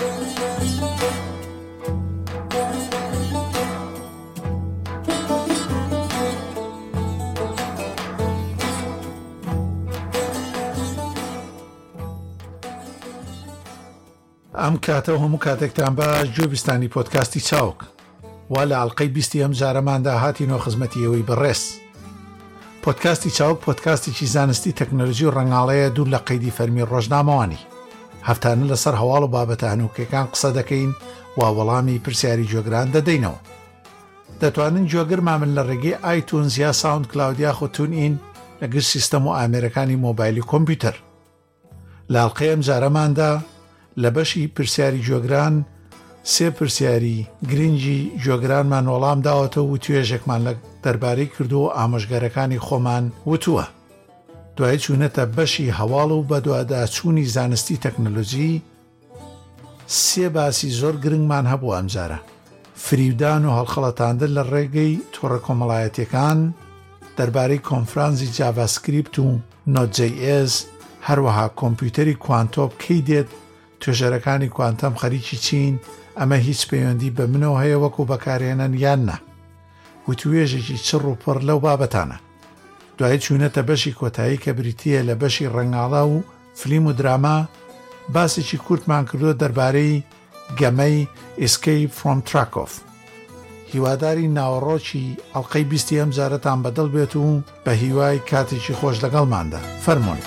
ئەم کاتەوە هەموو کاتێکتان باش گوێبیستانی پۆدکاستی چاوک وا لە ئەڵقەی 20 ئەم جارەماندا هاتینەوە خزمەتیەوەی بەڕێز. پۆدکاستی چاوک پۆدکاستێکی زانستی تەکنۆلۆژی و ڕەنگاڵەیە دوور لە قەیدی فەرمی ڕۆژنامەوانی. هەفتانە لەسەر هەواڵ و بابەتە هەنووکەکان قسە دەکەین وا وەڵامی پرسیاری جۆگران دەدەینەوە. دەتوانن جۆگرمامن لە ڕێگەی ئایتونز یا ساوند کلاود یاخود تون ئین لەگەر سیستەم و ئامێرەکانی مۆبایلی کۆمپیوتەر. لە ئەڵقەی ئەم جارەماندا لە بەشی پرسیاری جۆگران سێ پرسیاری گرنگی جۆگرانمان وەڵام داوەتەوە و توێژێکمان لە دەربارەی کردو و ئامۆژگەرەکانی خۆمان وتووە. دوای چوونەتە بەشی هەواڵ و بەدواداچوونی زانستی تەکنۆلۆژی سێ باسی زۆر گرنگمان هەبوو ئەم جارە: فریودان و هەڵخەڵەتاندن لە ڕێگەی تۆڕە کۆمەڵایەتیەکان، دەربارەی کۆنفرانسی جاڤاسکریپت و نۆت.js، هەروەها کۆمپیوتەری کوانتۆم کەی دێت، توێژەرەکانی کوانتەم خەریکی چین، ئەمە هیچ پەیوەندی بە منەوە هەیە وەکو بەکارهێنان یان نا، و توێژێکی چڕ و پڕ لەو بابەتانە. دوای چوونەتە بەشی کۆتایی کە بریتیە لە بەشی ڕەنگاڵە و فلیم و دراما، باسێکی کورتمان کردو دەربارەی گەمەی ئسکەیپ فرۆم تراکۆف. هیواداری ناوەڕۆکی ئەڵقەی 20 ئەم جارەتان بەدڵ بێت و بە هیوای کاتێکی خۆش لەگەڵماندا. فەرمۆن.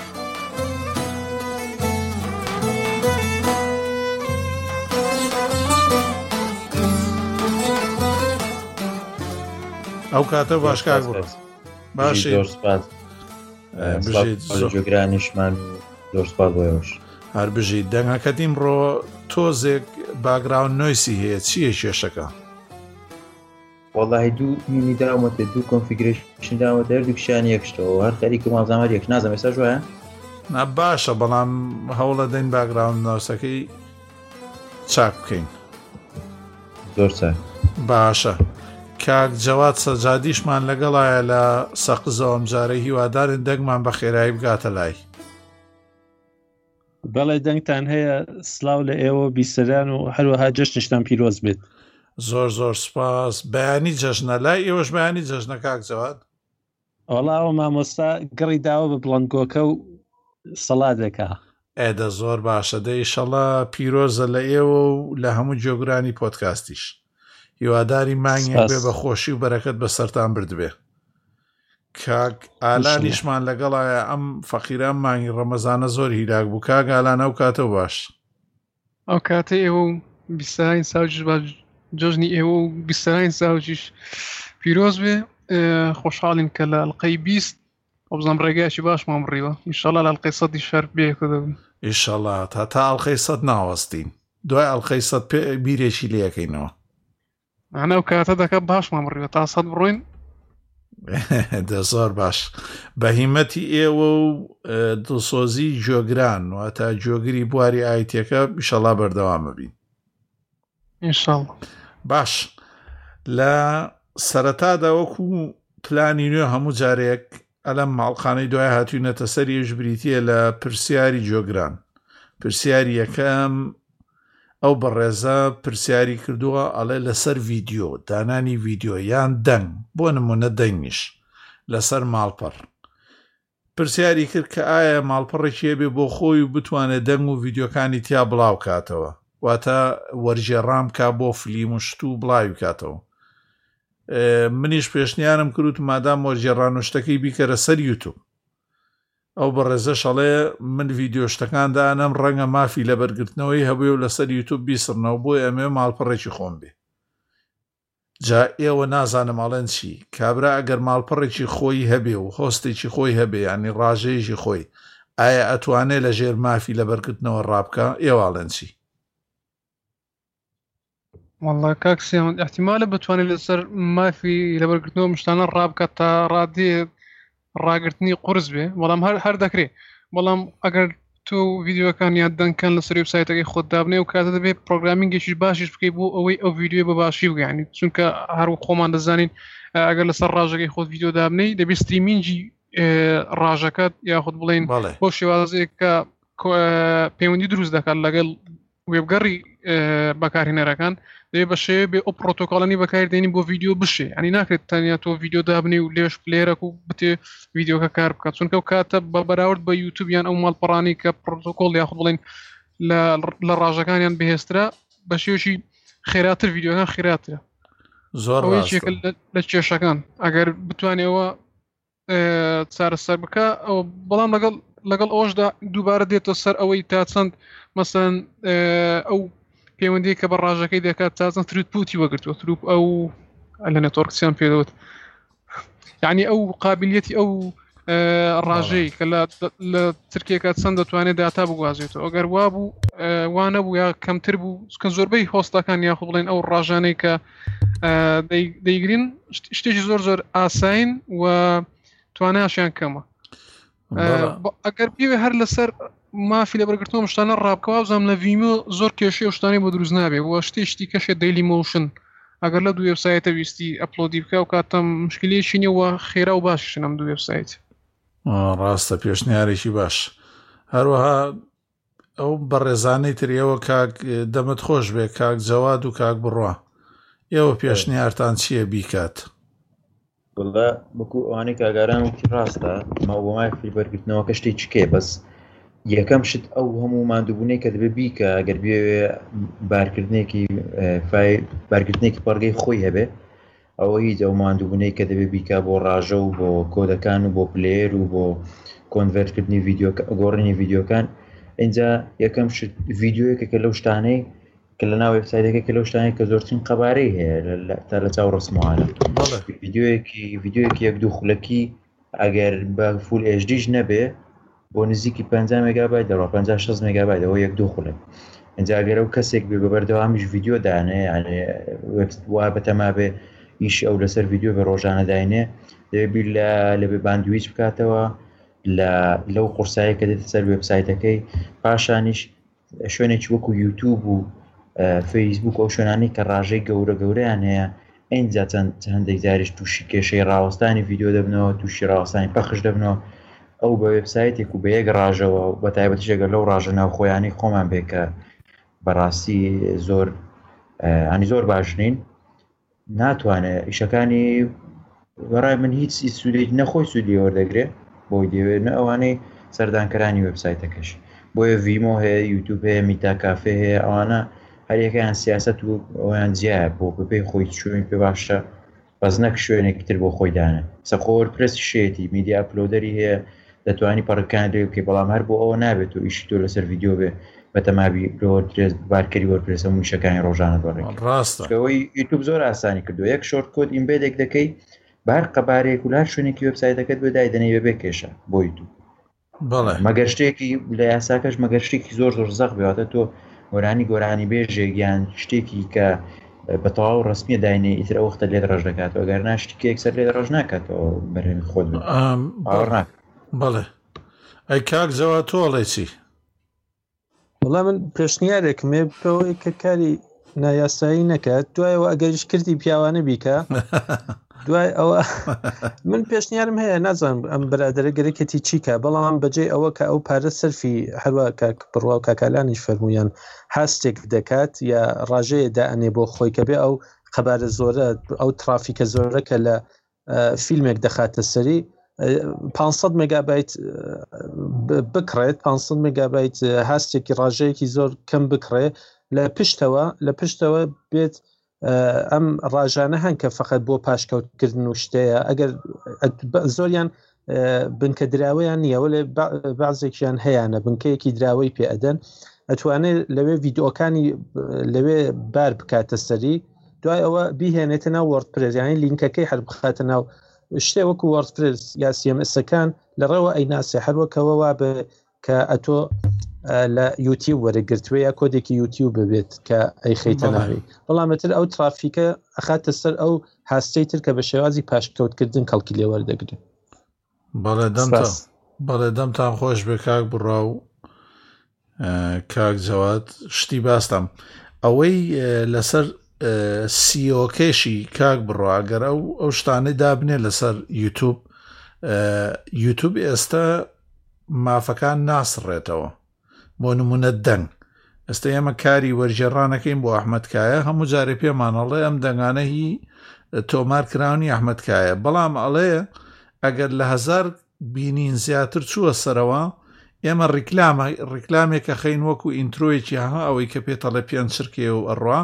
ئەو کاتە باشکار بوو. باشی زۆر سپاس. جۆگرانیشمان زۆر سپاس بۆیەوەش. هەر بژیت دەنگەکەت ئیمڕۆ تۆزێک باگراون نۆیسی هەیە، چییە کێشەکە؟ وەڵاهی دوو مینی داوەتە، دوو کۆنفیگرێشن داوەتە، هەردووکیشیان یەکشتەوە، هەر خەریکە مازامەر یەک نازەم ئێستا جوایە؟ نا باشە، بەڵام هەوڵە دەین باگراون نۆیسەکەی چاک بکەین. زۆر چاک. باشە. کاک جەواد سەجادیشمان لەگەڵایە لە سەقزەوە ئەم جارە، هیوادارن دەنگمان بە خێرایی بگاتە لای. بەڵێ دەنگتان هەیە. سلااو لە ئێوە بیسەران و هەروەها جەژنشتان پیرۆز بێت. زۆر زۆر سپاس. بەیانی جەژنە لای ئێوەش بەیانی جەژنە کاک جەواد؟ وەڵاوە مامۆستا گەڕی داوە بە بڵندگۆکە و سەڵاتێکە. ئێدە زۆر باشە، دە ئیشەڵا پیرۆزە لە ئێوە و لە هەموو جۆگرانی پۆدکاستیش. هیواداری مانگێک بێ بە خۆشی و بەرەکەت بە سەرتان بردبێ. کاک ئالانیشمان لەگەڵایە. ئەم فەقیران مانگی ڕەمەزانە زۆر هیلاک بوو. کاک ئالان ئەو کاتەوە باش. ئەو کاتە ئێوە و بیستەرانی ساوجیش با جۆژنی ئێوە و بیستەرانی ساوجیش پیرۆز بێ. خۆشحاڵین کە لە ئەڵقەی 20 ئەوبزانام ڕێگایکی باشمان بڕیوە. ئینشەڵا لە ئەڵقەی 100 شەر بێکە دەبن. ئینشەڵا تا ئەڵقەی 100 ناوەستین. دوای ئەڵقەی 100 بیرێکی لێەکەینەوە. ئەنە ئەو کاتە دەکە باشمان بڕیوە تا 100 بڕۆین. دە زۆر باش. بەهیمەتی ئێوە و دڵسۆزی جۆگران واتە جۆگری بواری ئایتیەکە ئینشەڵا بەردەوامە بین. ئینشەڵا. باش. لە سەرەتادا وەکو پلانی نوێ هەموو جارێک ئەلەم ماڵخانەی دوای هاتووینەتە سەریش بریتیە لە پرسیاری جۆگران. پرسیاری یەکەم ئەو بەڕێزە پرسیاری کردووە ئەڵێ لەسەر ڤیدیۆ، دانانی ڤیدیۆ یان دەنگ، بۆ نمونە دەنگیش لەسەر ماڵپەڕ. پرسیاری کرد کە ئایا ماڵپەڕێکی هەبێ بۆ خۆی و بتوانێت دەنگ و ڤیدیۆکانی تیا بڵاو کاتەوە، واتە وەرجێڕام کا بۆ فلیم و شت و بڵاوی کاتەوە. منیش پێشنیارم کرد مادام وەرجێڕان و شتەکەی بیکەرە سەر یوتوب. ئەو بەڕێزە شەڵێ من ڤیدیۆ شتەکاندا ئەم ڕەنگە مافی لە بەرگرتنەوەی هەبووی و لەسەر یوتوب بیسڕنەوە، بۆی ئەمێ ماڵپەڕێکی خۆم بێ. جا ئێوە نازانم ئەڵێن چی، کابرا ئەگەر ماڵپەڕێکی خۆی هەبێ و هۆستێکی خۆی هەبێ، ینی ڕاژەیەکی خۆی، ئایا ئەتوانێت لە ژێر مافی لە بەرگرتنەوە ڕابکە؟ ئێوەڵێن چی؟ والله کاک سێمەند احتیمالە بتوانێت لەسەر مافی لەبەرگرتنەوە مشتانە ڕابکات تا ڕادێ ڕاگررتنی قورس بێ، بەڵام هەر دەکرێت. بەڵام ئەگەر تۆ ڤیدیۆکان یا دەنگکان لەسەر وێبسایتەکەی خۆت دابنێ و کاتە دەبێت پرۆگرامینگێکی باشیش بکەیت بۆ ئەوەی ئەو ڤیدیۆ بە باشی بگەیانی، چونکە هەروە خۆمان دەزانین ئەگەر لەسەر ڕاژەکەی خۆت ڤیدیۆ دابنەی دەبێت ستریمینگی ڕاژەکەت یاخود بڵێن بۆ شێوازەیە کە پەیوەندی دروست دەکات لەگەڵ وێبگەڕی بەکارهێنەرەکان دەبێت بە شێوێ بێ ئەو پرۆتۆکۆڵانی بەکاردێنی بۆ ڤیدیۆ بشێ ینی ناکرێت تەنیا تۆ ڤیدیۆ دابنێ و لێش پلێرەک و بتێ ڤیدیۆکە کار بکات چونکە و کاتە بە بەراورد بە یوتیوبیان ئەو ماڵپەڕانی کە پرۆتۆکۆڵ یاخود بڵێن لە ڕاژەکانیان بەهێزترا بە شێوەشی خێراتر ڤیدیۆکان خێراترە زۆر ئەوەیەکێکە لە کێشەکان ئەگەر بتوانێەوە چارەسەر بکە ئەو بەڵام لەگەڵ ئەوەشدا دووبارە دێتە سەر ئەوەی تا چەند مەسەن ئەو پەیوەندی کە بە ڕاژەکەی دەکات تا چەند تروتپوتی وەگرتووە تروپ ئەو لە نێتۆرکسیان پێدەوت یعنی ئەو قابلیەتی ئەو ڕاژەی کە لە ترکێکە چەند دەتوانێت داتا بگوازێتەوە ئەگەر وابوو وانە بوو یا کەمتر بوو کە زۆربەی هۆستەکان یاخود بڵێن ئەو ڕاژانەی کە دەیگرین شتێکی زۆر ئاساین و توانایشیان کەمە ئەگەر بێ هەر لەسەر مافی لە بەرگرتنەوە شتانە ڕابکەوە بزانام لە ڤیمۆ زۆر کێشەی ئەو شتانەی بۆ دروست نابێت وە شتێشتی کەشێ دەیلی مۆشن ئەگەر لە دوو وێبسایتە ویستی ئەپلۆدی بکە و کاتەم مشکلێکی نیە و خێرا و باششن ئەم دوو وێبسایت ڕاستە پێشنیارێکی باش هەروەها ئەو بەڕێزانەی تریەوە کاک دەمت خۆش بێ کاک جەواد و کاک بڕوا ئێوە پێشنیارتان چییە بیکات وڵا بەکو ئەوانەی کاگاران وتی ڕاستە ماوەمای فیلبەرگرتنەوە کە شتێک چکێ بەس یەکەم شت ئەو هەموو مادووبوونەی کە دەبێ بیکە ئەگەر بێ بارکردنێکی پەڕگەی خۆی هەبێ ئەوە هیچ ئەو مادووبوونەی کە دەبێ بیکە بۆ ڕاژە و بۆ کۆدەکان و بۆ پلێر و بۆ کۆنڤەرتکردنی گۆڕینی ڤیدیۆکان اینجا یەکەم شت ڤیدیۆیەکە کە لەو شتانەی کە لە ناو وێبسایتەکە کە لەو شتانەی کە زۆرترین قەبارەی هەیە تا لە چاو ڕسموانە ڤیدیۆیەکی یەک دوو خولەکی ئەگەر بە فول HDش نەبێ بۆ نزیکی 50 مێگابایت دەڕوا 50-60 مێگابایت ئەوە یەک دوو خولەک اینجا ئەگەر ئەو کەسێک بێ بەبەردەوامیش ڤیدیۆ دانێ وا بەتەما بێ ئیشی ئەو لەسەر ڤیدیۆ بە ڕۆژانە داینێ دەبێت بیر لەبێ باندویچ بکاتەوە لەو قورسایی کە دێتە سەر وێبسایتەکەی پاشانیش شوێنێکی وەکو یوتیوب و فەیسبوک ئەو شوێنانی کە ڕاژەی گەورەیان هەیە ئەینجا هەندێک جاریش تووشی کێشەی ڕاوەستانی ڤیدیۆ دەبنەوە تووشی ڕاوەستانی پەخش دەبنەوە ئەو بە وێبسایتێک و بە یەک ڕاژەوە بە تایبەتیشێگە لەو ڕاژە ناوخۆیانی خۆمان بێ کە بەڕاستی زۆر باش نین ناتوانێت ئیشەکانی بەڕای من هیچ سوودێک نەخۆی سوودی وەردەگرێ بۆی دەوێت نە ئەوانەی سەردانکەرانی وێبسایتەکەش بۆیە ڤیمۆ هەیە یوتیوب هەیە میتا کافێ هەیە ئەوانە هەریەکەیان سیاست و ئەویان جیایە بۆ بپێی خۆی شوێنی پێ باشە بەس نەک شوێنێکی تر بۆ خۆی دانە سەخۆر پرسی شێتی میدیا ئەپلۆدەری هەیە دەتوانی پەڕەکان لێ بکەی بەڵام هەر بۆ ئەوە نابێت و ئیشی تۆ لەسەر ڤیدیۆ بێ بەتەمابی وەردپرێس بارکەری وەردپرێس هەموو شەکانی ڕۆژانە دەڕێت ڕاستەوەی یوتیوب زۆر ئاسانی کردو یەک شۆرت کۆد ئیمبێدێک دەکەی بار قەبارەیەک و لار شوێنێکی وێبسایتەکەت بۆ دایدەنەی بێ کێشە بۆ یوتیوب مەگەر شتێکی لە یاساکەش مەگەر شتێکی زۆر زەق بێتە تۆ گۆرانی بێژێگیان شتێکی کە بە تەواو ڕسمیە داینێ ئیتر ئەو وەختە لێت ڕەش دەکاتەوە گەر ناشتێکی یەکسەر لێت ڕەش ناکاتەوە بەرهەمی خۆت باوەڕ ناکات بەڵێ ئەی کاک جەواد تۆ ئەڵێ چی وەڵام من پێشنیارێکم هەیە بکەوەی کە کاری نایاسایی نەکات دوایەوە ئەگەریش کردی پیاوانە بیکە دوای ئەوە من پێشنیارم هەیە نازانم ئەم بەرادەرە گەرەکەتی چیکە بەڵام بەجێ ئەوە کە ئەو پارە سەرفی هەروە کاک بڕوا و کاکالانیش فەرمویان هاستێک دەکات یا ڕاژەیە دائەنێ بۆ خۆی کە بێ ئەو خەبارە زۆرە ئەو ترافیکە زۆرە کە لە فیلمێک دەخاتە سەری 500 مێگابایت بکڕێت 500 مێگابایت هاستێکی ڕاژەیەکی زۆر کەم بکڕێ لە پشتەوە بێت ئەم ڕاژانە هەن کە فقط بۆ پاشکەوتکردن و شتەیە ئەگەر زۆریان بنکە دراوەیان نییەوە لێ بەعزێکیان هەیەە بنکەیەکی دراوەی پێ ئەدەن ئەتوانێت لەوێ ڤیدیۆکانی لەوێ بار بکاتە سەری دوای ئەوە بیهێنێتە ناو وەردپرێس یانی لینکەکەی هەر بخاتە ناو شتێ وەکو وەردپرێس یا CMSەکان لەڕێوە ئەیناسێ هەروەکەوە وا بە کە ئەتۆ لە یوتیوب وەرەگرتووە یا کۆدێکی یوتیوب ببێت کە ئەی خەیتە ناوی بەڵامەتر ئەو ترافیکە ئەخاتە سەر ئەو هاستەی تر کە بە شێوازی پاشکەوتکردن کەڵکی لێ وەردەگرێت بەڵێ دەمتان خۆش بێ کاک بڕا و کاک جەواد شتی باستم ئەوەی لەسەر سیۆکێشی کاک بڕوا ئەگەر ئەو شتانەی دابنێ لەسەر یوتیوب ئێستا مافەکان ناسڕێتەوە بۆ نمونە دەنگ ئێستا ئێمە کاری وەرجێڕانەکەین بۆ ئەحمەدکایە هەموو جارێ پێمانەڵێ ئەم دەنگانە هی تۆمار کراونی ئەحمەدکایە بەڵام ئەڵێ ئەگەر لە 1000 بینین زیاتر چووە سەرەوە ئێمە ڕیکلامێکە خەین وەکو ئینترۆیەکی ها ئەوەی کە پێتەڵێ پێنج چرکێ و ئەڕوا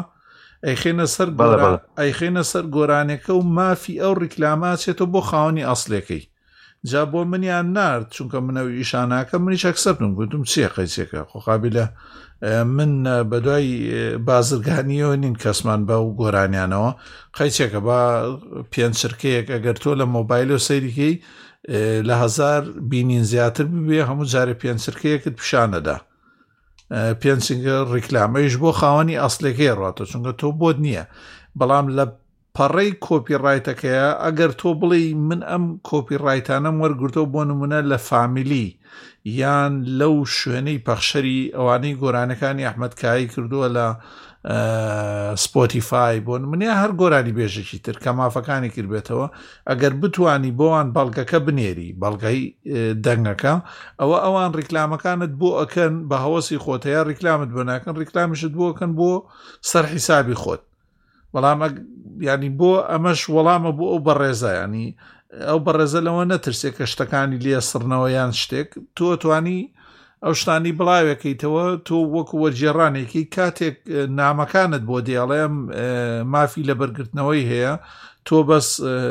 ئەیخێنە سەر گۆرانەکە و مافی ئەو ڕیکلاماچێتەوە بۆ خاوەنی ئەسڵەکەی جا بۆ منیان نارد چونکە منەوە ئیشاناکە منیش ئەکسەپتم گوتم چیە قەیسێکە خۆخابیلە من بەدوای بازرگانیەوە نین کەسمان بە و گۆرانیانەوە قەیچێکە بە پێنج چرکەیەک ئەگەر تۆ لە مۆبایل و سەیریکەی لە 1000 بینین زیاتر ببێ هەموو جارە پێنج چرکەیەکت پیشانەدا پێنجگە ڕیکلامەیش بۆ خاوەنی ئەسڵەکەی ڕاتە چونکە تۆ بۆت نییە بەڵام لە پەڕەی کۆپیڕایتەکەیە ئەگەر تۆ بڵێ من ئەم کۆپیڕایتانەم وەرگرتەوە بۆ نمونە لە فامیلی یان لەو شوێنەی پەخشەری ئەوانەی گۆرانەکانی ئەحمەدکایی کردووە لە سپۆتیفای بۆ نمونە هەر گۆرانی بێژێکی تر کە مافەکانی کردبێتەوە ئەگەر بتوانی بۆوان بەڵگەکە بنێری بەڵگەی دەنگەکە ئەوان ڕیکلامەکانت بۆ ئەکەن بە هەوەسی خۆتەیە ڕیکلامت بۆ ناکەن ڕیکلامیشت بۆ ئەکەن بۆ سەر حیسابی خۆت بەڵام ینی بۆ ئەمەش وەڵامە بۆ ئەو بەڕێزە ینی ئەو بەڕێزە لەوە نەترسێت کە شتەکانی لێ سڕنەوە یان شتێک تۆ توانی ئەو شتانی بڵاوەکەیتەوە تۆ وەکو وەرجێڕانێکی کاتێک نامەکانت بۆ دێڵێم مافی لە بەرگرتنەوەی هەیە تۆ بەس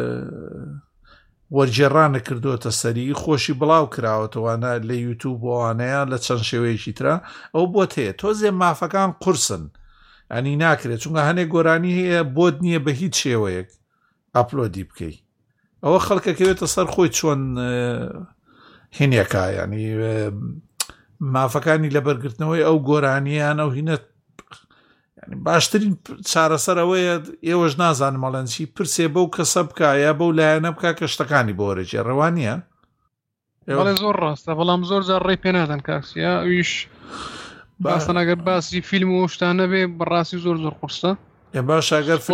وەرجێڕانە کردوتە سەری خۆشی بڵاو کراوەتەوانە لە یوتیوب بۆوانەیە لە چەند شێوەیەکی ترە ئەو بۆت هەیە تۆزێ مافەکان قورسن ئەنی ناکرێت چونکە هەنێک گۆرانی هەیە بۆت نییە بە هیچ شێوەیەک ئەپلۆدی بکەی ئەوە خەڵکەکەوێتە سەر خۆی چۆن هینێکە ینی مافەکانی لە بەرگرتنەوەی ئەو گۆرانیان ئەو هینە باشترین چارەسەر ئەوەیە ئێوەش نازانم مەڵەنچی پرسێ بەو کەسە بکایە بەو لایەنە بکە کە شتەکانی بۆ وەرەجێ ڕەوانیە بەڵێ زۆر ڕاستە بەڵام زۆر جار ڕێی پێ نادەن کاکسیا ئەویش باسن ئەگەر باسی فیلم و شتانە بێ بەڕاستی زۆر قورسە باش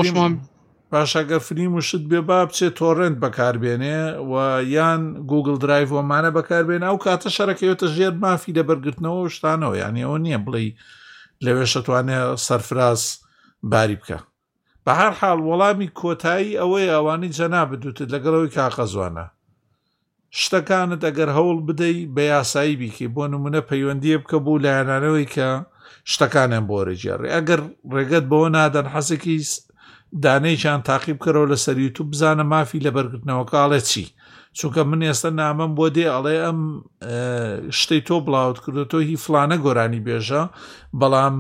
ئەگەر فیلم و شت بێ با بچێت تۆڕنت بەکاربێنێ و یان گوگل درایڤ وەمانە بەکاربێنە ئەو کاتە شەرەکەوێتە ژێر مافی لە بەرگرتنەوە و شتانەوە یانی ئەوە نییە بڵێ لەوێ شەتوانێ سەرفراز باری بکە بە هەر حاڵ وەڵامی کۆتایی ئەوەی ئەوانی جەنا بدوتت لەگەڵەوەی کاغەزوانە شتەکانت ئەگەر هەوڵ بدەی بە یاسایی بیکەی بۆ نمونە پەیوەندیە بکە بوو لایەنانەوەی کە شتەکانیان بۆ وەرەجێڕێ ئەگەر ڕێگەت بەوە نادەن حەزێکی دانەیشان تاقیب کەرەوە لە سەر یوتیوب بزانە مافی لە بەرگرتنەوە کاڵێ چی چونکە من ئێستا نامەم بۆ دێ ئەڵێ ئەم شتەی تۆ بڵاوت کردو تۆ هی فلانە گۆرانی بێژە بەڵام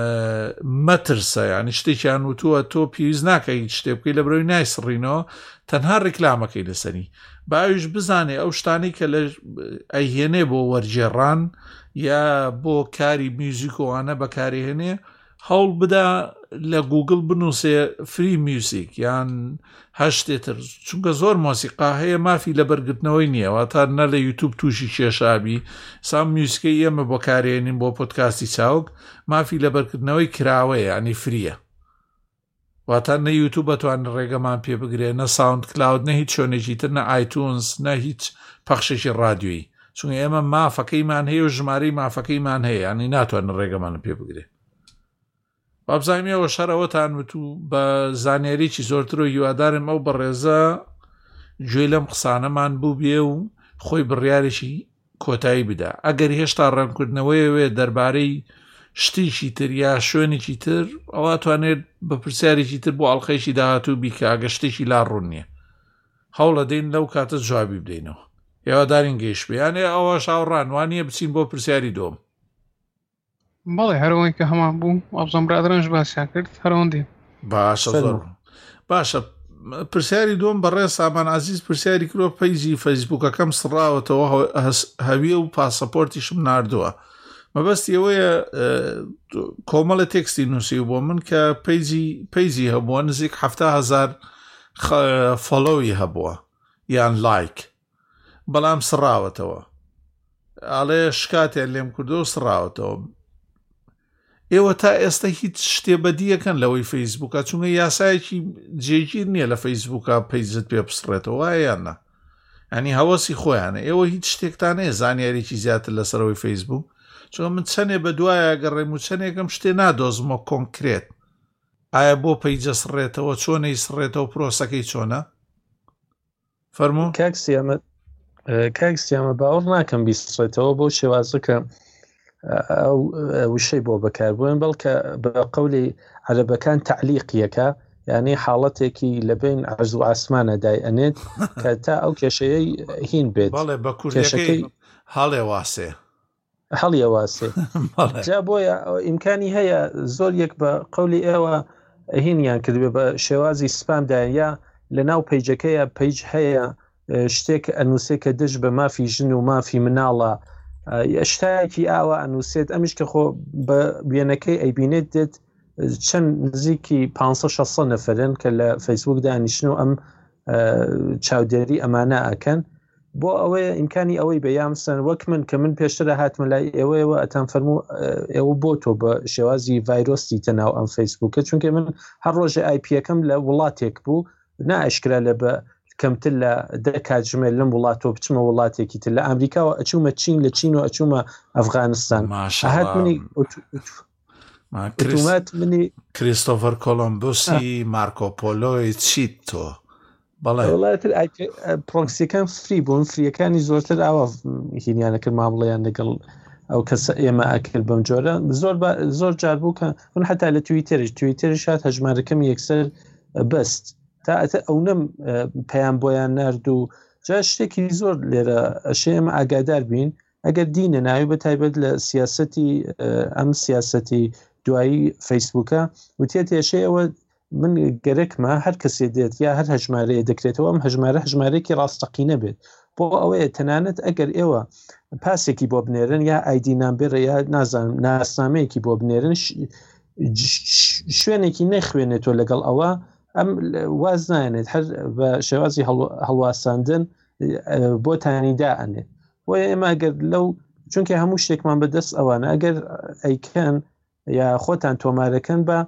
مەترسە ینی شتێکیان وتووە تۆ پێویست ناکەی شتێ بکەی لە بەرەوەی نایسڕینەوە تەنها ڕیکلامەکەی لەسەری باویش بزانێ ئەو شتانی کە لە ئەیهێنێ بۆ وەرجێڕان یا بۆ کاری میوزیکۆوانە بەکارهێنێ هەوڵ بدا لە گوگل بنووسێ فری میوزیک یان هەشتێتر چونکە زۆر مۆسیقا هەیە مافی لە بەرگرتنەوەی نییەوە تا نە لە یوتیوب تووشی کێشابی سام میوزیکەی ئێمە بۆ کارێنین بۆ پۆدکاستی چاوک مافی لە بەرگرتنەوەی کراوەیە ینی فریە واتە نە یوتیوب بەتوانن ڕێگەمان پێ بگرێ نە ساوند کلاود نە هیچ شوێنێکی تر نە ئایتونز نە هیچ پەخشێکی ڕادیۆیی چونکە ئێمە مافەکەیمان هەیە و ژمارەی مافەکەیمان هەیە ینی ناتوانن ڕێگەمانە پێ بگرێ بابزانیەوە شەرەوەتان وتو بە زانیاریی زۆرتر و هیوادارم ئەو بەڕێزە گوێ لەم قسانەمان بوو بێ و خۆی بڕیارێکی کۆتایی بدا ئەگەر هێشتا ڕەنکردنەوەیەوێ دەربارەی شتێکی تر یا شوێنێکی تر ئەوە توانێت بە پرسیارێکی تر بۆ ئەڵلقەیەکی داهاتوو بیکە ئەگە شتێکی لا ڕوون نییە هەوڵە دەین لەو کاتە جوابی بدەینەوە هێوادارین گەیشت بێیانێ ئەوە شاوڕان وانە بچین بۆ پرسیاری دۆم بەڵێ هەرەوەی کە هەمان بوو ئەبزەم برادرانش باسییان کرد هەرەوەندی باشە پرسیاری دۆم بەڕێ سامان عزیز پرسیاری کرۆ پەیجی فەیسبووکەکەم سڕاوەتەوە هەویە و پاسەپۆرتیشم ناردووە مەبەستی ئەوەیە کۆمەڵە تێکستی نووسی بۆ من کە پەیجی هەبووە نزیک 7,000 فۆلۆوی هەبووە یان لایک بەڵام سڕاوەتەوە ئاڵێ شکاتیان لێم کردو و سڕاوەتەوە ئێوە تا ئێستا هیچ شتێ بەدیەکەن لەوەی فەیسبووکە چونکە یاسایەکی جێگیر نییە لە فەیسبووکە پەیجت پێ بسڕێتەوە وایەنە ئەنی هەوەسی خۆیانە ئێوە هیچ شتێکتانەیە زانیاریی زیاتر لەسەرەوەی فەیسبووک چۆن من چەندێ بە دوایە گەڕێم و چەندێکم شتێ نادۆزمەوە کۆنکرێت ئایا بۆ پەیجە سڕێتەوە چۆنەی سڕێتەوە پرۆسەکەی چۆنە فەرموو کاکسیامە باوەڕ ناکەم بیستڕێتەوە بۆ شێوازە کە وشەی بۆ بەکاربوون بەڵکە بە قەولی عەرەبەکان تعلیقیەکە یعنی حاڵەتێکی لە بین عەرز و ئاسمانە دای ئەنێت کە تا ئەو کێشەیەی هین بێت بەڵێ بە کوردەکەی هەڵێ واسێ هەڵیە واسێ جا بۆیە ئیمکانی هەیە زۆر یەک بە قەولی ئێوە هینیان کردبێ بە شێوازی سپامدایە یا لە ناو پەیجەکەیە پەیج هەیە شتێک ئەنووسێ کە دژ بە مافی ژن و مافی مناڵە شتایەکی ئاوا ئەنووسێت ئەمیش کە خۆ بە وێنەکەی ئەیبینێت دێت چەند نزیکی 500 نەفرن کە لە فەیسبوک دانیشن و ئەم چاودێری ئەمانە ئەکەن بۆ ئەوەیە ئیمکانی ئەوەی بە یامسن وەک من کە من پێشترە هاتمە لای ئێوەیەوە ئەتان فەرموو ئێوە بۆ تۆ بە شێوازی ڤایرۆسی تەناو ئەم فەیسبوکە چونکە من هەر ڕۆژە ئایپیەکەم لە وڵاتێک بوو نائشکرا لە بە کەمتر لە کاتژمێر لەم وڵاتۆ بچمە وڵاتێکی تر لە ئەمریکاوە ئەچوومە چین لە چین و ئەچوومە ئەفغانستان هات منی منی کریستۆفەر کۆلۆمبۆسی مارکۆپۆلۆی چیت تۆ وڵاتر پرۆکسیەکان فری بوون فریەکانی زۆرتر ئاوا هینیانەکرد مامڵەیان لەگەڵ ئەو کەسە ئێمە ئەکرد بەم جۆرە زۆر جار بوو کە من حتا لە تویتەرش هات هەژمارەکەم یەکسەر بەست تا ئەو نەم پەیام بۆیان نرد و جا شتێکی زۆر لێرە ئەشێ ئێمە ئاگادار بین ئەگەر دینە ناوی بە تایبەت لە سیاسەتی ئەم سیاسەتی دوایی فەیسبوکە وتێت ئێشێ ئەوە من گەرەکمە هەر کەسێ دێت یا هەر هەژمارەیە دەکرێتەوە ئەم هەژمارەیەکی ڕاستەقینە بێت بۆ ئەوەیە تەنانەت ئەگەر ئێوە پاسێکی بۆ بنێرن یا ئایدی نامبێرە یا نازانم ناسنامەیەکی بۆ بنێرن شوێنێکی نەخوێنێتەوە لەگەڵ ئەوە ئەم واز نایێنێت هەر بە شێوازی هەڵواساندن بۆتانی دائەنێت بۆیە ئێمە ئەگەر لەو چونکە هەموو شتێکمان بەدەست ئەوانە ئەگەر ئەیکەن یا خۆتان تۆمارەکەن بە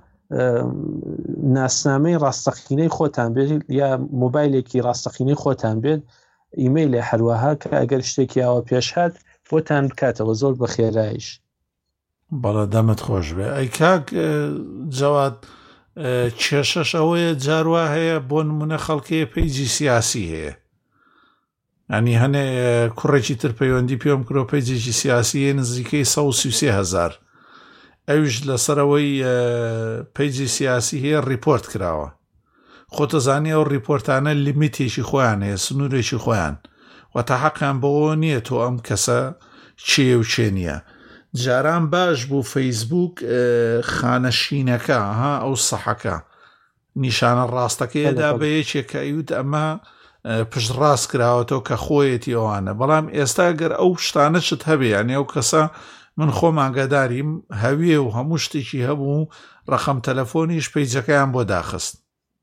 ناسنامەی ڕاستەقینەی خۆتان بێت یا مۆبایلێکی ڕاستەقینەی خۆتان بێت ئیمەیلێ هەروەها کە ئەگەر شتێکی ئەوە پێش هات بۆتان بکاتەوە زۆر بە خێرایش بەڵە دەمت خۆش بێ ئەی کاک جەواد کێشەش ئەوەیە جاروا هەیە بۆ نمونە خەڵکەیە پەیجی سیاسی هەیە ئەنی هەنێ کوڕێکی تر پەیوەندی پێم کرۆ پەیجێکی سیاسیە نزیکەی 133,000 ئەوش لەسەرەوەی پەیجی سیاسی هەیە ریپۆرت کراوە خۆتەزانی ئەو ریپۆرتانە لیمیتێکی خۆیان هەیە سنوورێکی خۆیان وەتا حەقیان بەوە نییە تۆ ئەم کەسە چێ و چێ نییە جاران باش بوو فەیسبوک خانەشینەکە ها ئەو سەحەکە نیشانە ڕاستەکەیدا بە یەکێک کە ئەیوت ئەمە پشت ڕاست کراوەتەوە کە خۆیەتی ئەوانە بەڵام ئێستا گەر ئەو شتانە چت هەبێ یانێ ئەو کەسە من خۆم ئاگاداریم هەویێ و هەموو شتێکی هەبوو ڕەخەم تەلەفۆنیش پەیجەکەیان بۆ داخست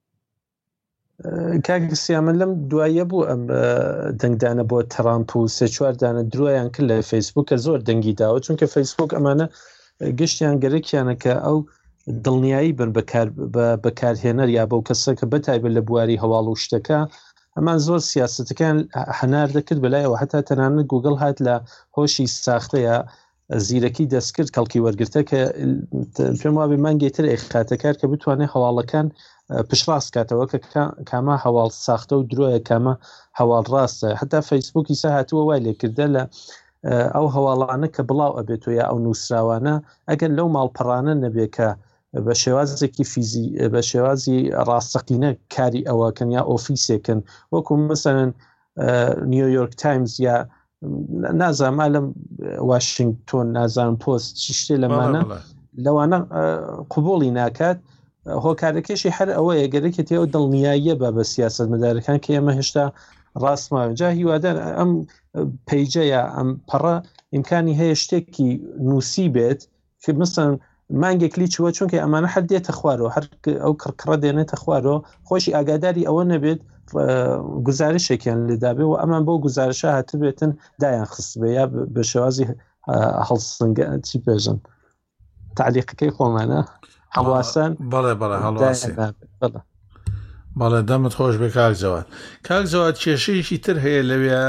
کاکسیامە لەم دوایە بوو ئەم دەنگدانە بۆ تەرامپ و سێ چواردانە درۆیان کرد لە فەیسبوکە زۆر دەنگی داوە چونکە فەیسبوک ئەمانە گشتیان گەرەکیانە کە ئەو دڵنیایی بن بەکارهێنەر یا بەو کەسە کە بەتایبەت لە بواری هەواڵ و شتەکە ئەمان زۆر سیاستەکان هەنار دەکرد بەلایەوە هەتا تەنانەت گوگڵ هات لە هۆشی ساختەیە زیرەکی دەستکرد کەڵکی وەرگرتە کە پێم وابێ مانگێتر ئێخاتەکار کە بتوانێت هەواڵەکان پشڕاست کاتەوە کە کامە هەواڵ ساختە و درۆیە کامە هەواڵ ڕاستە هەتا فەیسبوکی سا هاتووە وای لێکردە لە ئەو هەواڵانە کە بڵاو ئەبێتەوە یا ئەو نووسراوانە ئەگەر لەو ماڵپەڕانە نەبێ کە بە شێوازێکی بە شێوازی ڕاستەقینە کاری ئەوەکەن یا ئۆفیسێکن وەکو مەسەرەن نیویۆرک تایمز یا نازانم لەم واشنگتۆن نازانم پۆست چی شتێ لەمانە لەوانە قوبوڵی ناکات هۆکارەکەشی هەر ئەوەیە گەرەکێتی ئەو دڵنیاییە بە سیاست مەدارەکان کە ئێمە هێشتا ڕاستماوە جا هیوادار ئەم پەیجەیە ئەم پەڕە ئیمکانی هەیە شتێکی نووسی بێت کە مثلا مانگێکلی چووە چونکە ئەمانە هەر دێتە خوارەوە هەر ئەو کڕکڕە دێنێتە خوارەوە خۆشی ئاگاداری ئەوە نەبێت گزارشێکیان لێدابێ و ئەمان بۆ گزارشە هاتبێتن دایان خست بێ یا بە شێوازی هەڵسنگە چی پێژن تعلیقەکەی خۆمانە هەڵواسان بەڵێ هەڵواسی بەڵێ دەمت خۆش بێ کاک جەواد کێشەیەکی تر هەیە لەوێ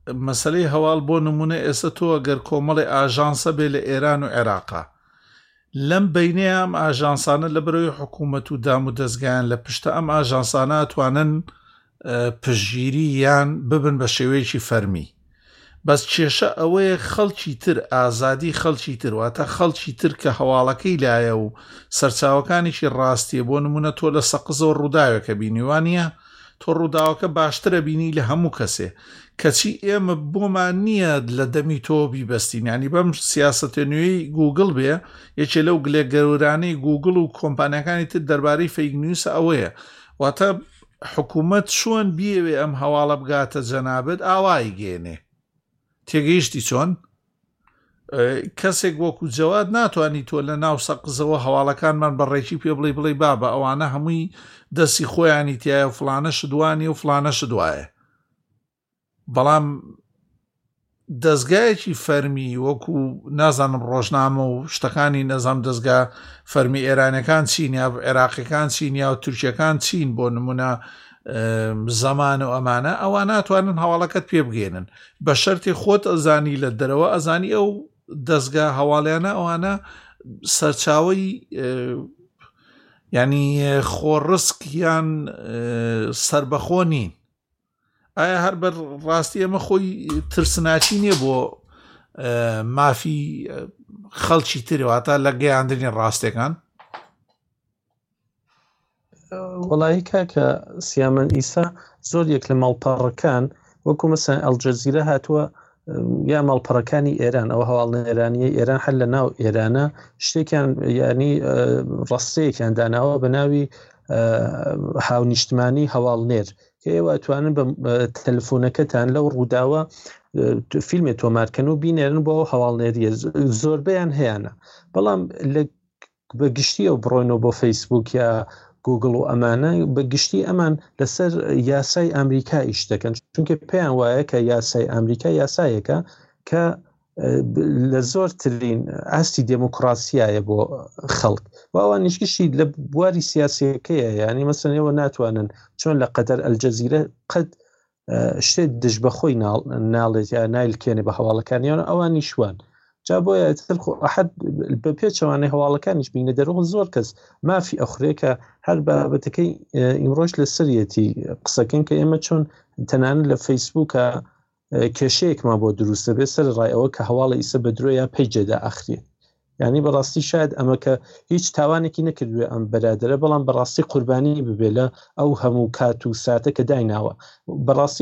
مەسلەی هەواڵ بۆ نمونە ئێستا تۆ ئەگەر کۆمەڵی ئاژانسە بێ لە ئێران و عێراقا لەم بینەیە ئەم ئاژانسانە لە بەرەوەی حکوومەت و دام و دەستگایان لە پشتە ئەم ئاژانسانە ئەتوانن پشگیری یان ببن بە شێوەیەکی فەرمی بەس کێشە ئەوەیە خەڵکی تر ئازادی خەڵکی تر واتە خەڵکی تر کە هەواڵەکەی لایە و سەرچاوەکانیشی ڕاستیە بۆ نمونە تۆ لە سەقزەوە ڕووداوێکە بینیوانە تۆ ڕووداوەکە باشترە بینی لە هەموو کەسێ کەچی ئێمە بۆمان نییە لە دەمی تۆ بیبەستین ینی بەم سیاسەتە نوێی گوگل بێ یەکێ لەو گلێ گەورانەی گوگل و کۆمپانیەکانی تر دەربارەی فەیک نیوسە ئەوەیە واتە حکوومەت چۆن بیەوێ ئەم هەواڵە بگاتە جەنابەت ئاوای گێنێ تێگەیشتی چۆن کەسێک وەکو جەواد ناتوانانی تۆ لە ناو سەقزەوە هەواڵەکانمان بەڕێکی پێ بڵێ بابە ئەوانە هەمووی دەستی خۆیانی تایە و فلانە شدوانی و فلانە شدوایە بەڵام دەستگایەکی فەرمی وەکو نازانم ڕۆژنامە و شتەکانی نەزام دەستگا فەرمی ئێرانەکان چین یا عێراقیەکان چین یا و تورکیەکان چین بۆ نمونە زەمان و ئەمانە ئەوان ناتوانن هەواڵەکەت پێ بگێنن بە شەرتی خۆت ئەزانی لە دەرەوە ئەزانی ئەو دەستگا هەواڵیانە ئەوانە سەرچاوی ینی خۆڕسک یان سربەخۆ نین ئایا هەر بەر ڕاستی ئەمە خۆی ترسناچی نییە بۆ مافی خەڵکی ترێواتە لە گەیاندنی ڕاستیەکان وڵی کاکە سیامەن ئیسا زۆر یەک لە ماڵپەڕەکان وەکو مەسەن ئەلجەزیرە هاتووە یا ماڵپەڕەکانی ئێران ئەو هەواڵنێرانیە ئێران هەر لە ناو ئێرانە شتێکیان ینی ڕاستەیەکیان داناوە بە ناوی هاونیشتمانی هەواڵنێر کە ئێوە ئەتوانن بە تەلەفۆنەکەتان لەو ڕووداوە فیلمێ تۆمارکەن و بینێرن بۆ هەواڵنێریە زۆربەیان هەیەە بەڵام بە گشتی ئەو بڕۆینەوە بۆ فەیسبوک یا گوگل و ئەمانە بە گشتی ئەمان لەسەر یاسای ئەمریکا ئیش دەکەن چونکە پێیان وایە کە یاسای ئەمریکا یاسایەکە کە لە زۆرترین ئاستی دموکراسیایە بۆ خەڵک و ئەوان نیشگشتی لە بواری سیاسیەکەیە ینی مەسەنەوە ناتوانن چۆن لە قەدەر ئەلجەزیرە قەت شتێک دژ بەخۆی ناڵێت یا نایلکێنێ بە هەواڵەکانیان ئەوان نیشوان جا بۆیە ئەحد بە پێچەوانەی هەواڵەکانیش بینە دەرەوە زۆر کەس مافی ئەخرێکە هەر بابەتەکەی ئیمڕۆژ لە سەرەتی قسەکەن کە ئێمە چۆن تەنانە لە فەیسبووکە کێشەیەکمان بۆ دروستە بێ سەر ڕایەوە کە هەواڵە ئیسە بە درۆ یا پەیجێدا ئەخرێ یعنی بەڕاستی شاید ئەمە کە هیچ تاوانێکی نەکردوێ ئەم بەرادرە بەڵام بەڕاستی قوربانی ببێ لە ئەو هەموو کات و ساتە کە دایناوە بەڕاستی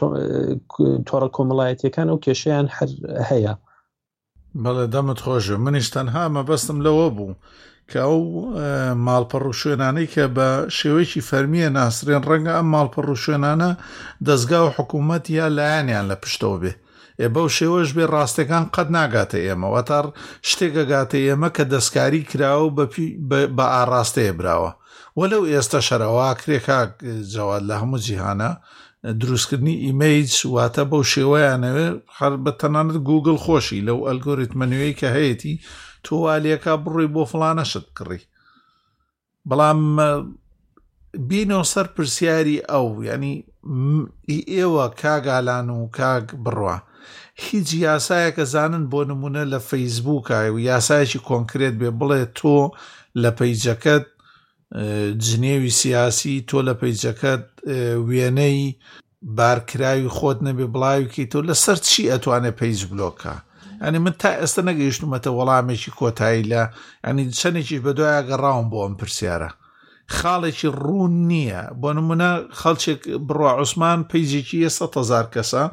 تۆڕە کۆمەڵایەتیەکان ئەو کێشەیان هەر هەیە بەڵێ دەمت خۆشە منیش تەنها مەبەستم لەوە بوو کە ئەو ماڵپەڕ و شوێنانەی کە بە شێوەیەکی فەرمیە ناسرێن ڕەنگە ئەم ماڵپەڕ و شوێنانە دەستگا و حکوومەت یا لایەنیان لە پشتەوە بێ بەو شێوەش بێ ڕاستەکان قەت ناگاتە ئێمە وەتار شتێکەگاتە ئێمە کە دەستکاری کراوە بە ئاڕاستەیە براوە وەلەو ئێستا شەرەوە کرێکا جەواد لە هەموو جیهانە دروستکردنی ئیمەیج واتە بەو شێوەیانەوێ هەر بە تەنانەت گوگل خۆشی لەو ئەلگۆریتمە نوێی کە هەیەی تۆوالیەکە بڕووی بۆ فلانە شت کڕی بەڵام بینەوە سەر پرسیاری ئەو ینی ئێوە کاگالان و کاگ بڕوا هیچ یاسایەکە زانن بۆ نمونە لە فەیسبووکە و یاسایەکی کۆنکرێت بێ بڵێ تۆ لە پەیجەکەت جنێوی سیاسی تۆ لە پەیجەکەت وێنەی بارکراوی خۆت نەبێ بڵاویکی تۆ لەسەر چی ئەتوانێت پەیج بلۆکە ئەنی من تا ئێستا نەگەیشتمەتە وەڵامێکی کۆتایی لە ئەنی چەندێکی بەدوایە گەڕاوم بۆ ئەم پرسیارە خاڵێکی ڕوون نییە بۆ نمونە خەڵچێک بڕوا عوسمان پەیجێکی 100,000 کەسە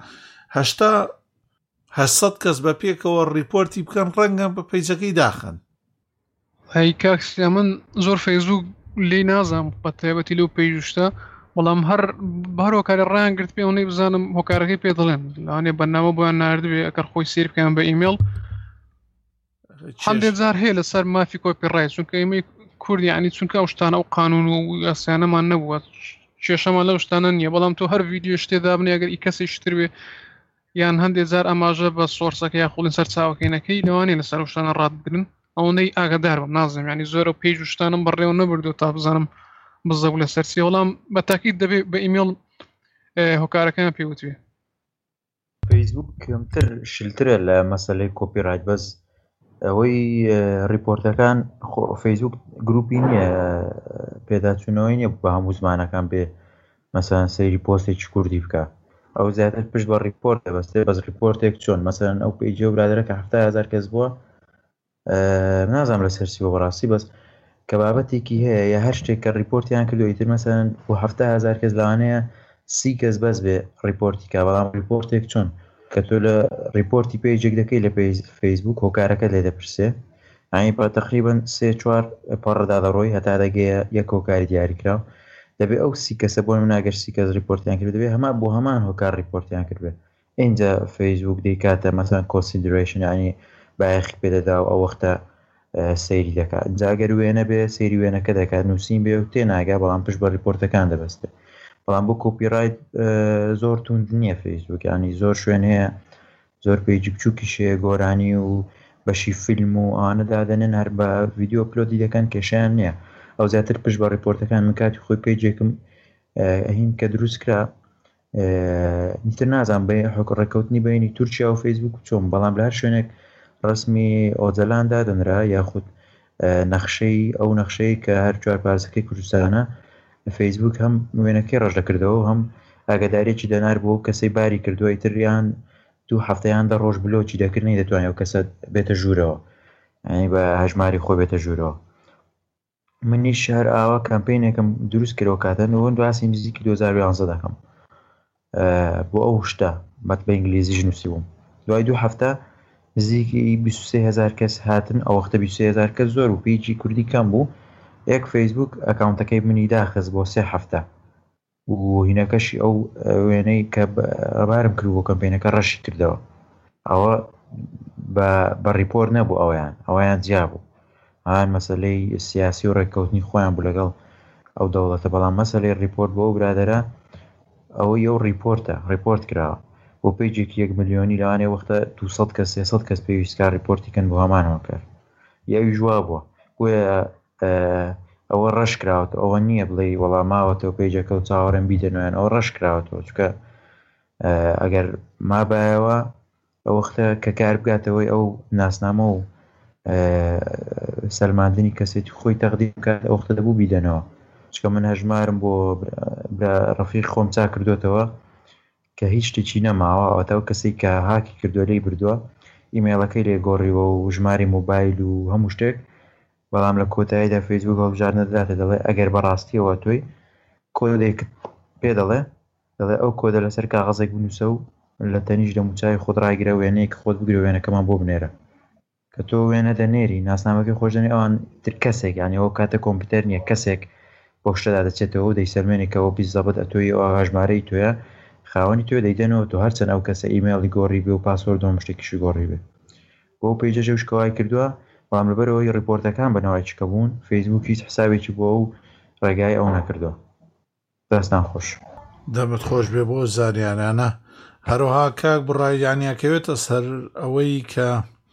800 کەس بە پێکەوە ڕیپۆرتی بکەن ڕەنگە بە پەیجەکەی داخن هەی کاکسیا من زۆر فەیسبوک لێی نازام بە تایبەتی لەو پێیشتە بەڵام هەر هەرۆکاری ڕیان گرت پێ ئەوەی بزانم هۆکارەکەی پێ دەڵێن لەوانێ بەرنامە بۆیان ناردوێ ئەگەر خۆی سیر بکەیان بە ئیمێل هەندێک جار هەیە لەسەر مافی کۆپیڕایت چونکە ئێمەی کوردی ینی چونکە ئەو شتانە ئەو قانون و یاسایانەمان نەبووە کێشەمان لەو شتانە نییە بەڵام تۆ هەر ڤیدیۆ شتێدا بنێ ئەگەر ئی کەسی شتر بێ یان هەندێک جار ئەماژە بە سۆرسەکە یا خوڵین سەر چاوەکەینەکەی لەوانێ لەسەر ئەو شتانە ڕادبرن ئەوەندەی ئاگادار بم نازم ینی زۆر و پێیج و شتانم بەڕێوە نەبردو تا بزانم بزەبوو لە سەرسی وەڵام بە تاکید دەبێت بە ئیمێل هۆکارەکەیان پێوتوێ فەیسبوک کەمتر شلترە لە مەسەلەی کۆپیڕایت بەس ئەوەی ریپۆرتەکان فەیسبوک گروپی نییە پێداچوونەوەی نییە بە هەموو زمانەکان بێ مەسەلەن سەیری پۆستێکی کوردی بکە ئەو زیاتر پشت بە ریپۆرت دەبەستێ بەس ریپۆرتێک چۆن مەسەلەن ئەو پیجە و برادرە کە 7,000 کەس بووە نازانم لە سەرسی بۆ بەڕاستی بەس کە بابەتێکی هەیە یا هەر شتێک کە ریپۆرتیان کردو ئیتر مەسەلەن بۆ 7,000 کەس لەوانەیە 30 کەس بەس بێ ریپۆرتی کا بەڵام ریپۆرتێک چۆن کە تۆ لە ریپۆرتی پیجێک دەکەی لە فەیسبوک هۆکارەکە لێ دەپرسێ ئاین بە تقریباً 3-4 پەڕدا دەڕۆی هەتا دەگەیە یەک هۆکاری دیاریکراو دەبێ ئەو 30 کەسە بۆ ناگەر 30 کەس ریپۆرتیان کرد دەبێ هەمان بۆ هەمان هۆکار ریپۆرتیان کردبێ اینجا فەیسبوک دەیکاتە مەسەلەن کۆنسیدریشن ینی بایەخی پێدەدا و ئەو وەختە سەیری دەکات جاگەر وێنە بێ سەیری وێنەکە دەکات نووسین بێ و تێناگا بەڵام پشت بە ریپۆرتەکان دەبەستێ بەڵام بۆ کۆپیڕایت زۆر توند نییە فەیسبوک ینی زۆر شوێن هەیە زۆر پیجی بچووکیش هەیە گۆرانی و بەشی فیلم و ئەوانە دادەنێن هەر بە ڤیدیۆ ئەپلۆدی دەکەن کێشیان نییە ئەو زیاتر پشت بە ریپۆرتەکان من کاتی خۆی پیجێکم هین کە دروست کرا نیتر نازان بە ڕێکەوتنی بینی تورکیا و فەیسبوک چۆن بەڵام لە هەر شوێنێک ڕسمی ئۆزەلاندا دەنرا یاخود نەخشەی ئەو نەخشەی کە هەر چوار پارچەکەی کوردستانە فەیسبوک هەم وێنەکەی ڕەش دەکردەوە هەم ئاگادارێکی دەنار بۆ کەسەی باری کردووە ئیتریان 2 هەفتەیان دە ڕۆژ بلۆکی دەکردنی دەتوانێت کەسە بێتە ژوورەوە ینی بە هەژماری خۆ بێتە ژوورەوە منی شار ئاوا کامپینێکم دروست کردەوە کاتەنەوە دواسی نزیکی 2011 دەکەم بۆ ئەو شتە بەت بە ئینگلیزیش نووسی بووم دوای 2 هەفتە نزیکی 23,000 کەس هاتن ئەو وەختە 23,000 کەس زۆر و پیجی کوردی کەم بوو یەک فەیسبوک ئەکاونتەکەی منی داخست بۆ 3 هەفتە و هینەکەشی ئەو وێنەی کە بارم کرد بۆ کەمپینەکە ڕەشی کردەوە ئەوە بە ریپۆرت نەبوو ئەویان جیا بوو ئەوان مەسەلەی سیاسی و ڕێککەوتنی خۆیان بوو لەگەڵ ئەو دەوڵەتە بەڵام مەسەلەی ریپۆرت بۆ ئەو برادەرە ئەوەی ئەو ریپۆرت کراوە بۆ پیجێکی 1 ملیۆنی لەوانێ وەختە 200 کەس 300 کەس پێویستکە ریپۆرتیکەن بۆ هەمانەوە کرد یاوی ژوا بووە بۆیە ئەوە ڕەش کراوەتە ئەوە نییە بڵێ وەڵاماوەتەوە پیجەکە و چاوەڕێن بیدەنوێن ئەو ڕەش کراوەتەوە چکە ئەگەر مابایەوە ئەو وەختە کە کار بگاتەوەی ئەو ناسنامە و سەلماندنی کەسێتی خۆی تەقدیم بکات ئەو وەختە دەبوو بیدەنەوە چکە من هەژمارم بۆ ڕەفیق خۆم چا کردوتەوە کە هیچ شتێکی نەماوە ئەوەتەوە کەسێک کە هاکی کردووە لێی بردووە ئیمێڵەکەی لێگۆڕیوە و ژماری مۆبایل و هەموو شتێک بەڵام لە کۆتاییدا فەیسبوک هەڵبژار نەدراتە دەڵێ ئەگەر بەڕاستیەوە تۆی کۆدێک پێ دەڵێ ئەو کۆدە لەسەر کاغەزێک بنووسە و لە تەنیش دەموچای خۆت ڕاگرە وێنەیەک خۆت بگرە وێنەکەمان بۆ بنێرە کە تۆ وێنە دەنێری ناسنامەکەی خۆشدنی ئەوان تر کەسێک یانی ئەو کاتە کۆمپیوتەر نییە کەسێک بۆ شتەدا دەچێتەوە و دەیسەلمێنێکەوە بیزەبەت ئەتۆی ئەو هەژمارەی تۆیە خاوەنی تۆ دەیدەنەوە تۆ هەرچەند ئەو کەسە ئیمێڵی گۆڕی بێ و پاسوۆرد و شتێکیشی گۆڕی بێ بۆ پیجەژە شکەوای کردووە بەڵام لەبەرەوەی ریپۆرتەکان بەنەوەی چکە بوون فەیسبوک هیچ حسابێکی بۆ ئەو ڕێگای ئەو نەکردووە دەستان خۆش دەمت خۆش بێ بۆ زاریانانە هەروەها کاک بڕایانیاکەوێتە سەر ئەوەی کە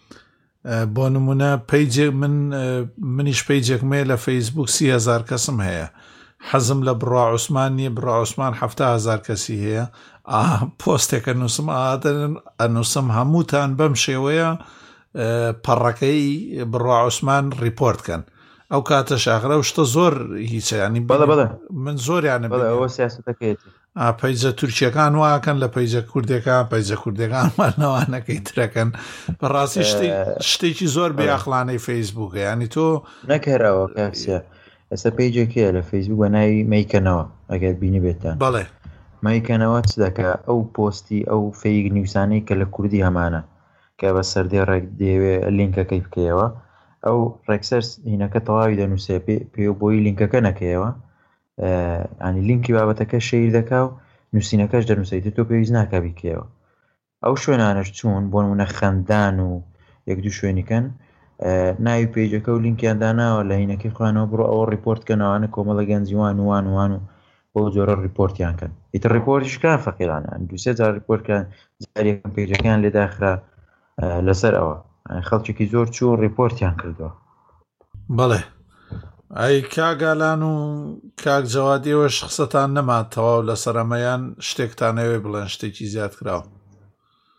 بۆ نمونە پیجێک منیش پیجێکمێ لە فەیسبوک 30,000 کەسم هەیە حەزم لە بڕا عوسمان نییە بڕا عوسمان 7,000 کەسی هەیە پۆستێکە نووسم ئەنووسم هەمووتان بەم شێوەیە پەڕەکەی بڕا عوسمان ریپۆرتکەن ئەو کاتە شاخرە و شتە زۆر هیچ ینی من زۆریانە ئەوە سیاستەکەیەتی پیجە تورکیەکان واکەن لە پیجە کوردەکان پیجە کوردەکانمانەوەنەکەی ترەکەن بەڕاستی شتێکی زۆر بێئەخڵانەی فەیسبووکە ینی تۆ نەکەراوە کاکسیا ئێستا پیجێکەیە لە فەیسبوک بە ناوی مەیکەنەوە ئەگەر بینی بێتان بەڵێ مەیکەنەوە چ دەکە ئەو پۆستی ئەو فەیک نیوسانەی کە لە کوردی هەمانە کە بە سەردەی ڕێک دەیەوێ لینکەکەی بکەیەوە ئەو ڕێکسەر هینەکە تەواوی دەنووسێ پێ بۆی لینکەکە نەکەیەوە ئەنی لینکی بابەتەکە شەیر دەکا و نووسینەکەش دەنووسیت تۆ پێویست ناکە بیکەوە ئەو شوێنانەش چوون بۆ نمونە خەندان و یەک دوو شوێنیکەن ناوی پیجەکە و لینکیان داناوە لە هینەکەی خوانەوە بڕۆ ئەوە ریپۆرتکەنەوەوانە کۆمەڵە گەنجیوان وان و بۆ جۆرە ریپۆرتیان کەن ئیتر ریپۆرتیشکان فەقیرانە 2-3 جار ریپۆرتکان جارێکم پیجەکان لێ داخرا لەسەر ئەوە خەڵکێکی زۆر چوو ریپۆرتیان کردووە بەڵێ ئەی کاگالان و کاک جەوادیەوە شخصەتان نەماتەوە و لە سەرەمەیان شتێکتانەوێ بڵێن شتێکی زیاد کراوە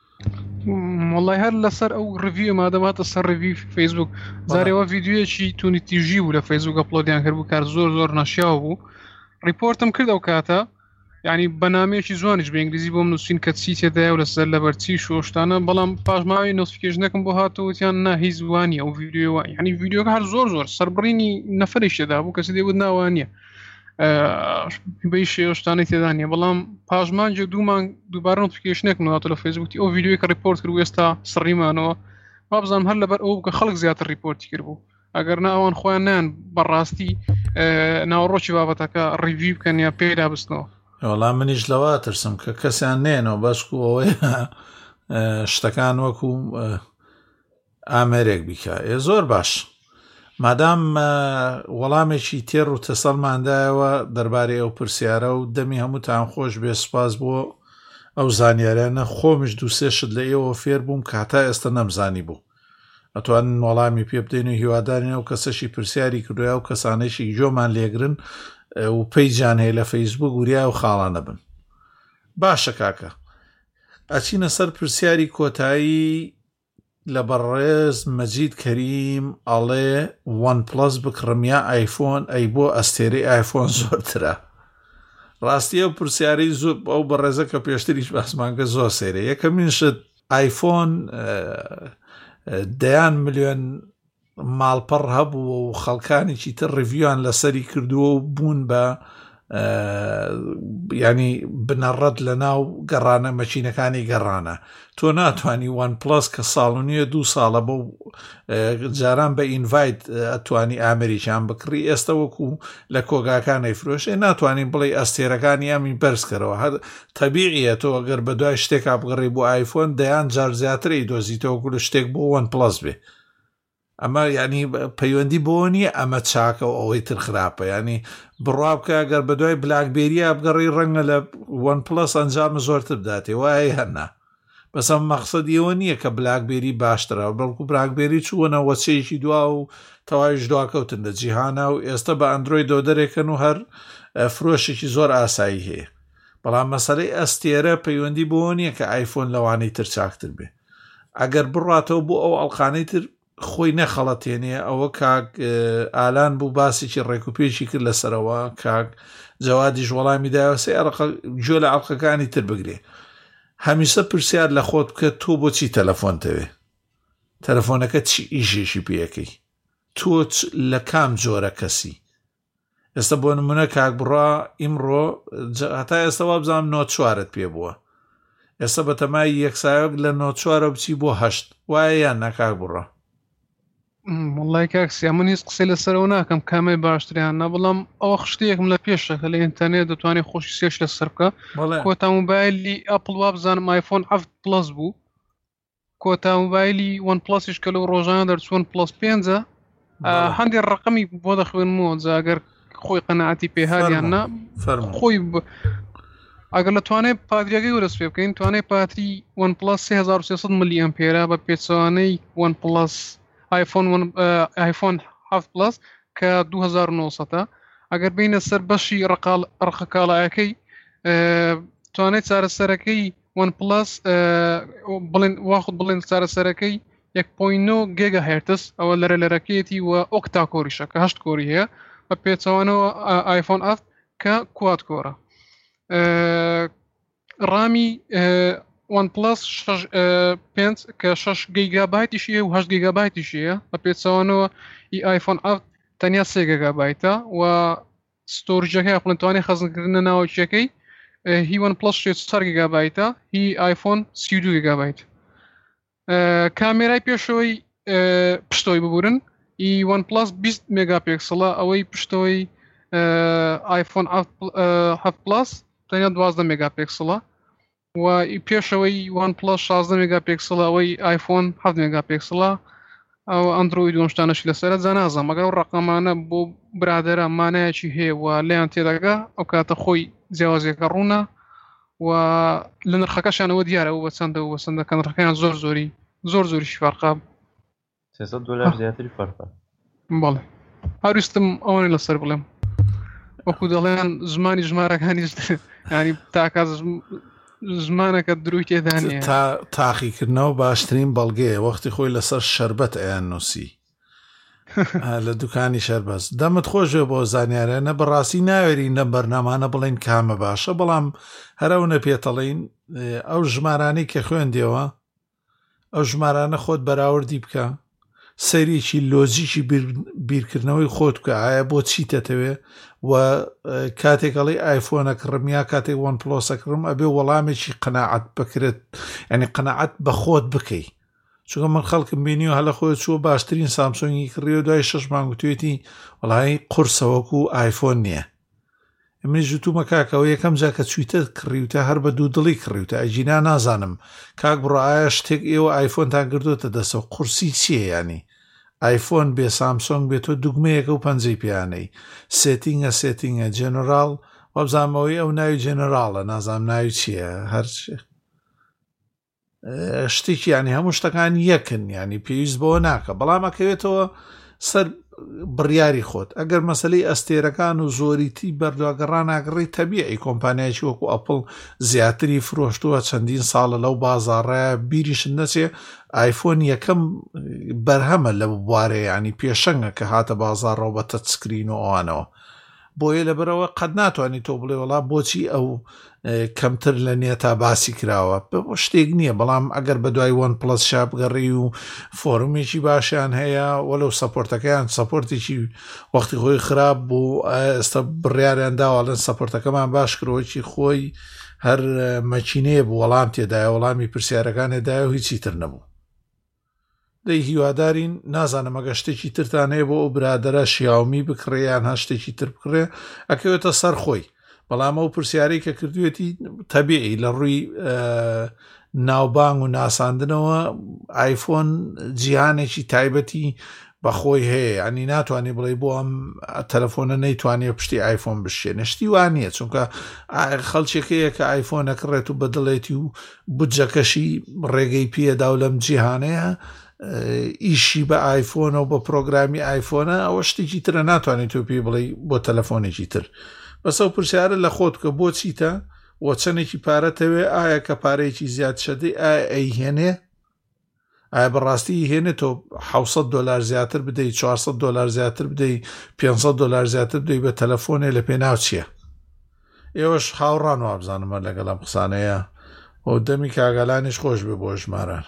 والله هەر لەسەر ئەو ڕڤیو مادەماتە سەر ڕڤی فەیسبوک زارێەوە ڤیددیوەکی تونی تیژی بوو لە فەیسبوک ئەپلۆدیان کرد بوو کار زۆر ناشیاو بوو ریپۆرتم کرد ئەو کاتە یعنی بەنامەیەکی زوانیش بە ئینگلیزی بۆم نووسین کە چی تێدایە و لەسەر لەبەرچی شۆشتانە بەڵام پاشماوی نۆتیفیکیشنەکەم بۆ هاتەوەتیان نا هیچ وانە ئەو ڤیددیوە یعنی ڤیددیۆکە هەر زۆر سەربڕینی نەفرێک تێدا بوو کەسی دەیوت ناوانە بەی شێوەشتانەی تێدا نیە بەڵام پاشمانجە دوومان دووبارە نۆتیفیکیشنێک هاتۆ لە فەیسبوکی ئەو ڤیددیۆی کە ریپۆرت کرد و ئێستا سڕیمانەوە با بزانم هەر لەبەر ئەو کە خەڵک زیاتر ریپۆرتی کرد بوو ئەگەر نا ئەوان خۆیان نیان بەڕاستی ناوەڕۆکی بابەتەکە ڕیڤیو بکەن یا پێدا بستنەوە وەڵام منیش لەوا ترسم کە کەسیان نێنەوە بەشکو ئەوەی شتەکان وەکو ئامێرێک بیکە زۆر باش مادام وەڵامێکی تێڕ و تەسەڵماندایەوە دەربارەی ئەو پرسیارە و دەمی هەمووتان خۆش بێ سوپاس بۆ ئەو زانیاریانە خۆمش دووسێ شت لە ئێوە فێر بووم کە هەتا ئێستا نەمزانی بوو ئەتوانن وەڵامی پێ بدەین و هیوادارین ئەو کەسەشی پرسیاری کردویا و کەسانێکی جۆمان لێگرن و پەیجان هەیە لە فەیسبوک وریا و خاڵانە بن باشە کاکە ئەچینە سەر پرسیاری کۆتایی لە بەڕێز مەجید کەریم ئەڵێ وان پلس بکڕم یا ئایفۆن ئەی بۆ ئەستێرەی ئایفۆن زۆرترە ڕاستی ئەو پرسیاری زۆر ئەو بەڕێزە کە پێشتریش باسمانکە زۆر سێرە یەکەمین شت ئایفۆن دەیان ملیۆن ماڵپەڕ هەبوو و خەڵکانێکی تر ڕڤیوان لەسەری کردووە و بوون بە ینی بنەڕەت لە ناو گەڕانە مەچینەکانی گەڕانە تۆ ناتوانانی وان پلس کە ساڵونیە 2 ساڵە بۆ جاران بە ئینڤایت ئەتوانی ئامریکیان بکڕی ئێستا وەکو لە کۆگاکانی فرۆشێ ناتوانین بڵێ ئەستێرەکانی ئەمی بەرزکەرەوە تەبیعیە تۆ ئەگەر بە دوای شتێکا بگەڕی بۆ ئایفۆن دەیان جار زیاتری دۆزیتەوە گول شتێک بۆ وان پلس بێ ئەمە ینی پەیوەندی بۆ نییە ئەمە چاکە و ئەوەی تر خراپە ینی بڕابکە ئەگەر بە دوای بلاکبێریە بگەڕی ڕەنگە لە وان پلس ئەنجامە زۆرتر بداتێ وایە هەرنا بەسەم مەقسەدیەوە نییە کە بلاکبێری باشترە بەڵکو بلاکبێری چوونە وەچەیەکی دوا و تەواویش دواکەوتن لە جیهانە و ئێستا بە ئەندرۆید دۆ دەرێکن و هەر فرۆشێکی زۆر ئاسایی هەیە بەڵام مەسەلەی ئەستێرە پەیوەندی بۆ نییە کە ئایفۆن لەوانەی تر چاکتر بێ ئەگەر بڕاتەوە بۆ ئەو ئەڵقانەی تر خۆی نەخەڵەتێنێ ئەوە کاک ئالان بوو باسێکی ڕێکوپێکی کرد لەسەرەوە کاک جەوادیش وەڵامی داوەسێ گوێ لە ئەڵقەکانی تر بگرێ هەمیشە پرسیار لە خۆت بکە تۆ بۆچی تەلەفۆنتەوێ تەلەفۆنەکە چی ئیژێشی پێەکەی تۆ لە کام جۆرە کەسی ئێستا بۆ نمونە کاک بڕا ئیمڕۆ هەتا ئێستا وا بزانم نۆت چوارت پێ بووە ئێستا بە تەمای یەکسایۆک لە نۆت چوارە بچی بۆ 8 وایە یان نەکاک بڕە والله کاکسیا من هیچ قسەی لەسەرەوە ناکەم کامەی باشتریان نا بەڵام ئەوە خشتەیەکم لە پێشەکە لە ئینتەرنێت دەتوانێت خۆشی سێش لەسەر بکە کۆتا موبایلی ئەپڵ وا بزانم ئایفۆن 7 پلس بوو کۆتا موبایلی وان پلسیش کە لەو ڕۆژانە دەرچوون پلس 5 هەندێک ڕقمی بۆ دەخوێنمەوە ئەگەر خۆی قەنەعەتی پێهاریان نا خۆی ئەگەر لە توانێت پادریەکەی وەرەس پێ بکەین توانێت پاتری وان پلس 3300 ملی ئەمپێرە بە پێچەوانەی وان پلس آیفۆن 7 پلس کە 2900 ئەگەر بینە سەر بەشی ڕقەکاڵایەکەی توانێت چارەسەرەکەی وان پلس واخد بڵێن چارەسەرەکەی 1.9 گیگا هرتز ئەوە لەرەکەیەتی و ئۆکتا کۆریشە کە 8 کۆری هەیە بە پێچەوانەوە آیفۆن 7 کە کوات کۆرە ڕامی وان پلس 5 کە 6 گیگابایتیشیە و 8 گیگابایتیشیە بە پێچەوانەوە ئی ئایفۆن 7 تەنیا 3 گیگابایتە و ستۆریجەکەی پڵنتوانی خەزنکردنە ناوچەکەی هی وان پلس 4 گیگابایتە هی ئایفۆن 32 گیگابایت کامێرای پێشەوەی پشتەوەی ببورن ئی وان پلس 20 مێگاپیکسڵە ئەوەی پشتەوەی ئایفۆن 7 پلس تەنیا 12 مێگاپیکسڵە و پێشەوەی وان پلس 16 مێگاپیکسڵە ئەوەی ئایفۆن 7 مێگاپیکسڵە ئەو ئەندروید و شتانەشی لەسەرە جانازم ئەگەر ڕقەمانە بۆ برادەرە مانایەکی هەیە و لێیان تێدەگا ئەو کاتە خۆی جیاوازیەکە ڕوونە و لە نرخەکەشانەوە دیارە و بەچەندە و بەچەندەکە نرخەکەیان زۆر زۆریشی فەرقا $300 زیاتری فەرقە بەڵێ هەرویستم ئەوەی لەسەر بڵێم وەکو دەڵێن زمانی ژمارەکانیش ینی تاکات زمانەکە دروی تێدانە تاقیکردنەوە باشترین بەڵگەیە وەختی خۆی لەسەر شەربەت ئەیان نووسی لە دوکانی شەربەز دەمت خۆشێ بۆ زانیارە نە بەڕاستی ناوێرین لە بەرنامانە بڵین کامە باشە بەڵام هەرەونە پێتەڵین ئەو ژمارانەی کە خوێندێەوە ئەو ژمارانە خۆت بەراوردی بکە سەریکی لۆجیکی بیرکردنەوەی خۆت بکە ئایا بۆ چی دەتەوێ و کاتێکەڵی ئایفۆنە کڕم یا کاتێک وان پلۆسە کڕم ئەبێ وەڵامێکی قەناعەت بکرێت یعنی قەناعەت بە خۆت بکەی چونکە من خەڵکم بینی و هەلە خۆت چوە باشترین سامسۆنگی کڕیەوە دوای 6 مانگ توێتی وەڵای قورسەوەکو ئایفۆن نییە ئەمە ژوتومە کاکەوە یەکەم جا کە چویتە کڕیوتە هەر بە دوو دڵی کڕیوتە ئەجینا نازانم کاک بڕە ئایا شتێک ئێوە ئایفۆنتان کردوتە دەسەوە قورسی چییە ینی ئایفۆن بێ سامسۆنگ بێتۆ دوگمەیەکە و پەنجەی پیانەی سێتینگە جێنەرال وەبزانمەوەی ئەو ناوی جێنەراڵە نازانم ناوی چییە هەر شتێکی ینی هەموو شتەکان یەکن ینی پێویست بەوە ناکە بەڵام ئەکەوێتەوە سەر بڕیاری خۆت ئەگەر مەسەلەی ئەستێرەکان و زۆریتی بەردواگەڕان ئاگڕی تەبیعی کۆمپانیایکی وەکو ئەپڵ زیاتری فرۆشتووە چەندین ساڵە لەو بازاڕەیە بیریشن نەچێ ئایفۆن یەکەم بەرهەمە لە بوارەیە ینی پێشەنگە کە هاتە بازاڕەوە بە تەچسکرین و ئەوانەوە بۆیە لەبەرەوە قەت ناتوانانی تۆ بڵێ وڵا بۆچی ئەو کەمتر لە نێتا باسی کراوە شتێک نییە بەڵام ئەگەر بە دوای وان پلس شاپگەڕی و فۆرمێکی باشیان هەیە وەلو سەپۆرتەکەیان سەپۆرتێکی وەختی خۆی خراپ بوو ئێستا بڕیاریان داوەڵەن سەپۆرتەکەمان باش کرۆکی خۆی هەر مەچینەیە بوو وەڵام تێدایە وەڵامی پرسیارەکانێدایە و هیچی تر نەبوو دەی هیوادارین نازانم ئەگە شتێکی ترتانەیە بۆ ئەو برادرە شیاومی بکڕێیان هە شتێکی تر بکڕێ ئەکەوێتە سەر خۆی بەڵام ئەو پرسیارەی کە کردوێتی تەبیعی لە ڕووی ناوبانگ و ناساندنەوە ئایفۆن جیهانێکی تایبەتی بەخۆی هەیە ینی ناتوانێت بڵێ بۆ ئەم تەلەفۆنە نەیتوانێت پشتی ئایفۆن بشێنە شتی وانە چونکە خەڵچێکەیە کە ئایفۆنەکڕێت و بەدڵێتی و بودجەکەشی ڕێگەی پێدا و لەم جیهانەیە ئیشی بە ئایفۆنە و بە پرۆگرامی ئایفۆنە ئەوە شتێکی ترە ناتوانێت تۆ پێی بڵێ بۆ تەلەفۆنێکی تر بەسە و پرسیارە لە خۆت کە بۆ چیتە وە چەندێکی پارەتەوێ ئایا کە پارەیەکی زیاد شەدەی ئایا ئەیهێنێ ئایا بەڕاستی هێنێت تۆ $700 زیاتر بدەیت $400 زیاتر بدەیت $500 زیاتر بدەیت بە تەلەفۆنێ لە پێناو چییە ئێوەش هاوڕان وابزانمە لەگەڵام قسانەیە و دەمی کاگەلانیش خۆش بێ بۆ ژماران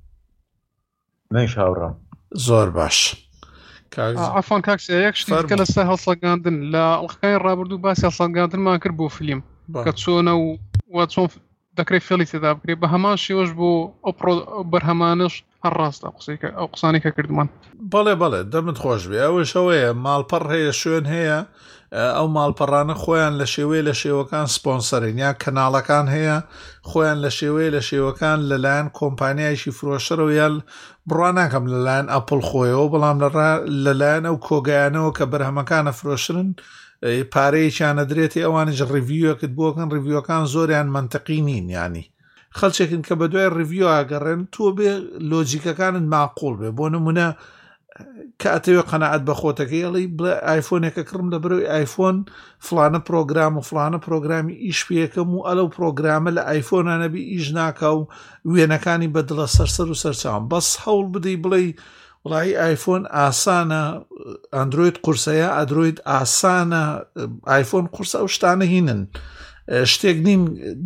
منش هاوڕام زۆر باش عفان کاکس یەک شتی کە لەسەر هەڵسەگاندن لە ئەڵقەکانی ڕابردوو باسی هەڵسەگاندنمان کرد بۆ فیلم کە چۆنە و چۆن دەکرێت فێڵی تێدا بکرێت بە هەمان شێوەش بۆ ئەو بەرهەمانش هەر ڕاستە ئەو قسانی کە کردمان بەڵێ دەمت خۆش بێ ئەوەش ئەوەیە ماڵپەڕ هەیە شوێن هەیە ئەو ماڵپەڕانە خۆیان لە شێوەکان سپۆنسەرین یا کەناڵەکان هەیە خۆیان لە شێوەکان لەلایەن کۆمپانیایشی فرۆشەرەوە یا بڕوان ناکەم لەلایەن ئەپڵ خۆیەوە بەڵام لەلایەن ئەو کۆگەیانەوە کە بەرهەمەکانە فرۆشرن پارەیەکیانە درێتی ئەوانش ڕیڤیوەکت بۆکەن ڕیڤیوەکان زۆریان منتەقی نین ینی خەڵچێکن کە بە دوای ڕیڤیو ئاگەڕێن تۆ بێ لۆجیکەکانت معقوڵ بێ بۆ نمونە کە ئەتەوێ قەنەعەت بە خۆتەکەیڵی بڵێ ئایفۆنێکە کڕم لە بەرەوەی ئایفۆن فلانە پرۆگرام و فلانە پرۆگرامی ئیش پێەکەم و ئەلەو پرۆگرامە لە ئایفۆنانەبی ئیش ناکە و وێنەکانی بەدڵە سەرسەر و سەرچاوم بەس هەوڵ بدەی بڵێ وڵی ئایفۆن ئاسانە ئەندروید قورسەیە ئەندروید ئاسانە ئایفۆن قورسە ئەو شتانە هینن شتێک نین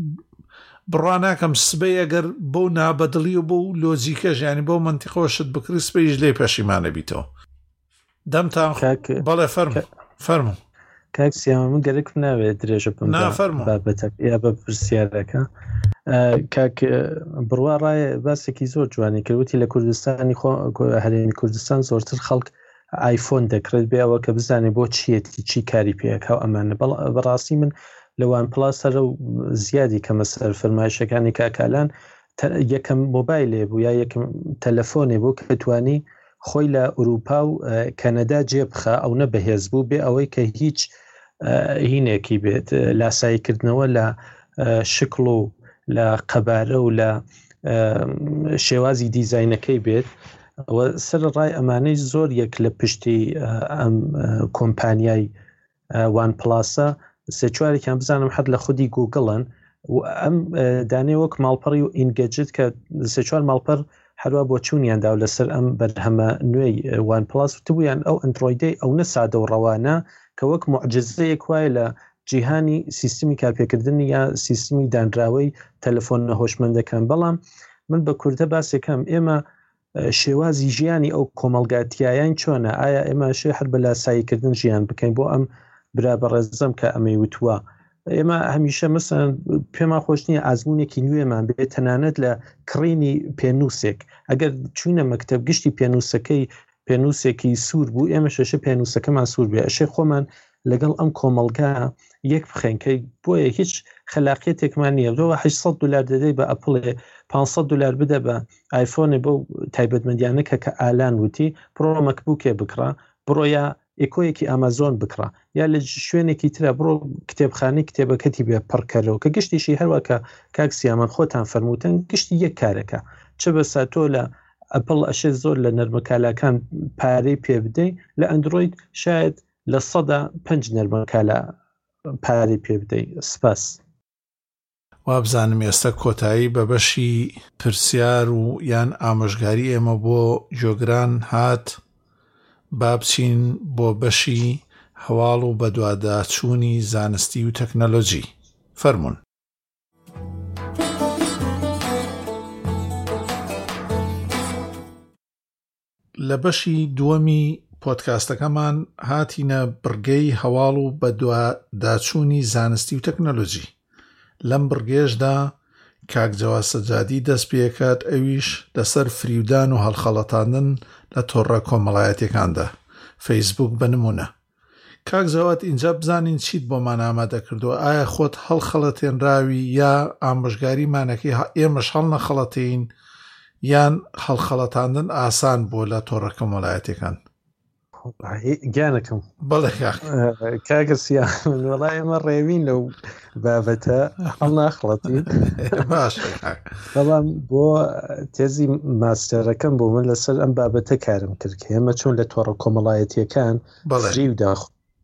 بڕوان ناکەم سبەی ئەگەر بەو نابەدڵی و بۆ لۆجیکە ژیانی بۆ منتیقۆشت بکری سبەیش لێ پەشیمانە بیتەوە دەمتان بەڵێ فەرموو کاکسیامە من گەرەک ناوێت درێژە بم بابەتە یا بە پرسیارەکە کاک بڕوا ڕایە باسێکی زۆر جوانی کردوتی لە کوردستانی هەرێمی کوردستان زۆرتر خەڵک ئایفۆن دەکرێت بێ ئەوە کە بزانێ بۆ چیەتی چی کاری پێەکە و ئەمانە بەڕاستی من لە وان پلاسەرە و زیادی کەمە سەر فەرمایشەکانی کاکالان یەکەم مۆبایلێ بوو یا یەکەم تەلەفۆنێ بوو کە توانی خۆی لە ئوروپا و کەنەدا جێبخە ئەو نە بەهێز بوو بێ ئەوەی کە هیچ هینێکی بێت لاساییکردنەوە لە شکڵ و لە قەبارە و لە شێوازی دیزاینەکەی بێت ئەوە سەر ڕای ئەمانەی زۆر یەک لە پشتی ئەم کۆمپانیای وان پلاسە سێ چوارێکیان بزانم حەد لە خودی گوگڵن و ئەم دانێ وەک ماڵپەڕی و ئینگەجت کە سێ4 ماڵپەر هەروە بۆ چوونیاندا و لەسەر ئەم بەرهەمە نوێی وان پلاس وتبوویان ئەو ئەندرویدەی ئەو نەسادە و ڕەوانە کە وەک معجزەیەک وایە لە جیهانی سیستمی کارپێکردنی یا سیستمی دانراوەی تەلەفۆن هۆشمەندەکان. بەڵام من بە کوردە باسێکم ئێمە شێوازی ژیانی ئەو کۆمەلگاتیایان چۆنە؟ ئایا ئێمە شێ هەر بە لاساییکردن ژیان بکەین بۆ ئەم برا بەڕێزەم کە ئەمەی وتووە ئێمە هەمیشە مەسەن پێما خۆش نییە ئازمونێکی نوێمان بێت تەنانەت لە کڕینی پێنووسێک ئەگەر چوونە مەکتەب گشتی پێنووسەکەی پێنووسێکی سوور بوو ئێمە شەشە پێنووسەکەمان سوور بێ ئەشێ خۆمان لەگەڵ ئەم کۆمەلگا یەک بخێنکەی بۆیە هیچ خلاقیەتێکمان نییە دۆ $800 دەدەی بە ئەپڵێ $500 بدە بە ئایفۆنێ بۆ تایبەتمەندیانەکە کە ئالان وتی بڕۆ مەکبووکێ بکڕە بڕۆ یا ئێکۆیەکی ئامازۆن بکڕە یا لە شوێنێکی ترە بڕۆ کتێبخانەی کتێبەکەتی بێ پڕکەرەوە کە گشتیشی هەروەکە کاکسیامان خۆتان فەرمووتن گشتی یەک کارەکە چ بەسا تۆ لە ئەپڵ ئەشێ زۆر لە نەرمەکالاکان پارەی پێ بدەی لە ئەندروید شاید لە 5 نەرمەکالە پارەی پێ بدەی. سپاس. وابزانم ئێستا کۆتایی بە بەشی پرسیار و یان ئامۆژگاری ئێمە بۆ جۆگران هات با بچین بۆ بەشی هەواڵ و بەدواداچوونی زانستی و تەکنەلۆجی. فەرمون. لە بەشی دووەمی پۆدکاستەکەمان هاتینە بڕگەی هەواڵ و بەدواداچوونی زانستی و تەکنەلۆجی. لەم بڕگێشدا کاک جەواد سەجادی دەست پێکات ئەویش لەسەر فریودان و هەڵخەڵەتاندن لە تۆڕە کۆمەڵایەتیەکاندا فەیسبوک بنمونە. کاک جەواد اینجا بزانین چیت بۆمان ئامادە کردووە؟ ئایا خۆت هەڵخەڵەتێنراوی یا ئامۆژگاریمانەکەی ئێمەش هەڵ نەخەڵەتین یان هەڵخەڵەتاندن ئاسان بۆ لە تۆڕە کۆمەڵایەتیەکان؟ گیانەکەم بەڵێ کاگەسیان وەڵای ئێمە ڕێوین لەو بابەتە هەڵ ناخڵەتین. باش. بەڵام بۆ تێزی ماستەرەکەم بۆ من لەسەر ئەم بابەتە کارم کرد کە ئێمە چۆن لە تۆڕە کۆمەڵایەتیەکان فریو داخ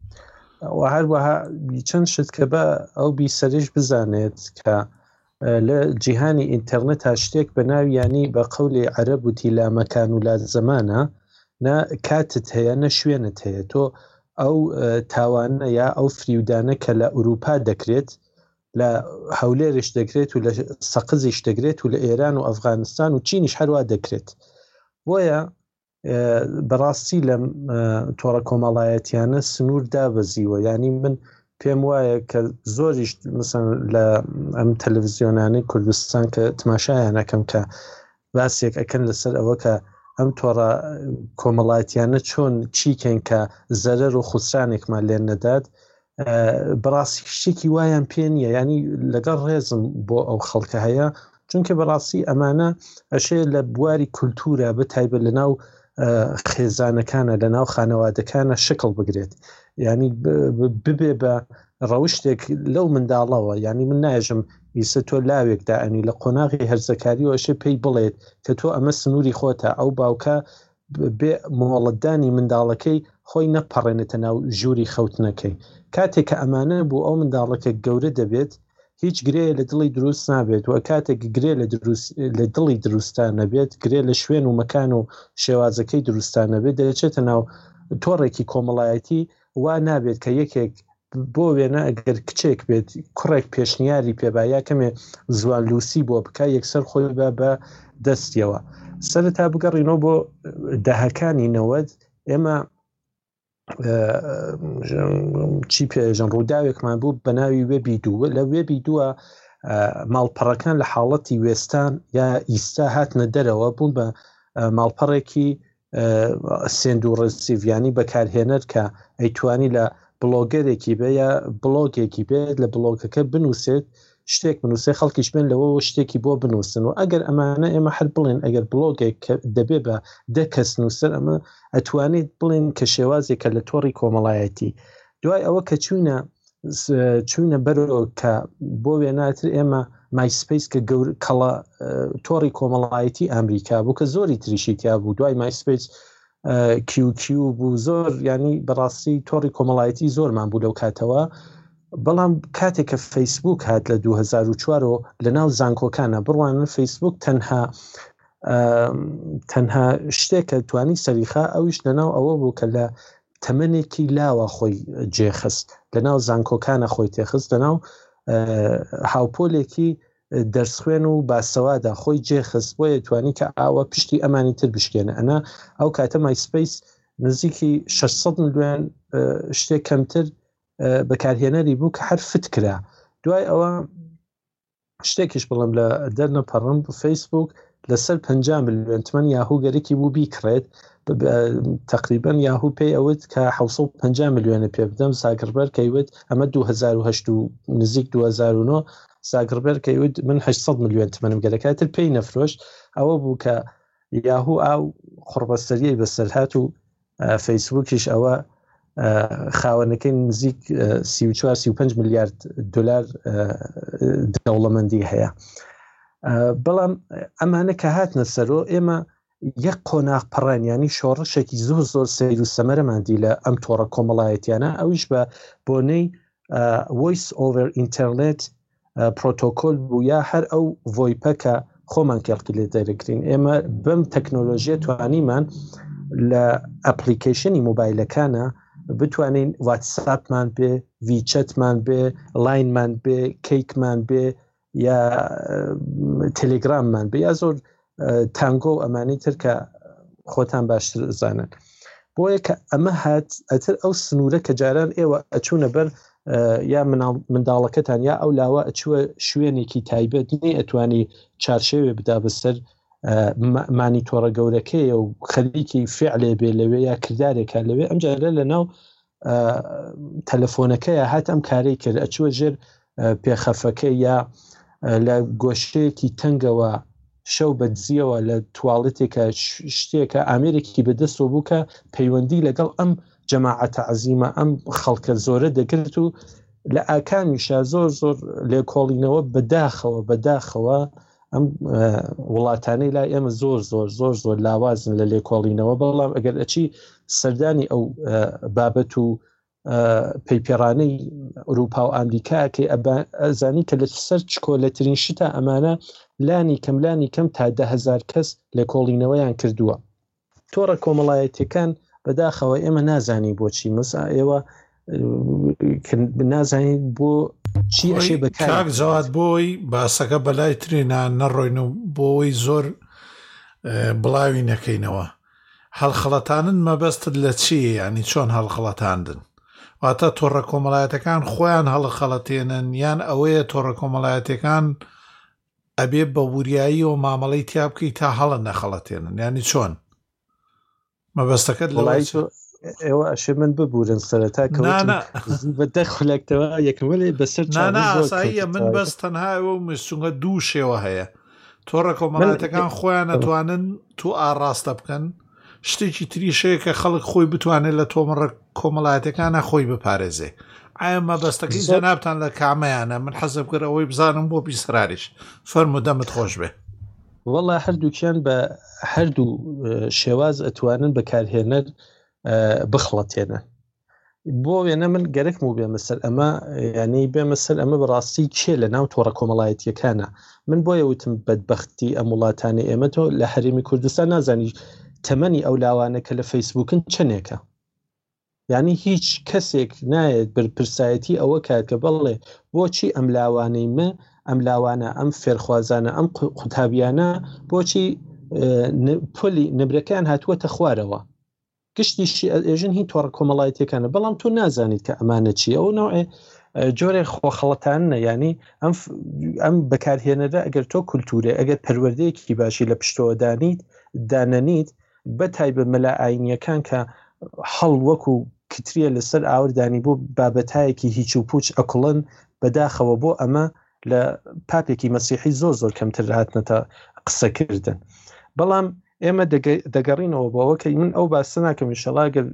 و هەروەها چەند شت کە بە ئەو بیسەرش بزانێت کە لە جیهانی ئینتەرنێت تا شتێک بە ناویانی بە قەولی عەرەب وتی لا مەکان و لا زەمانە نە کاتت هەیە نە شوێنت هەیە. تۆ ئەو تاوانە یا ئەو فریودانە کە لە ئوروپا دەکرێت لە هەولێرش دەکرێت و لە سەقزیش دەگرێت و لە ئێران و ئەفغانستان و چینیش هەروە دەکرێت. بۆیە بەڕاستی لە تۆڕە کۆمەڵایەتیانە سنوور دابەزیوە. ینی من پێم وایە کە زۆریش مثلا لە ئەم تەلەڤیزیۆنانەی کوردستان کە تماشایانەکەم کە باسێک ئەکەن لەسەر ئەوە کە ئەم تۆڕە کۆمەڵایەتیانە چۆن چیکەن کە زەرەر و خوسرانێکمان لێن نەدات، بەڕاستی شتێکی وایان پێ نییە. ینی لەگەڵ ڕێزم بۆ ئەو خەڵکە هەیە چونکە بەڕاستی ئەمانە ئەشێ لە بواری کولتورە بەتایبەت لەناو خێزانەکانە لەناو خانەوادەکانە شکل بگرێت. ینی ببێ بە ڕەوشتێک لەو منداڵەوە. ینی من ناژم ئیسە تۆ لاوێکدا ئەنی لە قۆناغی هەرزەکاری و ئەشێ پێی بڵێت کە تۆ ئەمە سنووری خۆتە، ئەو باوکە بێ مۆڵەتدانی منداڵەکەی خۆی نەپەڕێنێتە ناو ژووری خەوتنەکەی. کاتێک کە ئەمانە بوو ئەو منداڵەکە گەورە دەبێت هیچ گرێ لە دڵی دروست نابێت و کاتێک گرێ لە دڵی دروستان نەبێت، گرێ لە شوێن و مەکان و شێوازەکەی دروستان نەبێت، دەچێتە ناو تۆڕێکی کۆمەڵایەتی. وا نابێت کە یەکێک بۆ وێنە ئەگەر کچێک بێت کوڕێک پێشنیاری پێبا یا کەمێ زوان لوسی بۆ بکە یەکسەر خۆی بە دەستیەوە. سەرەتا بگەڕینەوە بۆ داهەکانی 90 ئێمە چی پێژن ڕووداوێکمان بوو بە ناوی وێبی دووە. لە وێبی دووە ماڵپەڕەکان لە حاڵەتی وێستان یا ئیستا هاتنە دەرەوە بوون بە ماڵپەڕێکی سێند و ڕسیڤیانی بەکارهێنەر کە ئەیتوانی لە بلۆگەرێکی بێ یا بلۆگێکی بێت لە بلۆگەکە بنووسێت شتێک بنووسێ خەڵکیش بێن لەوە شتێکی بۆ بنووسن. و ئەگەر ئەمانە ئێمە هەر بڵێن ئەگەر بلۆگێک دەبێ بە 10 کەس نووسەر ئەمە ئەتوانیت بڵێن کە شێوازێکە لە تۆڕی کۆمەڵایەتی. دوای ئەوە کە چوونە بەرەوە کە بۆ وێناتر ئێمە مایسپیس کە کەڵە تۆڕی کۆمەڵایەتی ئەمریکا بوو کە زۆری تریشی تیا بوو. دوای مایسپیس کیو بوو زۆر ینی بەڕاستی تۆڕی کۆمەڵایەتی زۆرمان بوو لەو کاتەوە. بەڵام کاتێککە فەیسبوک هات لە 2004 لە ناو زانکۆکانە بڕوانە فەیسبوک تەنها شتێکە توانی سەریخا ئەویش لەناو ئەوە بوو کە لە تەمەنێکی لاوە خۆی جێخست لە ناو زانکۆکانە خۆی تێخست لەناو هاوپۆلێکی دەرسخوێن و باسەوادا خۆی جێخست بۆیە توانی کە ئاوە پشتی ئەمانی تر بشکێنە ئەنا ئەو کاتە مایسپەیس نزیکی 600 ملیۆن شتێک کەمتر بەکارهێنەری بوو کە هەر فت کرا دوای ئەوە شتێکیش بڵم لە دەرنەپەڕم فەیسبوک لەسەر 50 ملیۆن تمەن یاهوو گەرەی بوو بیکڕێت تقریبان یاهوو پێی ئەوت کە 750 ملیۆنە پێ بدەم زاگربەر کەیوت ئەمە 2008 و نزیک 2009 زاگربەر کەیوت من 800 ملیۆن تمەنم گەرەکەتر پێی نەفرۆشت ئەوە بوو کە یاهوو ئاو قڕبەستەریەی بەسەرهات و فەیسبوکیش ئەوە خاوەنەکەی نزیک 34-35 میلیارد دلار دەوڵەمەندی هەیە بەڵام ئەمانە کە هاتنە سەرۆ ئێمە یەک قۆناغ پەڕانیانی شۆڕشێکی زۆر سەیر و سەمەرەماندی لە ئەم تۆڕە کۆمەڵایەتیانە ئەویش بە بۆنەی voice over internet پرۆتۆکۆل بوو یا هەر ئەو ڤۆیپەکە خۆمان کەڵکیلێت دەرەگرین ئێمە بەم تەکنۆلۆژیە توانیمان لە ئەپلیکیشنی مۆبایلەکانە بتوانین واتساپمان بێ ڤیچەتمان بێ لاینمان بێ کەیکمان بێ یا تەلێگراممان بێ یا زۆر تانگۆ و ئەمانی تر کە خۆتان باشتر زانن بۆیە کە ئەمە هات ئەتر ئەو سنوورە کە جاران ئێوە ئەچوونە بەر یا منداڵەکەتان یا ئەو لاوە ئەچووە شوێنێکی تایبەت نی ئەتوانی چارشێوێ بدا بەسەر مانی تۆڕە گەورەکەیە و خەریکی فعلێ بێ لەوێ یا کردارێکە لەوێ ئەم جارە لە ناو تەلەفۆنەکەیە هات ئەم کارەی کرد ئەچووە ژێر پێخەفەکە یا لە گۆشتەیەکی تەنگەوە شەو بەدزیەوە لە توالێتێکە شتێکە ئامێرێکی بەدەستەوە بوو کە پەیوەندی لەگەڵ ئەم جەماعەتە عەزیمە ئەم خەڵکە زۆرە دەگرت و لە ئاکامیشە زۆر لێکۆڵینەوە بەداخەوە ئەم وڵاتانەی لای ئێمە زۆر لاوازن لە لێکۆڵینەوە بەڵام ئەگەر ئەچی سەردانی ئەو بابەت و پەیپێڕانەی ئەوروپا و ئەمریکاکەی ئەزانی کە لە سەر چکۆلەترین شتە ئەمانە لانی کەم تا 10,000 کەس لێکۆڵینەوەیان کردووە تۆڕە کۆمەڵایەتیەکان بەداخەوە ئێمە نازانی بۆچی مەسا ئێوە نازانیت بۆ چی ئەشێ بەکار کاک جەواد بۆی باسەکە بەلای ترێنا نەڕۆین و بۆی زۆر بڵاوی نەکەینەوە هەڵخەڵەتانن مەبەستت لە چیە ینی چۆن هەڵخەڵەتاندن واتە تۆڕە کۆمەڵایەتەکان خۆیان هەڵخەڵەتێنن یان ئەوەیە تۆڕە کۆمەڵایەتەکان ئەبێ بە وریایی و مامەڵەی تیا بکەی تا هەڵە نەخەڵەتێنن ینی چۆن مەبەستەکەت لەڵای ئێوە ئەشێ من ببورن سەرەتا بەدە خولەکتەوە یەکەمەلێ بەسەر ئاساییە من بەس تەنهاەوە و مسچونگە دوو شێوە هەیە تۆڕە کۆمەڵایەتەکان خۆیان نەتوانن تو ئاڕاستە بکەن شتێکی تریشەیە کە خەڵک خۆی بتوانێت لە تۆمەڕە کۆمەڵایەتەکانە خۆی بپارێزێ ئایا مەبەستەکەی جەنابتان لە کامەیانە من حەزم کرد ئەوەی بزانم بۆ بیسراریش فەرموو دەمت خۆش بێ وەڵا هەردووکیان بە هەردوو شێواز ئەتوانن بەکارهێنەر بخڵەتێنە بۆ وێنە من گەرەکم و بێمە سەر ئەمە ینی بێمە سەر ئەمە بەڕاستی چێ لە ناو تۆڕە کۆمەڵایەتیەکانە من بۆیە وتم بەدبەختی ئەم وڵاتانی ئێمە تۆ لە هەرێمی کوردستان نازانی تەمەنی ئەو لاوانە کە لە فەیسبوکن چنێکە یعنی هیچ کەسێک نایێت بەرپرسایەتی ئەوە کات کە بەڵێ بۆچی ئەم لاوانەی ئەم لاوانە ئەم فێرخوازانە ئەم قوتابیانە بۆچی پۆلی نبرەکان هاتووەتە خوارەوە گشتیشی ئێژن هی تۆڕە کۆمەڵایەتیەکانە بەڵام تو نازانیت کە ئەمانە چی ئەو نوعێ جۆرێ خۆخەڵەتانە ینی ئەم بەکارهێنەرە ئەگەر تۆ کولتورێ ئەگەر پەروەردەیەکی باشی لە پشتەوە دانەنیت بەتایبە مەلا ئاینیەکان کە هەڵ وەکو کتریە لەسەر ئاوردانی بۆ بابەتایەکی هیچ و پوچ ئەکڵن بەداخەوە بۆ ئەمە لە پاپێکی مەسیحی زۆر کەمتر هاتنەتە قسەکردن بەڵام ئێمە دەگەڕینەوە بۆەوە کە من ئەو باسە ناکەم ئینشەڵاگەر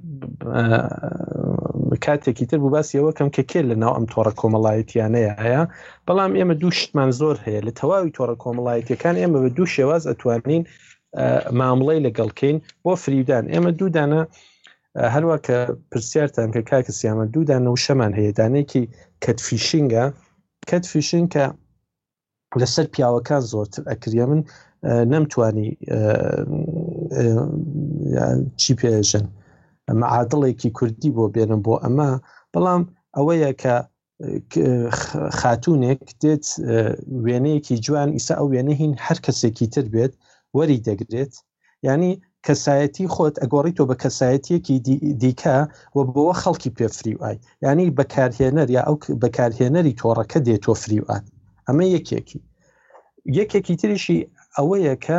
کاتێکی تر بوو باسیەوە کەم کە کێ لە ناو ئەم تۆڕە کۆمەڵایەتیانەیە هەیە بەڵام ئێمە دوو شتمان زۆر هەیە لە تەواوی تۆڕە کۆمەڵایەتیەکان ئێمە بە دوو شێواز ئەتوانین مامڵەی لەگەڵکەین بۆ فریودان ئێمە دوودانە هەروە کە پرسیارتان کە کاکە سیامە دوودان و شەمان هەیە دانێکی کەتفیشینگە کە لەسەر پیاوەکان زۆرتر ئەکرێ من نەمتوانی چی پێژن معادڵێکی کوردی بۆ بێنم بۆ ئەمە بەڵام ئەوەیە کە خاتونێک دێت وێنەیەکی جوان ئیسا ئەو وێنە هین هەر کەسێکی تر بێت وەری دەگرێت یعنی کەسایەتی خۆت ئەگۆڕیتەوە بە کەسایەتیەکی دیکە و بۆەوە خەڵکی پێفری وای یعنی بەکارهێنەر یا ئەو بەکارهێنەری تۆڕەکە دێتۆ فریوات ئەمە یەکێکی تریشی ئەوەیە کە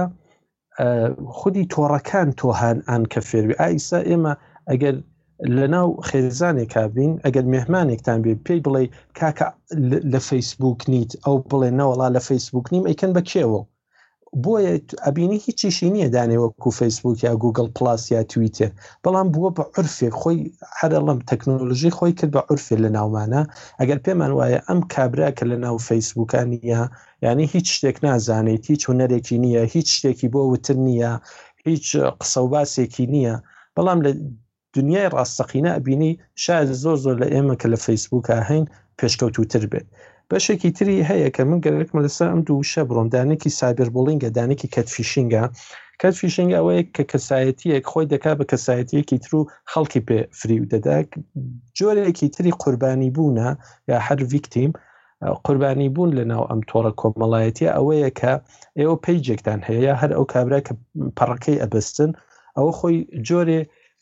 خودی تۆڕەکان تۆهان ئان کە فێروی ئایسا ئێمە ئەگەر لە ناو خێزانێکا بین ئەگەر مێهمانێکتان بێ پێی بڵێ کاکە لە فەیسبوک نیت ئەو بڵێ نەوەڵا لە فەیسبوک نیم ئەیکەن بەکێوە بۆیە ئەبینی هیچیشی نییە دانێوەکو فەیسبوک یا گوگل پلاس یا تویتر بەڵام بووە بە عورفێک خۆی هەرەڵم تەکنۆلۆژی خۆی کرد بە عورفێ لە ناومانە ئەگەر پێمان وایە ئەم کابرا کە لە ناو فەیسبوکانیە یعنی هیچ شتێک نازانێت هیچ هوەرێکی نییە هیچ شتێکی بۆ وتر نییە هیچ قسە و باسێکی نییە بەڵام لە دنیای ڕاستەقینە ئەبینی شاید زۆر لە ئێمە کە لە فەیسبوکە هەین پێشکەوتوتر بێت بەشێکی تری هەیە کە من گەرەکمە لەسەر ئەم دوو شە بڕۆم دانێکی سایبەر بوڵینگە دانێکی کەتفیشینگە ئەوەیە کە کەسایەتیەک خۆی دەکا بە کەسایەتیەکی تر و خەڵکی پێ فریو دەدا جۆرێکی تری قوربانی بوونە یا هەر ڤیکتیم قوربانی بوون لە ناو ئەم تۆڕە کۆمەڵایەتیە ئەوەیە کە ئێوە پەیجێکتان هەیە هەر ئەو کابرا کە پەڕەکەی ئەبەستن ئەوە خۆی جۆرێ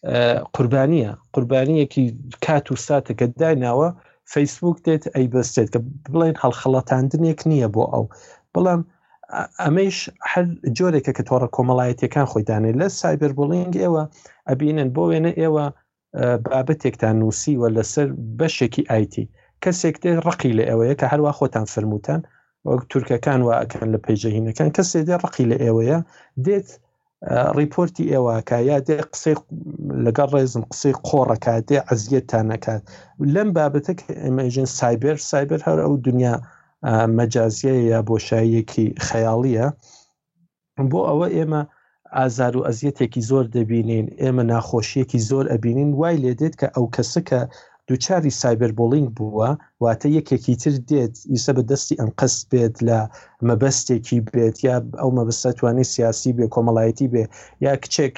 قوربانیەکی کات و ساتەکە دایناوە فەیسبوک دێت ئەی بەستێت کە بڵێن هەڵخەڵەتاندنێک نییە بۆ ئەو بەڵام ئەمەش هەر جۆرێکە کە تۆڕە کۆمەڵایەتیەکان خۆی دانێت لە سایبەر بوڵینگ ئێوە ئەبینن بۆ وێنە ئێوە بابەتێکتان نووسی و لەسەر بەشێکی ئایتی کەسێک دێ ڕقی لە ئێوەیە کە هەروە خۆتان فرموتان وەک تورکەکان وا ئەکەن لە پەیجەهینەکان کەسێک دێ ڕقی لە ئێوەیە دێت ریپۆرتی ئێوەکە یا دێ قسەی لەگەڵ ڕێزم قسەی قۆڕەکە دێ عەزیەتتان نەکات لەم بابەتە کە ئێمەژن سایبەر هەر ئەو دنیا مەجازیە یا بۆشاییەکی خەیاڵیە بۆ ئەوە ئێمە ئازار و ئەزیەتێکی زۆر دەبینین ئێمە ناخۆشیەکی زۆر ئەبینین وای لێ دێت کە ئەو کەسە کە دووچاری سایبەر بوڵینگ بووە واتە یەکێکی تر دێت ئیسە بە دەستی ئەم قەست بێت لە مەبەستێکی بێت یا ئەو مەبەستە توانێت سیاسی بێ کۆمەڵایەتی بێ یا کچێک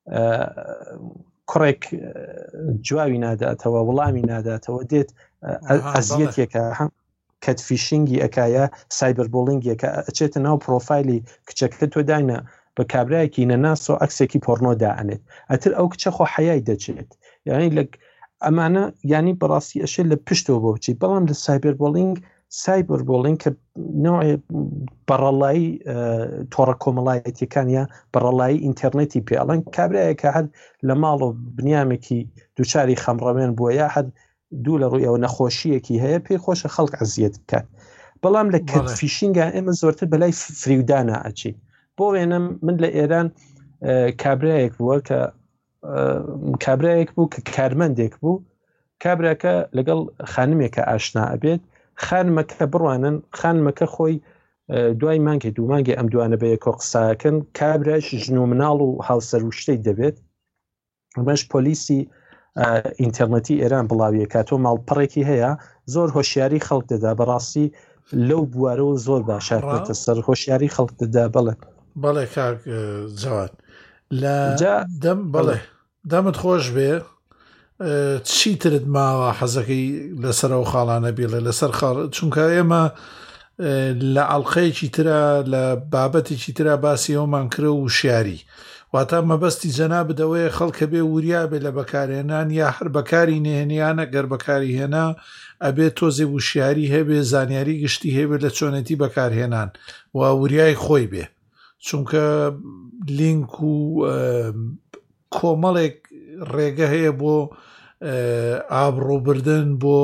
کوڕێک جواوی ناداتەوە وەڵامی ناداتەوە دێت ئەزیەتێکە کەتفیشینگی ئەکایە سایبەر بوڵینگێکە ئەچێتە ناو پرۆفایلی کچەکە تۆ داینە بە کابراایەکی نەناسۆ ئەکسێکی پۆرنۆ دائنێت ئەتر ئەو کچە خۆ حەیای دەچێت یعنی لە ئەمانە ینی بەڕاستی ئەشێ لە پشتەوە بۆ بچیت بەڵام لە سایبەر بوڵینگ کە نوعی بەڕەڵایی تۆڕە کۆمەڵایەتیەکان یا بەڕەڵایی ئینتەرنێتی پێڵەن کابراایەکە هەر لە ماڵ و بنیامێکی دووچاری خەمڕەوێن بووە یا هەر دوو لە ڕووی ئەوە نەخۆشیەکی هەیە پێی خۆشە خەڵک عەزیەت بکات بەڵام لە کەتفیشینگە ئێمە زۆرتر بەلای فریودانە ئەچی بۆ وێنە من لە ئێران کابراایەک بووە کە کابراایەک بوو کە کارمەندێک بوو کابراکە لەگەڵ خانمێکە ئاشنا ئەبێت خانمەکە بڕوانن خانمەکە خۆی دوای مانگێ دوو مانگێ ئەم دوانە بە یەکۆ قساکەن کابراش ژن و مناڵ و هاوسەر و شتێک دەبێت ئەمەش پۆلیسی ئینتەرنێتی ئێران بڵاویە کاتۆ ماڵپەڕێکی هەیە زۆر هۆشیاری خەڵک دەدا بەڕاستی لەو بوارەوە زۆر باشاتێتە سەر هۆشیاری خەڵک دەدا بەڵێ کاک جەواد لە دەم بەڵێ دەمت خۆش بێ چیترت ماوە حەزەکەی لەسەر ئەو خاڵانە بێڵێ لەسەر خاڵ چونکە ئێمە لە ئەڵلقەیەکی ترە لە بابەتێکی ترا باسی ئەومان کرە و شیاری واتە مەبەستی جەنا بدەوەی خەڵکە بێ وریا بێ لە بەکارهێنان یا هەر بەکاری نێنیانە گەر بەکاری هێنا ئەبێت تۆزێ وشیاری هەبێ زانیاری گشتی هەبێت لە چۆنێتی بەکارهێنان و وریای خۆی بێ چونکە لینک و کۆمەڵێک ڕێگە هەیە بۆ ئابڕۆبردن بۆ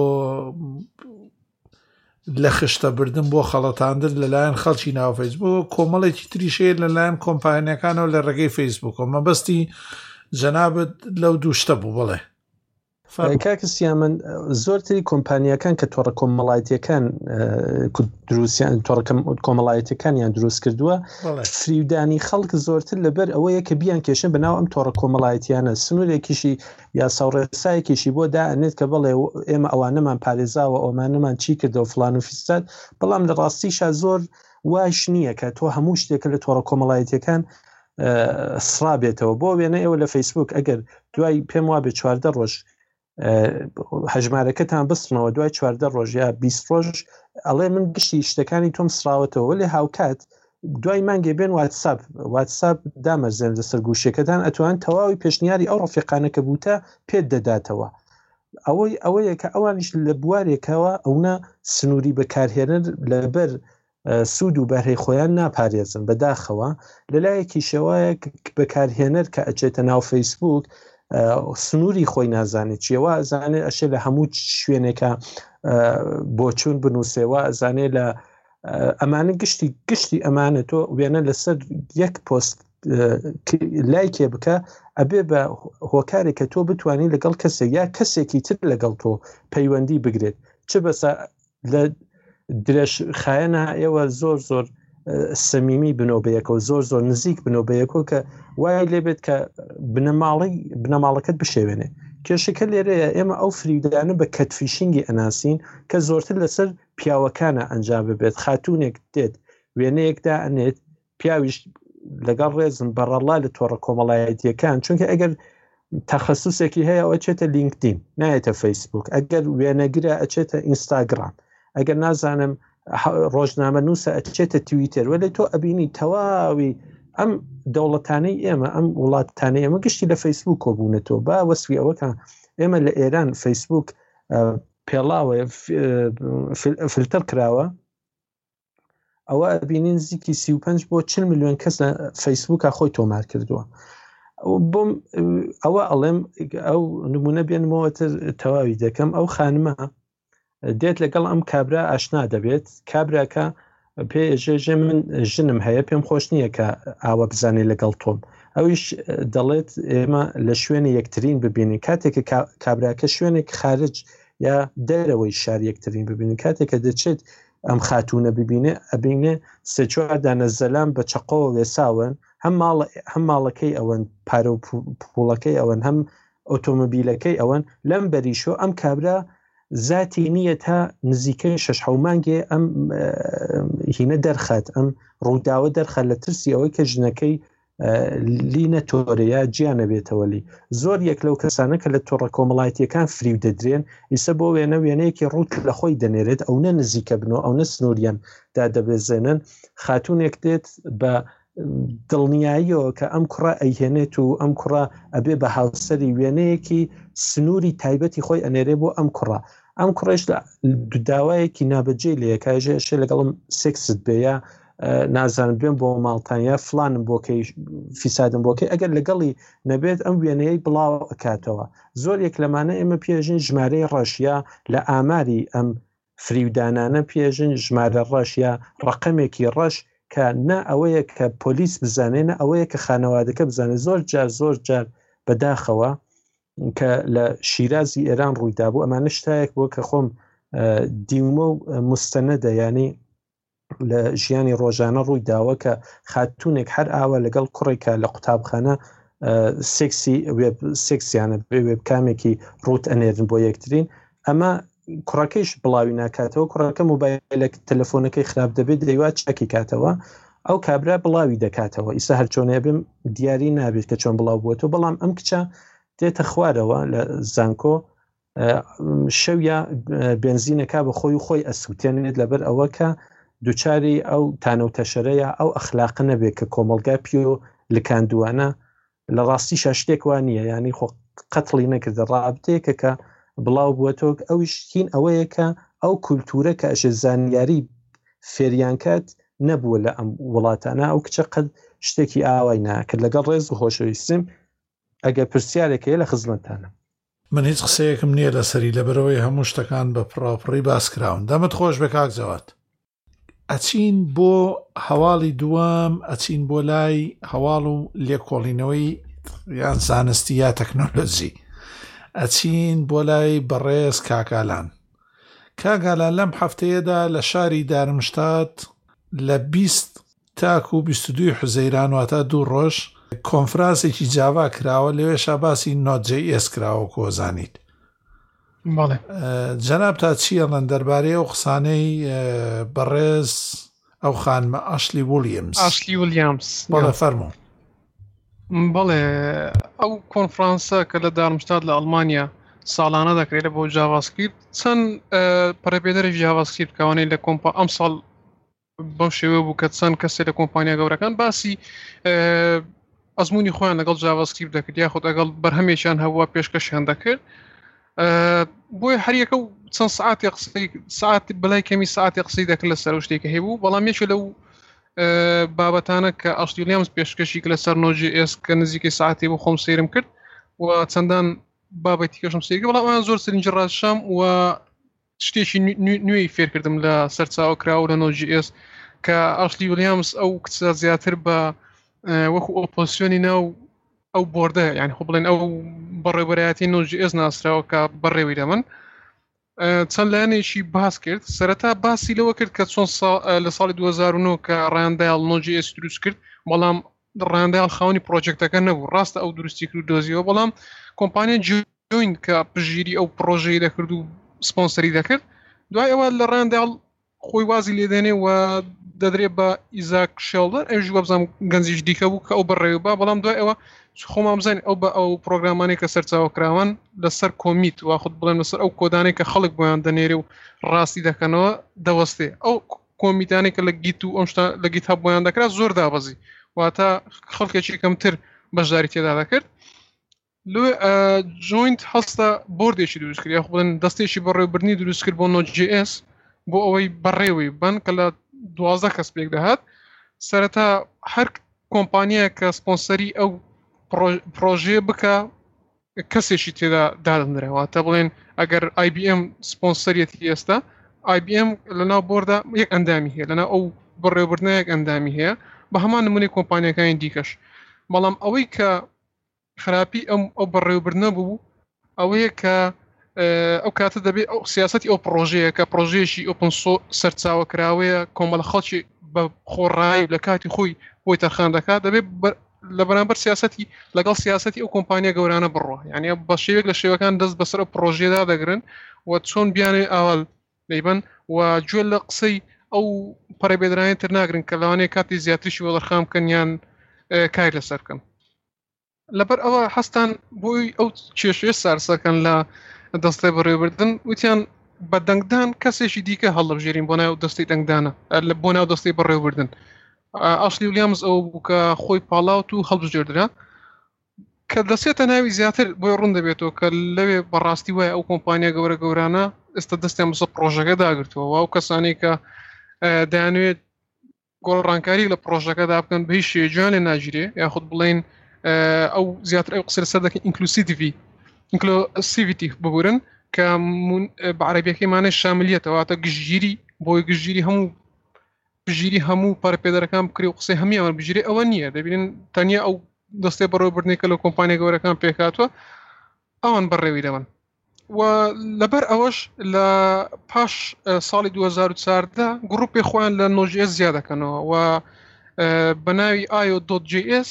لە خشتەبردن بۆ خەڵەتاندن لەلایەن خەڵکی ناو فەیسبوک کۆمەڵێکی تریشەیە لەلایەن کۆمپانیەکانەوە لە ڕێگەی فەیسبوک مەبەستی جەنابەت لەو دووشتە بوو بڵێ کاکسیا من زۆرتری کۆمپانیەکان کە تۆڕە کۆمەڵایەتیەکان دروستیان تۆڕە کۆمەڵایەتەکانیان دروست کردووە فریودانی خەڵک زۆرتر لەبەر ئەوەیە کە بیان کێشن بەناو ئەم تۆڕە کۆمەڵایەتیانە سنوورێکیشی یا ساوڕێسایەکیشی بۆ دائنێت کە بڵێ ئێمە ئەوانەمان پارێزاوە ئەومانەمان چی کردەوە فلان و فیستاد بەڵام لە ڕاستیشا زۆر واش نییە کە تۆ هەموو شتێکە لە تۆڕە کۆمەڵایەتیەکان سرابێتەوە بۆ وێنە ئێوە لە فەیسبوک ئەگەر دوای پێم وابێ 14 ڕۆژ هەژمارەکەتان بستنەوە دوای 14 ڕۆژ یا 20 ڕۆژ ئەڵێ من گشتی شتەکانی تۆم سراوەتەوە لێ هاوکات دوای مانگێ بێن واتساپ دامەزێن لەسەر گوشەکەتان ئەتوان تەواوی پێشنیاری ئەو ڕەفیقانەکە بووتە پێت دەداتەوە ئەوەیە کە ئەوانیش لە بوارێکەوە ئەونا سنووری بەکارهێنن لەبەر سوود و بەرهەی خۆیان ناپارێزن بەداخەوە لەلایەکی شێوایە بەکارهێنەر کە ئەچێتە ناو فەیسبوک سنووری خۆی نازانێت چیەوە زانێت ئەشێ لە هەموو شوێنێکە بۆچوون بنووسێەوە ئەزانێت لە ئەمانە گشتی ئەمانە تۆ وێنە لەسەر یەک پۆست لایکێ بکە ئەبێ بە هۆکارێکە تۆ بتوانین لەگەڵ کەسێک یا کەسێکی تر لەگەڵ تۆ پەیوەندی بگرێت چ بەسە لە درێژ خایەنە ئێوە زۆر سەمیمی بنۆبەیەکەوە زۆر نزیک بنۆبەیەکەوە کە وای لێبێت کە بنەماڵەکەت بشێوێنێ کێشەکە لێرەیە ئێمە ئەو فریودانە بە کەتفیشینگی ئەناسین کە زۆرتر لەسەر پیاوەکانە ئەنجام ببێت خاتوونێک دێت وێنەیەکدا ئەنێت پیاویش لەگەڵ ڕێزم بەڕەڵا لە تۆڕە کۆمەڵایەتیەکان چونکە ئەگەر تەخەسوسێکی هەیە ئەوە چێتە لینکدین نایێتە فەیسبوک ئەگەر وێنەگرە ئەچێتە ئینستاگرام ئەگەر نازانم ڕۆژنامە نووسە ئەچێتە تویتر وەلێ تۆ ئەبینی تەواوی ئەم دەوڵەتانەی ئێمە ئەم وڵاتانەی ئێمە گشتی لە فەیسبوک کۆبوونەتەوە با وەسوی ئەوەکە ئێمە لە ئێران فەیسبوک پێڵاوە فلتر کراوە ئەوە ئەبینین نزیکی 35 بۆ 40 میلیۆن کەس لە فەیسبوکە خۆی تۆمار کردووە بۆم ئەوە ئەڵێم ئەو نمونە بێنمەوەتر تەواوی دەکەم ئەو خانمە دێت لەگەڵ ئەم کابرا ئاشنا دەبێت کابراکە پێژێژێ من ژنم هەیە پێم خۆش نییە کە ئاوە بزانێ لەگەڵ تۆم ئەویش دەڵێت ئێمە لە شوێنی یەکترین ببینین کاتێککە کابراکە شوێنێک خارج یا دەرەوەی شار یەکترین ببینین کاتێککە دەچێت ئەم خاتونە ببینێ ئەبینێ سێ-چوار دانە زەلام بە چەقۆ وێساون هەم ماڵەکەی ئەوەن پارە و پوڵەکەی ئەوەن هەم ئۆتۆمبیلەکەی ئەوەن لەم بەریشۆ ئەم کابرا ذاتی نییە تا نزیکەی 6 مانگێ ئەم هینە دەرخات ئەم ڕووداوە دەرخات لە ترسی ئەوەی کە ژنەکەی لینە تۆرەیە گیانە بێتەوەلی زۆر یەک لەو کەسانە کە لە تۆڕە کۆمەڵایەتیەکان فریو دەدرێن ئیسە بۆ وێنەیەکی ڕوت لە خۆی دەنێرێت ئەو نە نزیکە بنەوە ئەو نە سنووریان دادەبێزێنن خاتوونێک دێت بە دڵنیاییەوە کە ئەم کوڕە ئەیهێنێت و ئەم کوڕە ئەبێ بە هاوسەری وێنەیەکی سنووری تایبەتی خۆی ئەنێرێ بۆ ئەم کوڕە ئەم کوڕێش داوایەکی نابەجێ لە یەکایژێشە لەگەڵم سێکست بێە نازانم بێن بۆ ماڵتانیا فلانم بۆکەی فیسادم بۆکەی ئەگەر لەگەڵی نەبێت ئەم وێنەیە بڵاو ئەکاتەوە زۆر یەک لەمانە ئێمە پێژین ژمارەی ڕەشیا لە ئاماری ئەم فریودانانە پێژین ژمارە ڕەشیا ڕقمێکی ڕەش کە نە ئەوەیە کە پۆلیس بزانێنە ئەوەیە کە خانەوادەکە بزانێت زۆر جار بەداخەوە کە لە شیرازی ئێران ڕوویدا بوو ئەمانە شتایەک بۆ کە خۆم دیومە و مستەنەدە ینی لە ژیانی ڕۆژانە ڕووی داوە کە خاتوونێک هەر ئاوە لەگەڵ کوڕێکە لە قوتابخانە سێکسیانە وێب کامێکی ڕوت ئەنێرن بۆ یەکترین ئەمە کوڕەکەیش بڵاوی ناکاتەوە کوڕەکە مۆبایلێک تەلەفۆنەکەی خراپ دەبێت دەیوات چەکی کاتەوە ئەو کابرا بڵاوی دەکاتەوە ئیسا هەر چۆنێ بم دیاری نابێت کە چۆن بڵاو بووەوە بەڵام ئەم کچە دێتە خوارەوە لە زانکۆ شەویە بنزینەکە بە خۆی و خۆی ئەسووتێنێت لەبەر ئەوە کە دووچاری ئەو تانەوتەشەرەیە ئەو ئەخلاق نەبێت کە کۆمەلگا پێ و لکاندوانە لە ڕاستی شاشتێک وان نییە ینی خۆ قەتڵی نەکردە ڕابتەیەکە کە بڵاو بووەتەوە ئەویش هین ئەوەیە کە ئەو کولتورە کە ئەشە زانیاری فێریانکات نەبووە لە ئەم وڵاتانە ئەو کچە قەت شتێکی ئاوای ناکرد لەگەڵ ڕێز و خۆشەویستم ئەگەر پرسیارێکەیە لە خزمەتانە من هیچ قسەیەکم نییە لەسەری لەبەرەوەی هەموو شتەکان بە پڕاپڕی باسکراون دەمت خۆش بە کاک جەواد ئەچین بۆ هەواڵی دووەم ئەچین بۆ لای هەواڵ و لێکۆڵینەوەی یان زانستی یا تەکنۆلۆژی ئەچین بۆ لای بەڕێز کاکالان. کاگالان لەم هەفتەیەدا لە شاری دارمشتات لە 20 تاکو 22 حوزەیران واتە 2 ڕۆژ کۆنفرانسێکی جاوا کراوە، لەوێشا باسی Node.js کراوە کۆزانیت. بەڵێ جەناب تا چیەڵەن دەربارەی ئەو قسانەی بەڕێز ئەو خانمە ئاشلی ویلیامز بەڵێ فەرموو. بەڵێ ئەو کۆنفرانسە کە لە دارمشتات لە ئەڵمانیا ساڵانە دەکرێت بۆ جاڤاسکریپت چەند پەرەپێدەری جاڤاسکریپت کەوانەی لە ئەم ساڵ بەو شێوە بوو کە چەند کەسێک لە کۆمپانیا گەورەکان باسی ئەزمموی خۆیان لەگەڵ جاڤاسکریپت دەکرد یاخود ئەگەڵ بەرهەمێکیان هەبووە پێشکەشیان دەکرد. بۆی هەریەکە و چەند سعاتی قسەی سعات بەلای کەمی سعاتی قسەی دەکرد لەسەر شتێکە هەیەبوو، بەڵام یەکێک لەو بابەتانە کە ئاشلی ویلیامز پێشکەشی لەسەر Node.js کە نزیکەی سعاتی بۆ خۆم سەیرم کرد و چەندان بابەتی کەشم سەیرکرد، بەڵام ئەویان زۆر سەرنج ڕاشام و شتێکی نوێی فێرکردم لە سەرچاوە کراوە لە Node.js کە ئاشلی ویلیامز ئەو کچە زیاتر بە وەکو ئۆپۆزیسیۆنی ناو ئەو بۆردە، یعنی خۆ بڵێن ئەو بەڕێوەبەرایەتی Node.js ناسراوە کە بەڕێوەی لە من چەند لایەنێکی باس کرد. سەرەتا باسی لەوە کرد کە چۆن لە ساڵی 2009 کە ڕاندایل Node.js دروست کرد، بەڵام ڕاندایل خاوەنی پرۆجێکتەکە نەبوو، ڕاستە ئەو دروستی کرد دۆزیەوە، بەڵام کۆمپانیا جوین کە پژگیری ئەو پرۆژەی دەکرد و سپۆنسەری دەکرد. دوای ئەوە لە ڕاندایل خۆی وازی لێدێنێ و دەدرێت بە ئیزاک شێڵدەر ئەوژ وەبزانم گەنجیش دیکە بوو کە ئەو بەڕێوە بەڵام دوای ئەوە خۆمان بزانین ئەو بە ئەو پرۆگرامانەی کە سەرچاوە کراوان لەسەر کۆمیت واخود بڵێن لەسەر ئەو کۆدانەی کە خەڵک بۆیان دەنێرێ و ڕاستی دەکەنەوە دەوەستێ. ئەو کۆمیتانی کە لە گیت و ئەم شتە لە گیت هەب بۆیان دەکرات زۆر دابەزی واتە خەڵکێکی کەمتر بەشداری تێدا دەکرد. لێ جوینت هەستە بۆردێکی دروست کرد یاخود بڵێن دەستێکی بەڕێوەبردنی دروست کرد بۆ Node.js بۆ ئەوەی بەڕێوەی بن کە لە 12 کەس پێک دەهات. سەرەتا هەر کۆمپانیە کە سپۆنسەری ئەو پرۆژێ بکە کەسێکی تێدا دادەنرێەوە تا بڵێن ئەگەر IBM سپۆنسەریەتی ئێستا IBM لەناو بۆردا یەک ئەندامی هەیە، لەناو ئەو بەڕێوەبردنە یەک ئەندامی هەیە بە هەمان نمونەی کۆمپانیەکانی دیکەش. بەڵام ئەوەی کە خراپی ئەو بەڕێوەبردنە بوو ئەوەیە کە ئەو کاتە دەبێت ئەو سیاسەتی ئەو پرۆژەیە کە پرۆژێشی ئۆپن سەرچاوە کراوەیە کۆمەڵە خەڵکی بە خۆڕایی لە کاتی خۆی بۆی تەرخان دەکات دەبێت لە بەرامبەر سیاسەتی لەگەڵ سیاسەتی ئەو کۆمپانیا گەورانە بڕۆ، یعنی بە شێوێک لە شێوەکان دەست بەسەر پرۆژێدا دەگرن و چۆن بیانێ ئاوال دەیبن و گوێ لە قسەی ئەو پەرەبێدرانی تر ناگرن کە لەوانەیە کاتی زیاتریشی وەڵەرخام بکەن یان کار لەسەر بکەن. لەبەر ئەوە هەستان بۆی ئەو کێشەیە سارسەکەن لە دەستەی بەڕێوەبردن وتیان بە دەنگدان کەسێکی دیکە هەڵەبژێرین بۆ ناو دەستەی دەنگدانە بۆ ناو دەستەی بەڕێوەبردن. ئاشلی ویلیامز ئەو بوو کە خۆی پاڵاوت و هەڵبژێردرا کە دەسێتە ناوی زیاتر بۆی ڕوون دەبێتەوە کە لەوێ بەڕاستی وایە ئەو کۆمپانیا گەورە گەورانە ئێستا دەستیان بەسەر پرۆژەکە داگرتووە و ئەو کەسانی کە دەیانوێت گۆڕانکاری لە پرۆژەکەدا بکەن بە هیچ شێجان لێ ناگیرێ یاخود بڵێن ئەو زیاتر ئەو قسە لەسەر دەکەن ئینکلوسیڤیتی ببورن کە بە عەرەبیەکەی مانای شاملیەتەوە واتە گشتگیری بۆی گشتگیری هەموو پەرەپێدەرەکان بکرێ و قسەی هەمی ئەوان بژیرێ ئەوە نییە. دەبینن تەنیا ئەو دەستەی بەڕێوەبردنێکە لە کۆمپانیا گەورەکان پێکاتوە ئەوان بەڕێوی دەبن و لەبەر ئەوەش لە پاش ساڵی 2014 گروپی خۆیان لە Node.js زیاد دەکەنەوە و بە ناوی io.js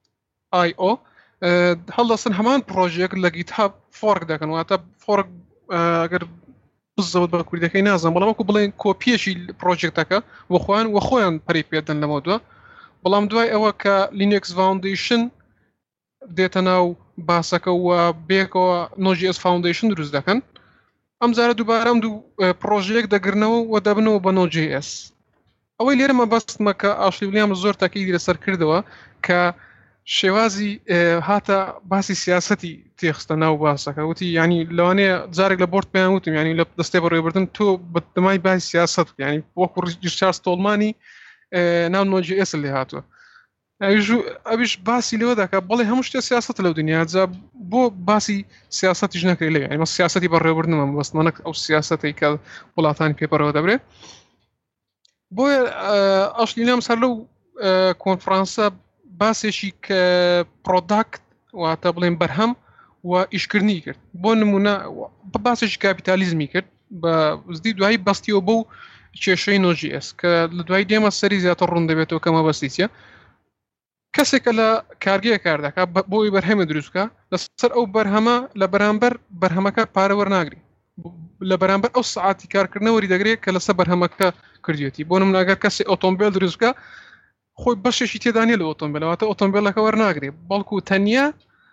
هەڵدەستن هەمان پرۆژێک لە گیت هەب فۆرک دەکەن واتە فۆرک ئەگەر بزەوت بە کوردەکەی نازانم بەڵام وەکو بڵێن کۆپیەشی پرۆژێکتەکە وە خۆیان پەری پێدەن لەمە دووە. بەڵام دوای ئەوە کە Linux Foundation دێتە ناو باسەکە و بێکەوە Node.js Foundation دروست دەکەن ئەم جارە دووبارە ئەم دوو پرۆژەیەک دەگرنەوە و دەبنەوە بە Node.js. ئەوەی لێرەمە بەستمە کە ئاشلی ویلیامز زۆر تاکیدی لەسەر کردەوە کە شێوازی هاتە باسی سیاسەتی تێخستە ناو باسەکە وتی ینی لەوانەیە جارێک لە بۆرد پێیان وتم ینی لە دەستەی بەڕێوەبردن تۆ بەدەمای باسی سیاست ینی وەکو ریچارد ستۆڵمانی ناو Node.js لێ هاتووە ئەویش باسی لەوە دەکات بەڵێ هەموو شتێ سیاست لەو دنیا جا بۆ باسی سیاسەتیش نەکرێت لەوێ ینی سیاسەتی بەڕێوەبردنمە بەستمانە ئەو سیاسەتی کە وڵاتانی پێپەرەوە دەبرێت. بۆیە ئاشلی ویلیامز هەر لەو کۆنفرانسە باسێکی کە پرۆداکت واتە بڵێن بەرهەم و ئیشکردنی کرد بۆ نمونە باسێکی کاپیتالیزمی کرد بە وزدی دوایی بەستیەوە بەو کێشەی نۆژیS کە لە دوای دێمە سەری زیاتر ڕوون دەبێتەوە کەمە بەستیچە کەسێکە لە کارگەیە کار دەکات بۆی بەرهەمە دروستکە لەسەر ئەو بەرهەمە لە بەرامبەر بەرهەمەکە پارە وەرناگری لە بەرامبەر ئەو سعاتی کارکردنەوەری دەگرێت کە لەسەر بەرهەمەکە کردوێتی بۆ نمونە ئەگەر کەسێک ئۆتۆمبیل دروستکە خۆی بەشێکی تێدانی لە ئۆتۆمبیلەوەتە ئۆتۆمبیلەکە وەرناگرێ بەڵکو تەنیا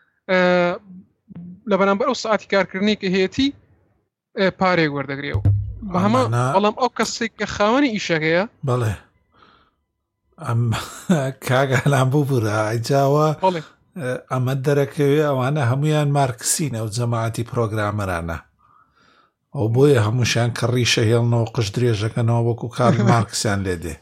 لە بەرامبەر ئەو سعاتی کارکردنی کە هەیەی پارێک وەردەگرێەوە بە هەمە بەڵام ئەو کەسێک کە خاوەنی ئیشەکەیە بەڵێ ئەم کاگەلان بوو بوورە ئەیجاوە ئەمە دەرەکەوێ ئەوانە هەمویان مارکسینە و جەماعەتی پرۆگرامەرانە ئەو بۆیە هەمووشیان کە ڕیشە هێڵنەوە قش درێژەکەنەوە وەکو کار مارکسیان لێ دێ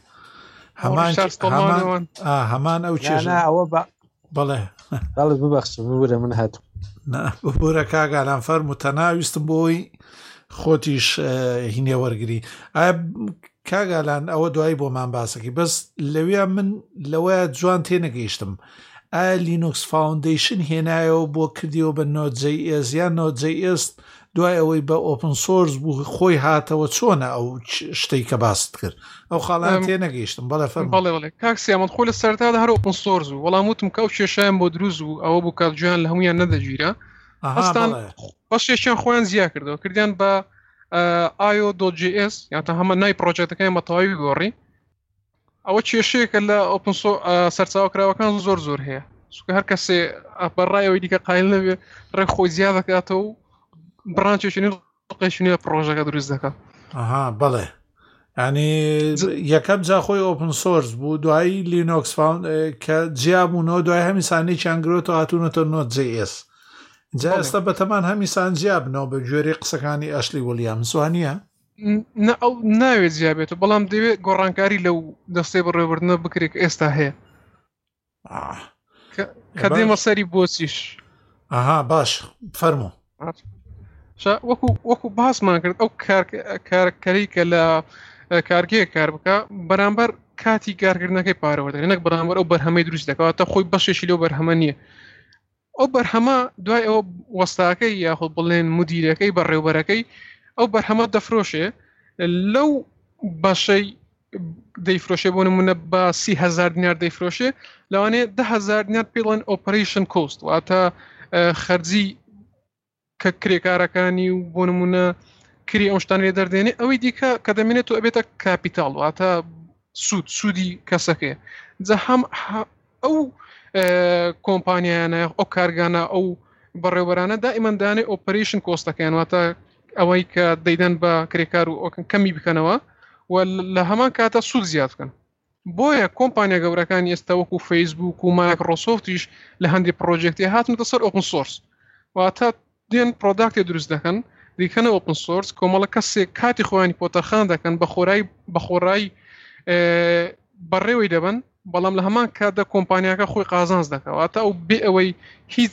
هەمان ئەو چێژەوە بەڵێ ببەخش ببورە من هاتوو ببورە کاگالان فەرم و تەناویستم بۆی خۆتیش هینێ وەرگری کاگالان ئەوە دوایی بۆمان باسەکەی بەس لەوێ من لەوەیە جوان تێنەگەیشتم ئایا لینوکس فاوندیشن هێنایەوە بۆ کردیەوە بە نۆجیS یان نۆجیS دوای ئەوەی بە ئۆپن سۆرس بوو خۆی هاتەوە چۆنە ئەو شتەی کە باست کرد ئەو خاڵان تێنەگەیشتم بەڵێ کاکسیامەد خۆی لە سەرتادا هەر ئۆپن سۆرس بوو وەڵام وتم کە ئەو کێشەیان بۆ دروست بوو ئەوە بوو کات جویان لە هەمویان نەدەگیرە هەستان بەشێکیان خۆیان زیاد کردەوە کردیان بە io.js یان تا هەمە نای پرۆجێکتەکەیان بە تەواوی گۆڕی ئەوە کێشەیەکە لە ئۆپن سەرچاوکراوەکان زۆر هەیە چونکە هەر کەسێ بەڕایەوەی دیکە قایل نەبێ ڕێ خۆی زیاد دەکاتەوە و بڕانچێکی قەیشنی پرۆژەکە دروست دەکات بەڵێ ینی یەکەم جا خۆی ئۆپن سۆرس بوو دوایی لینۆکس کە جیابوونەوە دوای هەمیسانی چیانگرۆتەوە هاتوونەتە نۆجیS جا ئێستا بەتەمان هەمیسان جیابنەوە بە گوێرەی قسەکانی ئەشلی وەلیامس وانە ئەو ناوێت جیابێت بەڵام دەوێت گۆڕانکاری لەو دەستەی بەڕێوەبردنە بکرێت ئێستا هەیە کە دێمە سەری بۆچیش باش فەرموو وەکو باسمان کرد ئەو کارکەری کە لە کارگەیە کار بکە بەرامبەر کاتی کارکردنەکەی پارەوەدەێت نەک بەرامبەر ئەو بەرهەمەی دروست دەکەواتە خۆی بەشێکی لەو بەرهەمە نییە ئەو بەرهەمە دوای ئەوە وەستاکەی یاخود بڵێن مدیرەکەی بەڕێوبەرەکەی ئەو بەرهەمە دەفرۆشێ لەو بەشەی دەیفرۆشێ بۆ نمونە بە 30,000 دینار دەیفرۆشێ لەوانەیە 10,000 دینار پێڵێن ئۆپەرەیشن کۆست واتە خەرجی کە کرێکارەکانی و بۆ نمونە کری ئەو شتانێ دەردێنێ ئەوەی دیکە کە دەمێنێت و ئەبێتە کاپیتاڵ واتە سوودی کەسەکەیە جا هەم ئەو کۆمپانیایانە ئەو کارگانە ئەو بەڕێوەبەرانە دائیمەن دانێ ئۆپەرەیشن کۆستەکەیان واتە ئەوەی کە دەیدەن بە کرێکار و کەمی بکەنەوە و لە هەمان کاتە سوود زیاد بکەن بۆیە کۆمپانیا گەورەکانی ئێستا وەکو فەیسبوک و مایکرۆسۆفتیش لە هەندێک پرۆجێکتی هاتنەتە سەر ئۆپن سۆرس واتە دێن پرۆداکتی دروست دەکەن دیکەنە ئۆپن سۆرس کۆمەڵە کەسێک کاتی خۆیانی پۆتەخان دەکەن بە خۆڕایی بەڕێوەی دەبن بەڵام لە هەمان کاتدا کۆمپانیاکە خۆی قازانز دەکەواتە ئەو بێ ئەوەی هیچ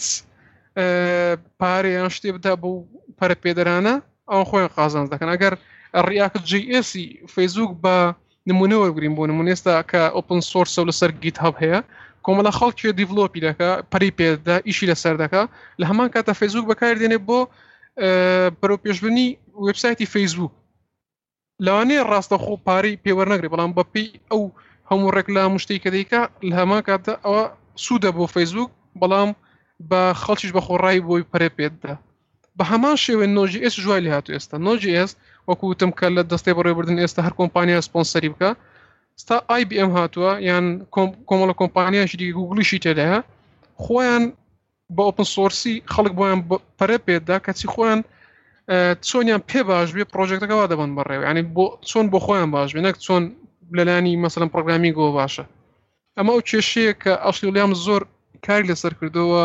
پارەیان شتێ بدا بۆ پەرە پێدەرانە ئەو خۆیان قازانز دەکەن ئەگەر ڕیاکت JS فەیسبوک بە نمونە وەرگرین بۆ نمونە ئێستا کە ئۆپن سۆرس لە سەر گیت هاب هەیە کۆمەڵە خەڵکی دیڤلۆپی دەکە پەری پێدا ئیشی لەسەر دەکە لە هەمان کاتە فەیسبوک بەکاردێنێ بۆ بەرەو پێشبردننی وێبسایتی فەیسبوک لەوانەیە ڕاستەخۆ پارەی پێوەرنەگرێت بەڵام بەپێی ئەو هەموو ڕێکلام شتێک کە دەیکا لە هەمان کاتە ئەوە سوودە بۆ فەیسبوک بەڵام بە خەڵکیش بە خۆڕایی بۆی پەرێ پێدا بە هەمان شێوێ نۆجیS جوای لێ هاتوو ئێستا نۆجیS وەکوتم کە لە دەستەی بەڕێوەبردن ئێستا هەر کۆمپانیا سپۆنسەری بکە ستا IBM هاتووە یان کۆمەڵە کۆمپانیایشی دیگە گوگڵیشی تێدایە خۆیان بە ئۆپن سۆرسی خەڵک بۆیان پەرە پێدا کەچی خۆیان چۆنیان پێ باش بێ پرۆژێکتەکەوا دەبن بەڕێوە ینی چۆن بۆ خۆیان باش بێ نەک چۆن لەلانی مەسەڵەن پرۆگرامیگەوە باشە ئەمە ئەو کێشەیە کە ئەشلی وەلیام زۆر کاری لەسەر کردەوە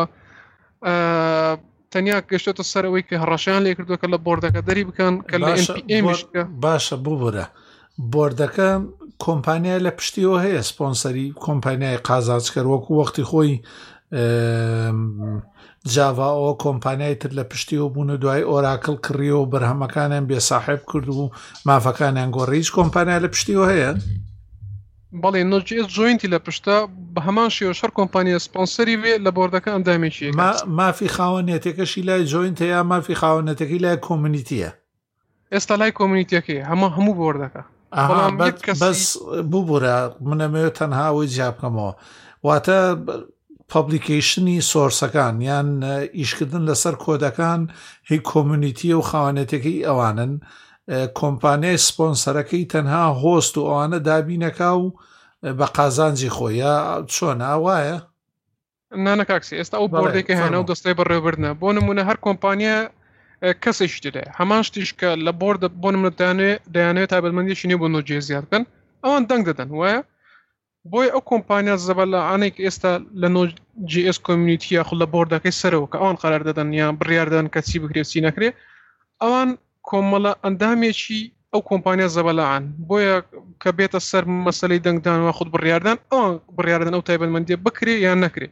تەنیا گەشتێتە سەرەوەی کە هەڕەشیان لێ کردووە کە لە بۆردەکە دەری بکەن کە لە NPMش باشە ببورە بۆردەکە کۆمپانیای لە پشتیەوە هەیە سپۆنسەری کۆمپانیای قازانجکەر وەکو وەختی خۆی جاڤاەوە کۆمپانیای تر لە پشتیەوە بوون دوای ئۆراکڵ کڕیەوە بەرهەمەکانیان بێساحب کرد و مافەکانیان گۆڕی هیچ کۆمپانیا لە پشتیەوە هەیە بەڵێ نۆجیS جوینتی لە پشتە بە هەمان شێوە شەر کۆمپانیە سپۆنسەری بێ لە بۆردەکە ئەندامێکی مافی خاوەنێتەکەشی لای جوینتە یا مافی خاوەنەتەکەی لای کۆمیونیتیە ئێستا لای کۆمیونیتیەکەی هەموو بۆردەکە بەس ببوورە منەمەوێت تەنها ئەوەی جیاب بکەمەوە واتە پابلیکیشنی سۆرسەکان یان ئیشکردن لەسەر کۆدەکان هی کۆمیونیتیە و خاوەنێتەکەی ئەوانن کۆمپانیای سپۆنسەرەکەی تەنها هۆست و ئەوانە دابینەکە و بە قازانجی خۆیە چۆنە وایە؟ نانە کاکسی ئێستا ئەو بۆردێکی هێنا و دەستەی بەڕێوەبردنە بۆ نمونە هەر کۆمپانیە کەسێکی دێ هەمان شتیش کە لە بۆردە بۆ نمونە دەیانەوێت تایبەتمەندیشی نیە بۆ نۆجێ زیاد بکەن ئەوان دەنگ دەدەن وایە بۆی ئەو کۆمپانیا زەبەلەعانێک ئێستا لە نۆجیS کۆمیونیتیە خو لە بۆردەکەی سەرەوە کە ئەوان قەرار دەدەن یان بڕیار دەدەن کە چی بکرێت چی نەکرێ ئەوان کۆمەڵە ئەندامێکی ئەو کۆمپانیا زەبەلەعان بۆیە کە بێتە سەر مەسەلەی دەنگدانەوە خود بڕیاردان ئەوان بڕیاردەن ئەو تایبەتمەندیە بکرێ یان نەکرێ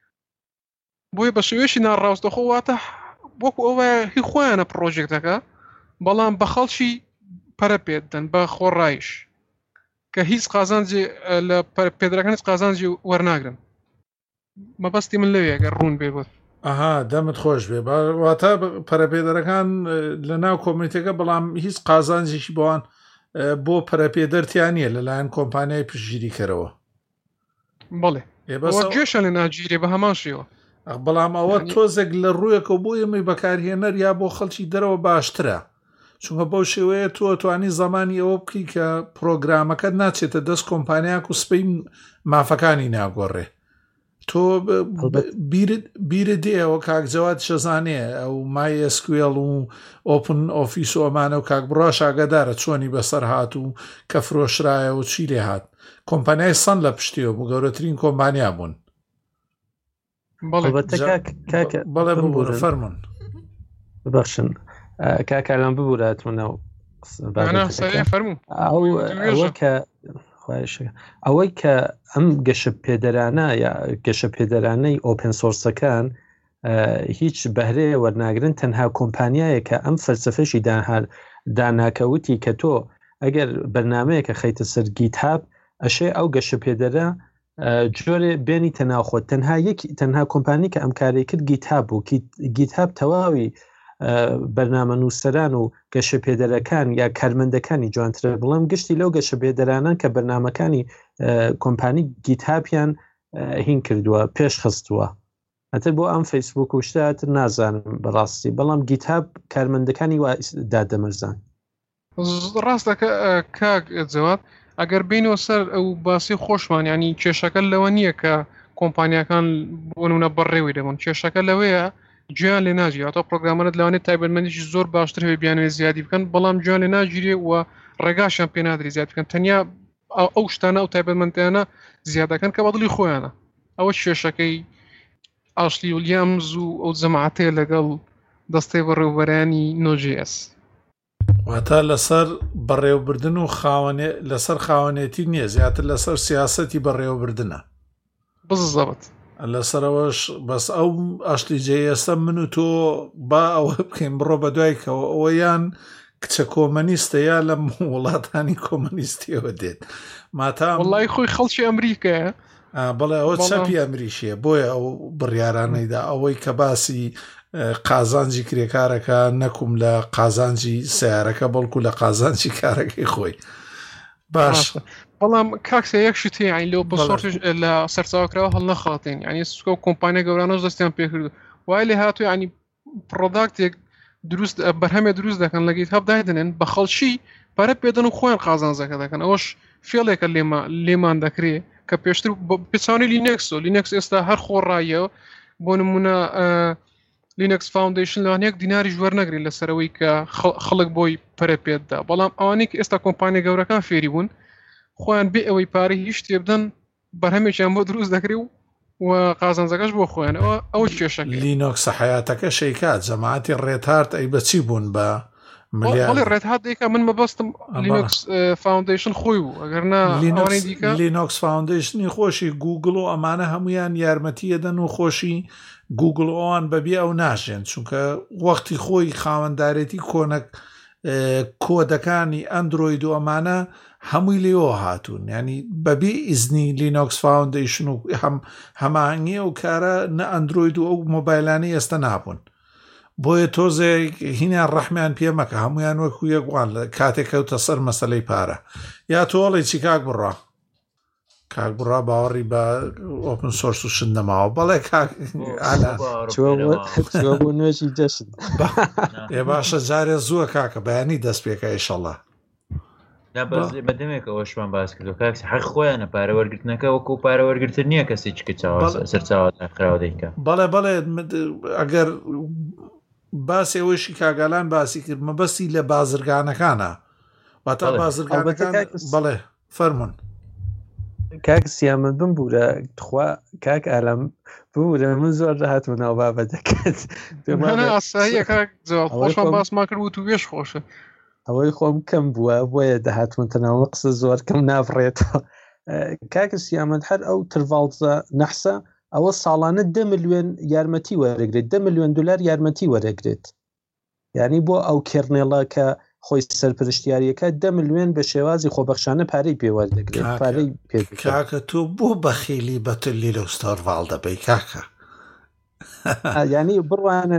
بۆیە بە شێوەیەکی ناڕاستەخۆ واتە وەکو ئەوە هی خۆیانە پرۆژێکتەکە بەڵام بە خەڵکی پەرە پێدەن بە خۆڕایش کە هیچ قازانجی لە پێدرەکان هیچ قازانجی وەرناگرن مەبەستی من لەوێ ئەگەر ڕوون بێ بۆت دەمت خۆش بێ واتە پەرەپێدەرەکان لە ناو کۆمیونیتەکە بەڵام هیچ قازانجێکی بۆوان بۆ پەرەپێدەرتیانە لەلایەن کۆمپانیای پشتگیری کەرەوە بەڵێ گوێشە لە ناگیرێ بە هەمان شێوە بەڵام ئەوە تۆزێک لە ڕوویەکە بۆ ئێمەی بەکارهێنەر یا بۆ خەڵکی دەرەوە باشترە چونکە بەو شێوەیە تۆ توانی زمانی ئەوە بکەی کە پرۆگرامەکەت ناچێتە دەست کۆمپانیاک و سپەی مافەکانی ناگۆڕێ تۆ بیرت دێەوە کاکجەوات شەزانێ ئەو مای SQL و ئۆپن ئۆفیس و ئەمانە و کاک بڕاش ئاگادارە چۆنی بەسەر هات و کە فرۆشرایە و چی لێ هات کۆمپانیای سەن لە پشتیەوە بوو گەورەترین کۆمپانیا بوون بەڵێ ببوورە فەرمون ببەخشن کاکالان ببووراتونەوە ئەوەی کە ئەم گەشە پێدەرانە یا گەشە پێدەرانەی ئۆپن سۆرسەکان هیچ بەهرەیە وەرناگرن تەنها کۆمپانیایە کە ئەم فەلسفەشی داناکەوتی کە تۆ ئەگەر بەرنامەیەکە خەیتە سەر گیتهاب ئەشێ ئەو گەشە پێدەرە جۆرێ بێنی تەناوخۆت تەنها کۆمپانی کە ئەم کارێک کرد گیتهاب بوو گیتهاب تەواوی بەرنامە نووسەران و گەشە پێدەرەکان یا کارمەندەکانی جوانترە بڵێم گشتی لەو گەشە پێدەرانان کە بەرنامەکانی کۆمپانی گیتهابیان هین کردووە پێش خستووە ئەتر بۆ ئەم فەیسبوک و شتاتر نازانم بەڕاستی بەڵام گیتهاب کارمەندەکانی وا دادەمەرزان ڕاستەکە کاک جەواد ئەگەر بینەوە سەر ئەو باسی خۆشمان ینی کێشەکە لەوە نییە کە کۆمپانیەکان بۆ نمونە بەڕێوی دەبن کێشەکە لەوەیە گویان لێ ناگیرێت ئەوتۆ پرۆگرامەرت لەوانێت تایبەتمەندیی زۆر باشتر هەبێ بیانوێ زیادی بکەن بەڵام گویان لێ ناگیرێ و ڕێگاشیان پێ نادرێت زیاد بکەن تەنیا ئەو شتانە ئەو تایبەتمەندیانە زیادەکەن کە بەدڵی خۆیانە ئەوە کێشەکەی ئاشلی ویلیامز و ئەو جەماعەتەیە لەگەڵ دەستەی بەڕێوەبەرانی نۆجیS واتە لەسەر بەڕێوەبردن و لەسەر خاوەنێتی نییە زیاتر لەسەر سیاسەتی بەڕێوەبردنە بزەبت لەسەرەوەش بەس ئەو ئاشتی جێئێستا من و تۆ با ئەوە بکەین بڕۆ بە دوایکەوە ئەوەیان کچە کۆمەنیستە یا لە وڵاتانی کۆمەنیستیەوە دێت ماتام وڵای خۆی خەڵکی ئەمریکایە بەڵێ ئەوە چەپی ئەمریشیە بۆیە ئەو بڕیارانەیدا ئەوەی کە باسی قازانجی کرێکارەکە نەکوم لە قازانجی سیارەکە بەڵکو لە قازانجی کارەکەی خۆی باش بەڵام کاکسە یەک شتی عین لەو بەسۆرتش لە سەرچاوکراوە هەڵ نەخاتین ینی سکۆ کۆمپانیا گەورانەش دەستیان پێکرد وای لێ هاتووە ینی پرۆداکتێک دروست بەرهەمێ دروست دەکەن لە گیتهاب دادنێن بە خەڵکی پارە پێدەن و خۆیان قازانجەکە دەکەن ئەوەش فێڵێکە لێمان دەکرێت کە پێشتر پێچانی لینەکس ئێستا هەر خۆڕایە بۆ نمونە لینەکس فاوندیشن لەوانەیەک دیناری وەرنەگرێت لەسەرەوەی کە خەڵک بۆی پەرە پێددا بەڵام ئەوانەی کە ئێستا کۆمپانیا گەورەکان فێری بوون خۆیان بێ ئەوەی پارەی هیچ شتێ بدەن بەرهەمێکیان بۆ دروست دەکرێت و قازانجەکەش بۆ خۆیان ئەوە کێشەکە لینۆکس حیاتەکە شەیکات جەماعەتی ڕێتهارت ئەی بەچی بوون بە بەڵێ ڕێتهات دیکە من مەبەستم لینۆکس فاوندیشن خۆی بوو ئەگەرنا لینۆکس فاوندیشنی خۆشی گوگل و ئەمانە هەمویان یارمەتیەدەن و خۆشی گوگل ئەوان بەبێ ئەو ناژێن چونکە وەختی خۆی خاوەنددارێتی کۆنەک کۆدەکانی ئەندروید و ئەمانە هەمووی لێەوە هاتوون، ینی بەبێ ئیزنی لینۆکس فاوندیشن و هەمانگی و کارە نە ئەندروید و ئەو مۆبایلانی ئێستا نابوون. بۆیە تۆزێک هینیان ڕەحمیان پێمەکە هەمویان وەکو یەکوان لە کاتێک کەوتە سەر مەسەلەی پارە. یا تۆڵی چی کاک بڕا باوەڕی بە ئۆپن سۆرس و شندەماوە بەڵێ نوێژی دەشت ێ باشە جارێ زووە کاکە بەیانی دەست پێکە ئیشەڵڵا بەدەمێکە ئەوشمان باس کردو کاکس حەق خۆیانە پارەوەرگرتنەکە وەکو پارەوەرگرتن نییە کەسی چکە سەرچاوە خراوە دەیکە. بەڵێ ئەگەر باسی ئەوەشی کاگالان باسی کرد مەبەستی لە بازرگانەکانە واتە بازرگانەکان بەڵێ فەرمونون کاک سیامە بم بوورە خوا کاک ئالەم بوورە من زۆر داهاتمەوە بابە دەکەێت خۆشمان باسمان کرد و تو وێش خۆشە ئەوەی خۆم کەم بووە بۆیە داهاتمەتەنەوە قسە زۆر کەم نافڕێتەوە. کاکە سیامەد هەر ئەو ترڤالزە نەحسە ئەوە ساڵانە 10 ملیۆن یارمەتی وەرەگرێت 10 ملیۆن دلار یارمەتی وەرەگرێت، یعنی بۆ ئەو کێرنێڵە کە خۆی سەرپرشتیاریەکە 10 ملیۆن بە شێوازی خۆبەخشانە پارەی پێوەردەگرێت. پارەی کاکە تۆ بۆ بەخیلی بەتلی لە ستۆرڤال دەبەی کاکە ینی بڕوانە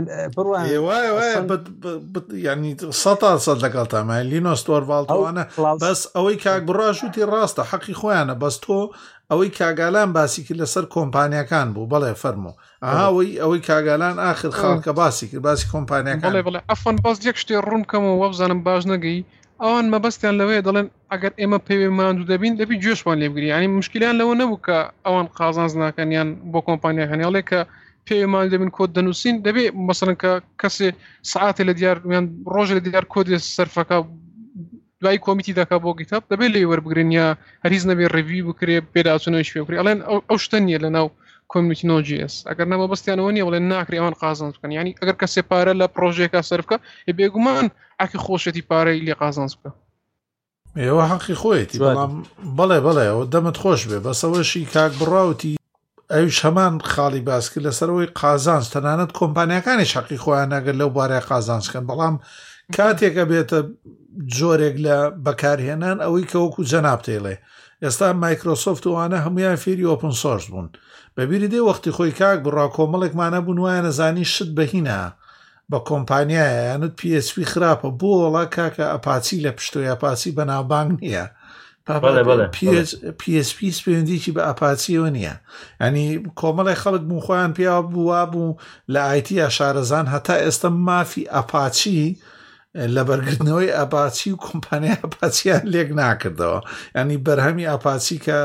ینی 100% لەگەڵ تامای لینۆستۆرڤالتوانە بەس ئەوەی کاک بڕاشوتی ڕاستە حەقی خۆیانە بەس تۆ ئەوەی کاگالان باسی کرد لەسەر کۆمپانیەکان بوو بەڵێ فەرموو ئەوەی کاگالان آخر خاڵکە باسی کرد باسی کۆمپانیەکان بڵێ ئەفەن باس یەک شتێ ڕوون کەمەوە وەبزانم باش نەگەی ئەوان مەبەستیان لەوەیە دەڵێن ئەگەر ئێمە پێوێ ماندوو دەبین دەبی گوێشمان لێبگری، ینی مشکلیان لەوە نەبوو کە ئەوان قازانز ناکەنیان بۆ کۆمپانیەکانی هەڵێ کە پێمان دەبین کۆد دەنووسین دەبێ مەسەڵەن کە کەسێ سعاتێ لە دیار ڕۆژە لە دیار کۆدی سەرفەکە دوای کۆمیتی دەکا بۆ گیتاب دەبێت لێ وەربگرن یا هەریز نەبێ ڕێوی بکرێ پێداچونەوەی پێ بکرێ ئەڵێن ئەو شتە نیە لەناو کۆمیتی نۆجیس ئەگەر نەبە بەستیانەوە نیە بڵێن ناکرێ ئەوان قازانز بکەن، ینی ئەگەر کەسێ پارە لە پرۆژێکە سەرفکە بێگومان ئاکی خۆشەتی پارەی لێ قازانز بکە. ئێوە حەقی خۆیەتی بەڵێ ئەو دەمت خۆش بێ بەسەوەشی کاک بڕاوتی ئەوش هەمان خاڵی باس کرد لەسەرەوەی قازانز تەنانەت کۆمپانیەکانی حەقی خۆیان نەگەر لەو بارەیە قازانزکەن، بەڵام کاتێکە بێتە جۆرێک لە بەکارهێنان ئەوەی کە وەکو جەناب تێڵێ ئێستا مایکرۆسۆفت وانە هەمویان فێری ئۆپن سۆرس بوون بەبیری دێ وەختی خۆی کاک بڕا کۆمەڵێکمانە بوون وایە نەزانی شت بەهینە بە کۆمپانیایە یانت PHP خراپە بۆ وڵا کاکە ئەپاچی لە پشتۆی ئەپاچی بەناوبانگ نییە PHP سپێندێکی بە ئەپاچیەوە نییە، ینی کۆمەڵی خەڵک بوو خۆیان پێیا بووە بوو لە ئایتی شارەزان هەتا ئێستا مافی ئەپاچی لە بەرگرتنەوەی ئەپاچی و کۆمپانیا ئەپاچیان لێک ناکردەوە، ینی بەرهەمی ئەپاچی کە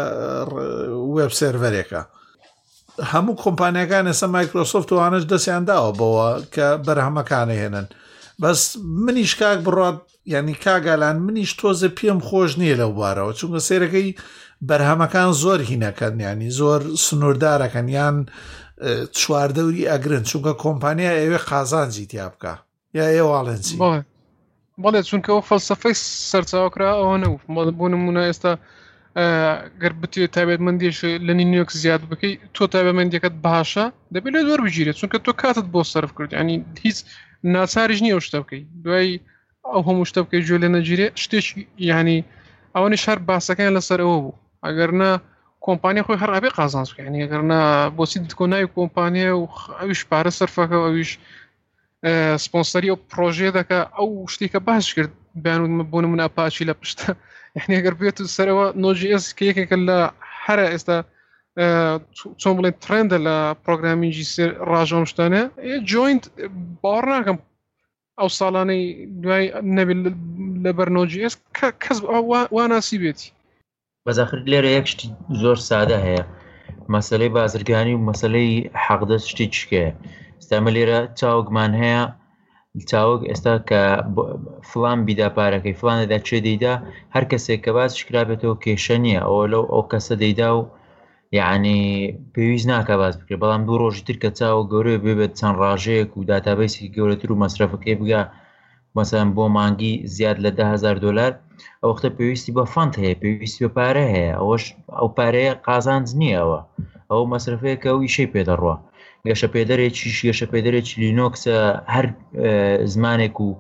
وێب سێرڤەرێکە هەموو کۆمپانیەکان ئێستا مایکرۆسۆفت وانش دەستیان داوە بەوە کە بەرهەمەکانە هێنن. بەس منیش کاک بڕات ینی کاگالان منیش تۆزە پێم خۆش نییە لەو بارەوە چونکە سێرەکەی بەرهەمەکان زۆر هینەکەن ینی زۆر سنووردارەکەن یان چواردەوری ئەگرن چونکە کۆمپانیا ئەوێ قازانجی تیا بکە یا ئێواڵێنسی بەڵێ چونکە ئەو فەلسەفەی سەرچاوکرا ئەوە نەوت بۆ نمونە ئێستا گەر بتێ تایبەتمەندیش لە نیویۆرک زیاد بکەی تۆ تایبەتمەندیەکەت باشە دەبێت لێ زۆر بگیرێت چونکە تۆ کاتت بۆ سەرف کرد، ینی هیچ ناچاریش نییە ئەو شتە بکەی دوای ئەو هەموو شتە بکەی گوێ لێ نەگیرێ شتێکی ینی ئەوەنی شار باسەکەیان لەسەر ئەوە بوو ئەگەر نا کۆمپانیا خۆی هەر ئەبێ قازانز بکە، ینی ئەگەر نا بۆچی کۆ ناوی کۆمپانیا و ئەویش پارە سەرفەکە ئەویش سپۆنسەری ئەو پرۆژێ دەکە ئەو شتێکە باش کرد بیان بۆ نمونە ئەپاچی لە پشتە یعنی ئەگەر بێت سەرەوە نۆجیس کە یەکێکە لە هەرە ئێستا چۆن بڵێن ترندە لە پرۆگرامینگی ڕاژەم شتانە جوینت باوەڕ ناکەم ئەو ساڵانەی دوای نەبێت لە بەرنۆجیس کەس واناسی بێتی. بەزاخر لێرە یەک شتی زۆر سادە هەیە مەسەلەی بازرگانی و مەسەلەی حەقدەست شتی چکەیە ئێستامە لێرە چاوگمان هەیە چاوەک ئێستا کە فلان بیدا پارەکەی فلانەدا چێ دەیدا هەر کەسێک کە باز شکرابێتەوە کێشە نییە ئەوە لەو ئەو کەسە دەیدا و یعنی پێویست ناکە باز بکرێت بەڵام دوو ڕۆژی تر کە چاوە گەورەیە بێت چەند ڕاژەیەک و داتابیسی گەورەتر و مەسرەفەکەی بگا مەسەڵەن بۆ مانگی زیاد لە $10,000 ئەو وەختە پێویستی بە فەند هەیە پێویستی بە پارە هەیە ئەوەش ئەو پارەیە قازانج نییەوە ئەو مەسرفەیەکە و ئیشەی پێدەڕوە گەشە پێدەرێکی لینۆکسە هەر زمانێک و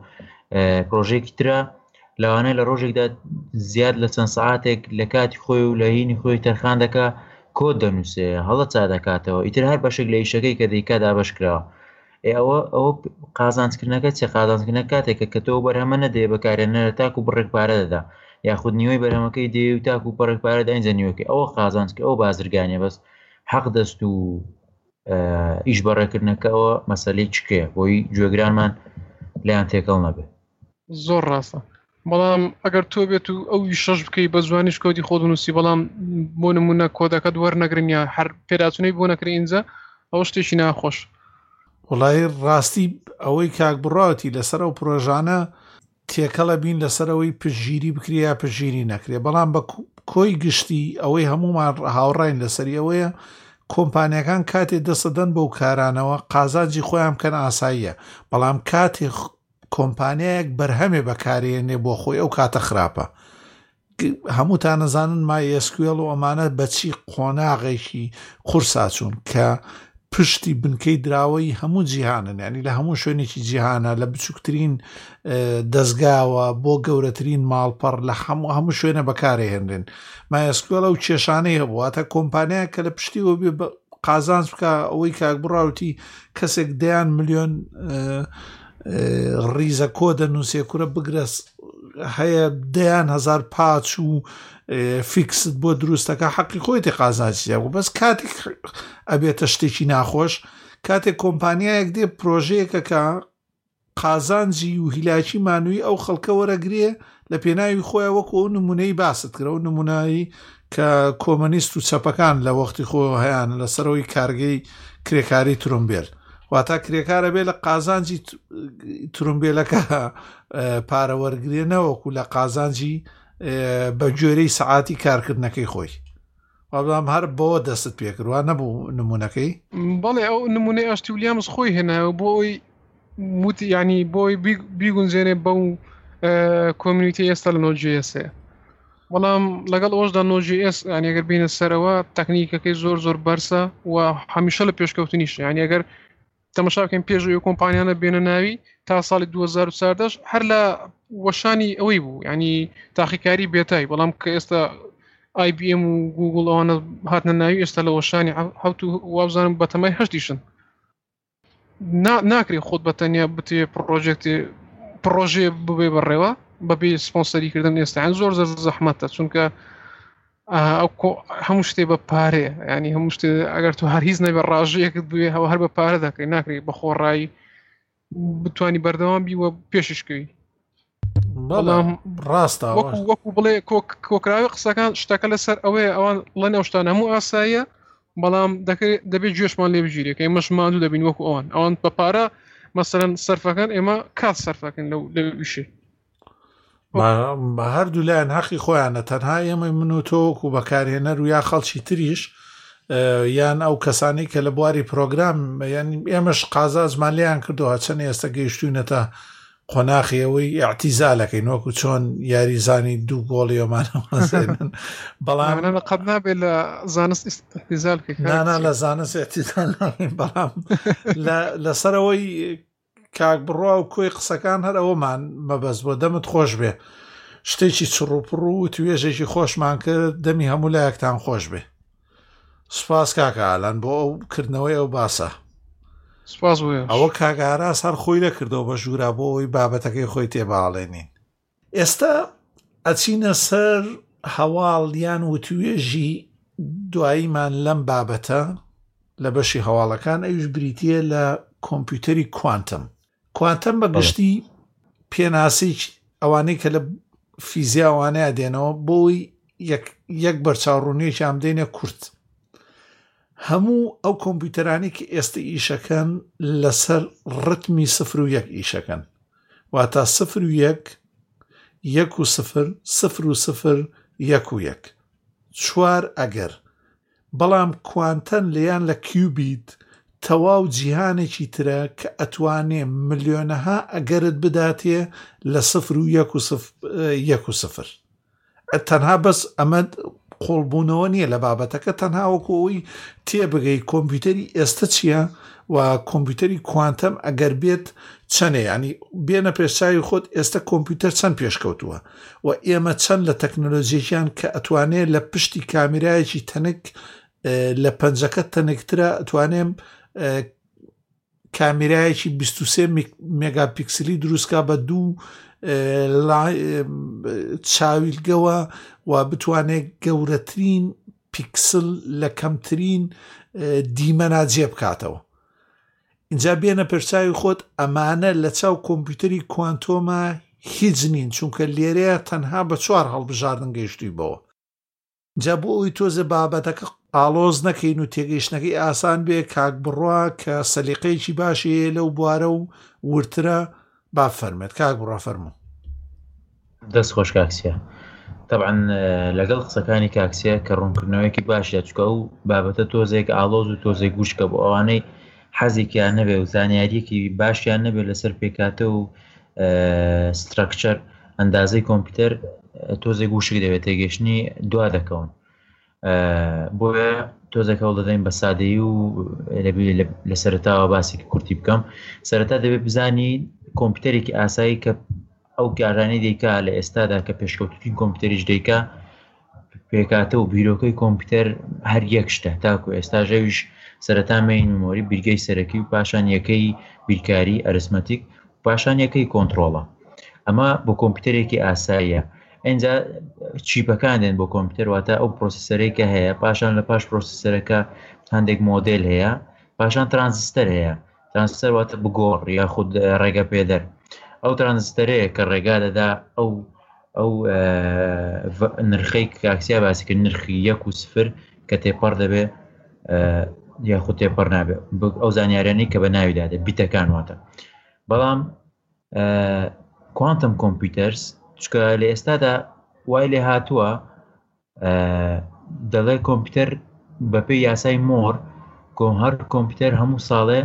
پرۆژێکی ترە لەوانەیە لە ڕۆژێکدا زیاد لە چەند سعاتێک لە کاتی خۆی و لە هینی خۆی تەرخان دەکا کۆد دەنووسێ هەڵە چا دەکاتەوە ئیتر هەر بەشێک لە ئیشەکەی کە دەیکا دابەش کراوە ئەوە قازانکردنەکە چێ قازانکردنە کاتێکە کە تۆ بەرهەمە نەدێ بەکارێنەرە تاکو بڕێک پارە دەدا یاخود نیوەی بەرهەمەکەی دێ و تاکو پەڕێک پارە داینجە نیوەکەی ئەوە قازانکە ئەو بازرگانیە بەس حەق دەست و ئیش بەڕێکردنەکەەوە مەسەلەی چکێ بۆی گوێگرانمان لایەن تێکەڵ نەبێت زۆر ڕاستە بەڵام ئەگەر تۆ بێت و ئەوی شەش بکەی بە زوانیش کۆدی خۆ نووسی بەڵام بۆ نمونە کۆدەکەت وەرنەگرن یا هەر پێداچونەی بۆ نەکرێ ئینجا ئەوە شتێکی ناخۆش وڵای ڕاستی ئەوەی کاک بڕاوەتی لەسەر ئەو پرۆژانە تێکەڵە بین لەسەرەوەی پشگیری بکرێ یا پشگیری نەکرێ بەڵام بە کۆی گشتی ئەوەی هەمومان هاوڕاین لەسەری ئەوەیە کۆمپانیەکان کاتێ دەسەدەن بەو کارانەوە قازانجی خۆیان بکەن ئاساییە بەڵام کاتێ کۆمپانیایەک بەرهەمێ بەکارێنێ بۆ خۆی ئەو کاتە خراپە هەمووتان نەزانن MySQL و ئەمانە بەچی قۆناغێکی قورساچوون کە پشتی بنکەی دراوەی هەموو جیهانن ینی لە هەموو شوێنێکی جیهانە لە بچووکترین دەستگاوە بۆ گەورەترین ماڵپەڕ لە هەموو شوێنە بەکارهێنرێن MySQL و کێشانەی هەبوواتە کۆمپانیا کە لە پشتیەوە بێ قازانج بکە ئەوەی کاک بڕاوتی کەسێک دەیان ملیۆن ڕیزە کۆ دەنووسێ کورە بگرەس هەیە دەیان هزار پاچ و فیکست بۆ دروستەکە حەقی خۆیتی قازانجیە و بەس کاتێک ئەبێتە شتێکی ناخۆش کاتێک کۆمپانیایەک دێ پرۆژەیەکەکە قازانجی و هیلاکی مانووی ئەو خەڵکە وەرەگرێ لە پێناوی خۆیان وەکو ئەو نمونەی باست کرە و نمونایی کە کۆمەنیست و چەپەکان لە وەختی خۆ هەیەیان لەسەرەوەی کارگەی کرێکاری ترومبێل واتە کرێکارە بێ لە قازانجی ترومبێلەکە پارەوەرگرێنەوەکو لە قازانجی بە گوێرەی سەعاتی کارکردنەکەی خۆی بەڵام هەر بۆ دەست پێکردوان نەبوو نمونونەکەی بەڵێ ئەو نمونەی ئاشتی ولیامز خۆی هێناوە بۆ ئەوی وتی ینی بۆی بیگونجێنێ بەو کۆمیونیتی ئێستا لە نۆجیسێ بەڵام لەگەڵ ئەوەشدا نۆجیS ینی ئەگەر بینە سەرەوە تەکنیکەکەی زۆر بەرسە و هەمیشە لە پێشکەوتنیش ینی ئەگەر تەماشاکەین پێشوی کۆمپانیانە بێنە ناوی تا ساڵی 2014 هەر لە وەشانی ئەوەی بوو ینی تاقیکاری بێتای بەڵام کە ئێستا IBM و گوگل ئەوانە هاتنە ناوی ئێستا لە وەشانی هەوت و وابزانم بەتەمای هەشتیشن ناکرێت خۆت بەتەنیا بتێ پرۆژێ ببێ بەڕێوە بەبێ سپۆنسەریکردن ئێستا زۆر زەحمەتە چونکە هەموو شتێ بە پارێ ینی هەموو شتێ ئەگەر تو هەر هیچ نەبێ ڕاژەیەکت بوێ هەوە هەر بە پارە دەکەی ناکرێت بە خۆڕایی بتوانی بەردەوام بی وە پێششکەوی بەڵام ڕاستە وەکو بڵێ کۆکراوی قسەکان شتەکە لەسەر ئەوەیە ئەوان لە نێوشتان هەموو ئاساییە بەڵام دەبێت گوێشمان لێ بژیرێ کە ئێمەش ماندوو دەبین وەکو ئەوان بە پارە مەسەرەن سەرفەکەن ئێمە کات سەرفەکەن لەو ویشێ بە هەردوو لایەن حەقی خۆیانە تەنها ئێمە من و تۆک و بەکارهێنەر و یا خەڵکی تریش یان ئەو کەسانی کە لە بواری پرۆگرام یان ئێمەش قازانجمان لێیان کردووە چەند ئێستا گەیشتوونەتە قۆناغیەوەی ئاعتیزالەکەی نۆکو چۆن یاریزانی دوو گۆڵی ئەمانەوەزێنن بەڵام قەت نابێت لە زانست ئاعتیزال نانا لە زانست ئاعتیزال نابێت بەڵام لەسەرەوەی کاک بڕوا و کۆی قسەکان هەر ئەوەمان مەبەست بۆ دەمت خۆش بێ شتێکی چڕوپڕ و توێژێکی خۆشمان کرد دەمی هەموو لایەکتان خۆش بێ سوپاس کاکە ئالان بۆ ئەو کردنەوەی ئەو باسە سپاس ئەوە کاگاراس هەر خۆی لەکردەوە بە ژوورا بۆ ئەوی بابەتەکەی خۆی تێباڵێنین ئێستا ئەچینە سەر هەواڵیان و توێژی دواییمان لەم بابەتە لە بەشی هەواڵەکان ئەوش بریتە لە کۆمپیوتەری کوانتەم بەگشتی پێناسی ئەوانەی کە لە فیزیاوانەیە دێنەوە بۆی یەک بەرچاوڕوونیەکی ئەم دێنە کورت هەموو ئەو کۆمپیوتەرانی کە ئێستا ئیشەکەن لەسەر ڕتمی 0 و 1 ئیشەکەن واتە 0 و 1 1 و 0 0 و 0 1 و 1 چوار ئەگەر بەڵام کوانتەن لەیان لە کیوبیت تەواو جیهانێکی ترە کە ئەتوانێ ملیۆنەها ئەگەرت بداتێ لە 0 و 1 و 0 تەنها بەس ئەمە قۆڵبوونەوە نییە لە بابەتەکە تەنها وەکۆی تێبگەی کۆمپیوتەری ئێستا چییە و کۆمپیوتەری کوانتەم ئەگەر بێت چەندێ ینی بێنە پێشچاوی خۆت ئێستا کۆمپیوتەر چەند پێشکەوتووە و ئێمە چەند لە تەکنۆلۆژیەکیان کە ئەتوانێت لە پشتی کامیرایەکی تەنک لە پەنجەکە تەنکترە ئەتوانێم کامیرایەکی 23 مێگاپیکسلی دروستکە بە 2 چاویلگەوە و بتوانێت گەورەترین پیکسل لە کەمترین دیمەنا جێ بکاتەوە. اینجا بێنە پێرچاوی خۆت ئەمانە لە چاو کۆمپیوتەری کوانتۆمە هیچ نین چونکە لێرەیە تەنها بە 4 هەڵبژاردن گەیشتووی بەوە. جا بۆ ئەوی تۆزە بابەتەکە ئاڵۆز نەکەین و تێگەیشتنەکەی ئاسان بێ کاک بڕوا کە سەلیقەیەکی باشی لەو بوارە و ورترە با فەرمێت. کاک بڕوا فەرموو. دەست خۆش کاکسیە. طبعا لەگەڵ قسەکانی کاکسیە کە ڕوونکردنەوەیەکی باشە چکە و بابەتە تۆزێک ئاڵۆز و تۆزێک گوشکە بۆ ئەوانەی حەزێکیان نەبێ و زانیاریەکی باشیان نەبێت لەسەر پێکاتە و ستراکچەر ئەندازەی کۆمپیوتەر تۆزێک گوشک دەوێت تێگەشتنی دوا دەکەون. بۆیە تۆزێک هەوڵ دەدەین بە سادەیی و لە سەرەتاوە باسێکی کورتی بکەم. سەرەتا دەبێت بزانی کۆمپیوتەرێکی ئاسایی کە ئەو کارانەی دەیکا لە ئێستادا کە پێشکەوتوی کۆمپیوتەریش دەیکا پێکاتە و بیرۆکەی کۆمپیوتەر هەر یەک شتە تاکو ئێستا ژەویش سەرەتا مین مۆری بیرگەی سەرەکی و پاشان یەکەی بیرکاری ئەرسمەتیک پاشان یەکەی کۆنتترۆڵە. ئەمە بۆ کۆمپیوتەرێکی ئاساییە. ئەینجا چیپەکان دێن بۆ کۆمپیوتەر واتە ئەو پرۆسیسەرێکە هەیە پاشان لە پاش پرۆسیسەرەکە هەندێک مۆدل هەیە پاشان ترانزیستەر هەیە. ترانزیستەر واتە بگۆڕ یاخود ڕێگە پێدەر. ئەو ترانزیستەرەیە کە ڕێگا دەدا ئەو نرخەی کاکسیا باسی کرد نرخی 1 و 0 کە تێپەڕ دەبێ یاخود تێپەڕ نابێ ئەو زانیاریانەی کە بە ناویدادە بیتەکان واتە. بەڵام کوانتم کۆمپیوتەرز چکە لە ئێستادا وای لێ هاتووە دەڵێ کۆمپیوتەر بەپێی یاسای مۆر هەر کۆمپیوتەر هەموو ساڵێ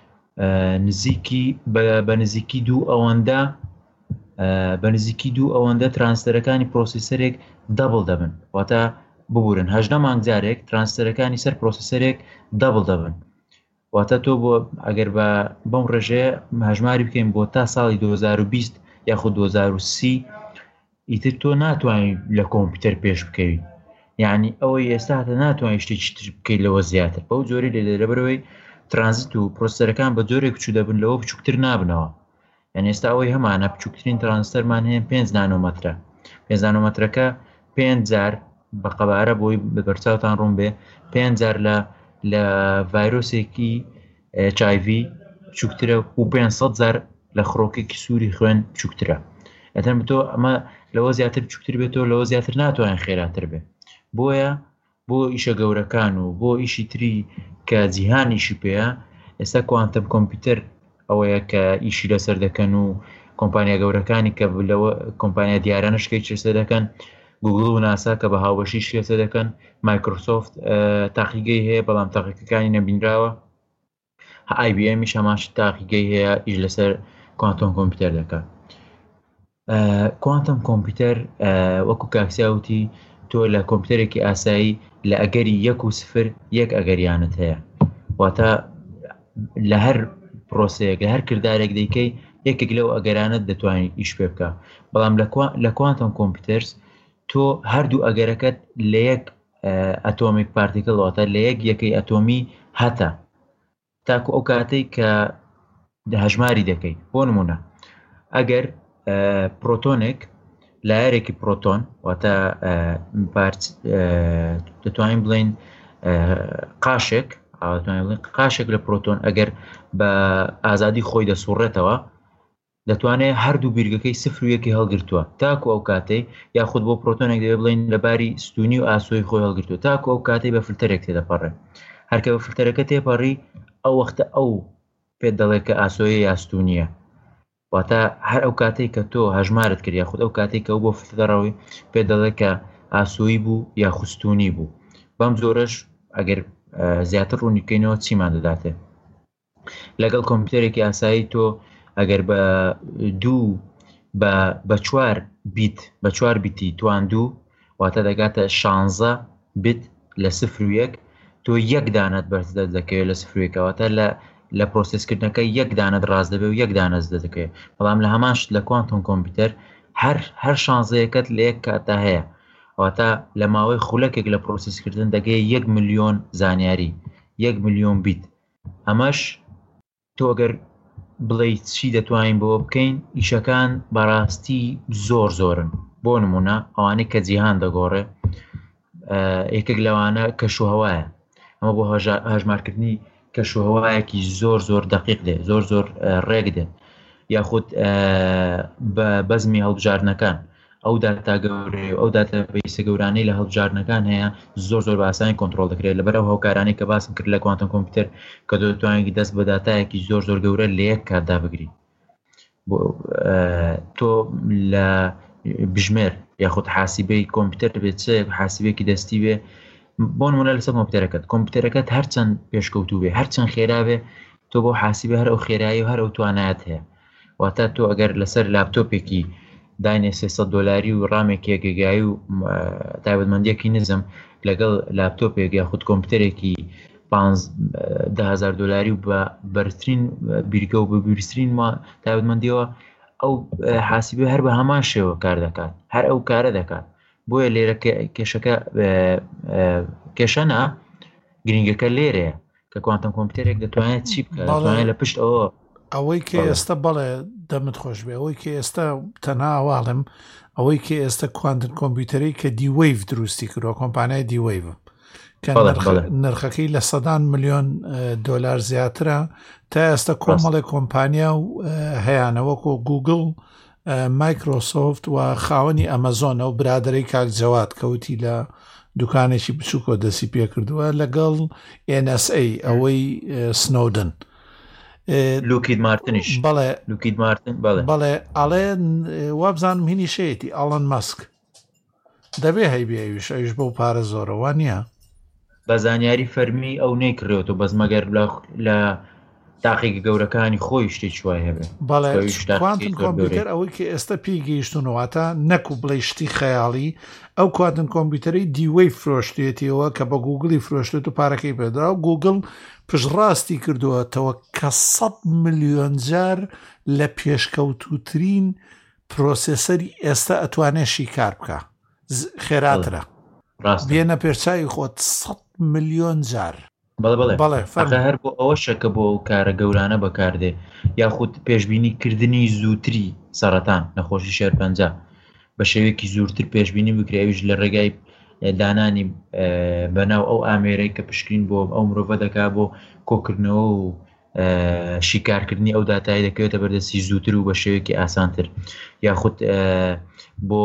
بە نزیکی دوو ئەوەندە ترانزیستەرەکانی پرۆسیسەرێک دەبڵ دەبن واتە ببورن 18 مانگ جارێک ترانزیستەرەکانی سەر پرۆسیسەرێک دەبڵ دەبن واتە تۆ بۆ ئەگەر بەم ڕێژەیە هەژماری بکەین بۆ تا ساڵی 2020 یاخود 2030 ئیتر تۆ ناتوانین لە کۆمپیوتەر پێش بکەوی. یعنی ئەوەی ئێستا هەتا ناتوانین شتێکی تر بکەیت لەوە زیاتر بەو جۆرە لەبەرەوەی ترانزیت و پرۆسیسەرەکان بە جۆرێک بچوو دەبن لەوە بچووکتر نابنەوە. یعنی ئێستا ئەوەی هەمانە بچووکترین ترانزیستەرمان هەیە 5 نانۆمەترە. 5 نانۆمەترەکە 5 جار بە قەبارە بۆی بەرچاوتان ڕوون بێ 5 جار لە ڤایرۆسێکی HIV بچووکترە و 500 جار لە خڕۆکێکی سووری خوێن بچووکترە. ئەتەن بتۆ ئەمە لەوە زیاتر بچووکتر بێتەوە لەوە زیاتر ناتوانین خێراتر بێ. بۆیە بۆ ئیشە گەورەکان و بۆ ئیشی تری کە جیهانیشی پێەیە ئێستا کوانتم کۆمپیوتەر ئەوەیە کە ئیشی لەسەر دەکەن و کۆمپانیا گەورەکانی کە لەوە کۆمپانیا دیارانشکەی چێسە دەکەن گوگل و ناسا کە بە هاوبەشی شێسە دەکەن مایکرۆسۆفت تاقیگەی هەیە بەڵام تاقیەکانی نەبینراوە IBMیش هەماش تاقیگەی هەیە ئیش لەسەر کوانتۆم کۆمپیوتەر دەکات. کوانتم کۆمپیوتەر وەکو کاکسیاوتی تۆ لە کۆمپیوتەرێکی ئاسایی لە ئەگەری 1 و 0 یەک ئەگەریانت هەیە واتە لە هەر پرۆسەیەک لە هەر کردارێک دەیکەی یەکێک لەو ئەگەرانت دەتوانیت ئیش پێ بکە. بەڵام لە کوانتم کۆمپیوتەرز تۆ هەردوو ئەگەرەکەت لە یەک ئەتۆمیک پارتیکل واتە لە یەکەی ئەتۆمی هەتە تاکو ئەو کاتەی کە هەژماری دەکەی. بۆ نمونە ئەگەر پرۆتۆنێک لایەرێکی پرۆتۆن واتە دەتوانین بڵین قاشێک لە پرۆتۆن ئەگەر بە ئازادی خۆی دەسوڕێتەوە دەتوانێت هەردوو بیرگەکەی 0 و 1 هەڵگرتووە تاکو ئەو کاتەی یاخود بۆ پرۆتۆنێک دەبێت بڵین لەباری ستونی و ئاسۆی خۆی هەڵگرتووە تاکو ئەو کاتەی بە فلتەرێک تێدەپەڕێ. هەرکە بە فلتەرەکە تێپەڕی ئەو وەختە ئەو پێت دەڵێت کە ئاسۆیە یاستونیە واتە هەر ئەو کاتێک کە تۆ هەژمارت کرد یاخود ئەو کاتێک کە ئەو بۆ فلتەرەوەی پێت دەڵێت کە ئاسۆیی بوو یا خوستونی بوو. بەم زۆرەش ئەگەر زیاتر ڕوونیکەینەوە چیمان دەداتێ. لەگەڵ کۆمپیوتەرێکی ئاسایی تۆ ئەگەر بە 4 بیت بە 4 بیتی تواندوو واتە دەگاتە 16 بت لە 0 تۆ یەک دانەت بەرزدە دەکەوێت لە 0 لە پرۆسسکردنەکە یەک دانەت ڕاست دەبێت و یەک دانەت دەکەوێت بەڵام لە هەمانشت لە کوانتۆم کۆمپیوتەر هەر شانزەیەکەت لە یەک کاتە هەیە واتە لە ماوەی خولەکێک لە پرۆسسکردن دەگەی 1 ملیۆن زانیاری 1 ملیۆن بیت ئەمەش تۆ ئەگەر بڵێ چی دەتوانین بۆ بکەین ئیشەکان بەڕاستی زۆرن بۆ نمونە ئەوانەی کە جیهان دەگۆڕێ یەکێک لەوانە کەشوهەوایە ئەمە بۆ هەژمارکردنی کەشوهەوایەکی زۆر دقیق دێ زۆر ڕێک دێ یاخود بە بەزمی هەڵبژاردنەکان ئەو داتا گەورەی ئەو داتا بەیسە گەورانەی لە هەڵبژاردنەکان هەیە زۆر بە ئاسانی کۆنتڕۆڵ دەکرێت لەبەرەوە هۆکارانەی کە باسم کرد لە کوانتۆم کۆمپیوتەر کە دەتوانێت دەست بە داتایەکی زۆر گەورە لە یەک کاتدا بگری تۆ لە بژمێر یاخود حاسیبەی کۆمپیوتەر بێت حاسیبێکی دەستی بێ بۆ نمونە لەسەر کۆمپیوتەرەکەت هەرچەند پێشکەوتوو بێ هەرچەند خێرا بێ تۆ بۆ حاسیبە هەر ئەو خێرایی و هەر ئەو توانایەت هەیە واتە تۆ ئەگەر لەسەر لاپتۆپێکی داینێ $300 و ڕامێکی گەگایی و تایبەتمەندیەکی نزم لەگەڵ لاپتۆپێک یاخود کۆمپیوتەرێکی $15,000 و بە بەرزترین بیرگە و بە بیرسترین تایبەتمەندیەوە ئەو حاسیبە هەر بە هەمان شێوە کار دەکات هەر ئەو کارە دەکات بۆیە لێرە کێشەکە کێشەنە گرنگەکە لێرەیە کە کوانتۆم کۆمپیوتەرێک دەتوانێت چی بکات دەتوانێت لە پشت ئەوەی کە ئێستا بەڵێ دەمت خۆش بێ ئەوەی کە ئێستا تەنها ئەواڵم ئەوەی کە ئێستا کوانتم کۆمپیوتەری کە دیوەیڤ دروستی کردووە کۆمپانیای دیوەیڤ کە نرخەکەی لە $100 ملیۆن زیاترە تا ئێستا کۆمەڵی کۆمپانیا و هەیەیانەوەکۆ گوگل مایکرۆسۆفت و خاوەنی ئەمەزۆنە و برادەرەی کاکجەوات کەوتی لە دوکانێکی بچووکۆ دەسی پێ کردووە لەگەڵ NSA ئەوەی سنۆدن لوکید مارتنیش بەڵێ ئەڵێن وابزانم هینی شەیەتی ئەڵەن مەسک دەبێ هەیبێویش ئەوش بەو پارە زۆرەوە نییە بە زانیاری فەرمی ئەو نەیکڕێتەوە بەس مەگەر لە تاقیگە گەورەکانی خۆی شتێکی وای هەبێ بەڵێ کوانتم کۆمپیوتەر ئەوەی کە ئێستا پێی گەیشتونەوەتە نەکو بڵێ شتی خەیاڵی ئەو کوانتم کۆمپیوتەری دیوەی فرۆشتێتیەوە کە بە گوگڵی فرۆشتێت و پارەکەی پێدرا و گوگڵ پشڕاستی کردووەتەوە کە 100 ملیۆن جار لە پێشکەوتوترین پرۆسێسەری ئێستا ئەتوانێت شیکار بکە خێراترە بێنە پێرچاوی خۆت 100 ملیۆن جار بەڵێ هەر بۆ ئەوە شەکە بۆ کارە گەورانە بەکاردێ یاخود پێشبینیکردنی زووتری سەرەتان نەخۆشی شێرپەنجە بە شێوەیەکی زوورتر پێشبینی بکرێویش لە ڕێگای دانانی بەناو ئەو ئامێرەی کە پشکین بۆ ئەو مرۆڤە دەکا بۆ کۆکردنەوە و شیکارکردنی ئەو داتایی دەکەوێتە بەردەستی زووتر و بە شێوەیەکی ئاسانتر یاخود بۆ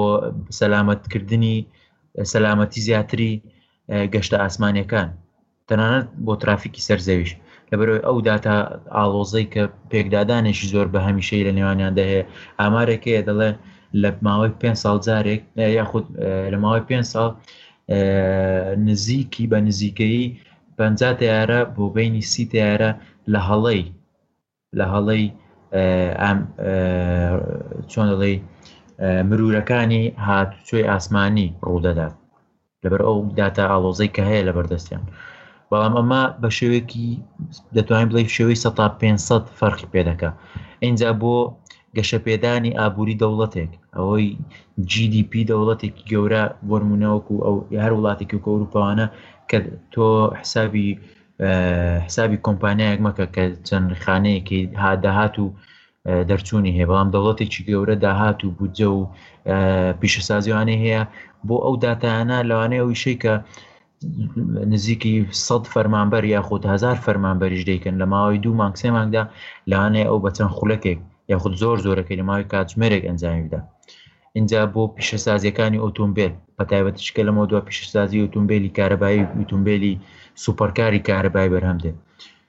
سەلامەتی زیاتری گەشتە ئاسمانیەکان تەنانەت بۆ ترافیکی سەرزەویش لەبەرەوەی ئەو داتا ئاڵۆزەی کە پێکدادانێکی زۆر بە هەمیشەی لە نێوانیاندا هەیە ئامارێکەیە دەڵێ لە ماوەی 5 ساڵ جارێک یاخود لە ماوەی 5 ساڵ نزیکی بە نزیکەیی 50 تیارە بۆ بینی 30 تیارە لە هەڵەی چۆن دەڵێ مرورەکانی هاتوچۆی ئاسمانی ڕوودەدات لەبەر ئەو داتا ئاڵۆزەی کە هەیە لە بەردەستیان بەڵام ئەمە بە شێوەیەکی دەتوانین بڵێ شێوەی 500 فەرقی پێدەکە اینجا بۆ گەشەپێدانی ئابووری دەوڵەتێک ئەوەی GDP دەوڵەتێکی گەورە بۆ نمونەوەکو ئەو هەر وڵاتێکی کە ئەوروپاوانە کە تۆ حسابی کۆمپانیایەک مەکە کە چەند خانەیەکی داهات و دەرچوونی هەیە بەڵام دەوڵەتێکی گەورە داهات و بودجە و پیشەسازیوانەی هەیە بۆ ئەو داتایانە لەوانەیە ئەو ویشەی کە نزیکی 100 فەرمانبەر یاخود 1000 فەرمانبەریش دەیکەن لە ماوەی 2 مانگ 3 مانگدا لەوانەیە ئەو بەچەند خولەکێک یاخود زۆرەکەی لە ماوەی کاتژمێرێک ئەنجامی بدە اینجا بۆ پیشەسازیەکانی ئۆتۆمبیل بە تایبەتیشکە لەمەوە دووە پیشەسازی ئۆتۆمبیلی کارەبایی و ئۆتۆمبیلی سوپەرکاری کارەبایی بەرهەم دێت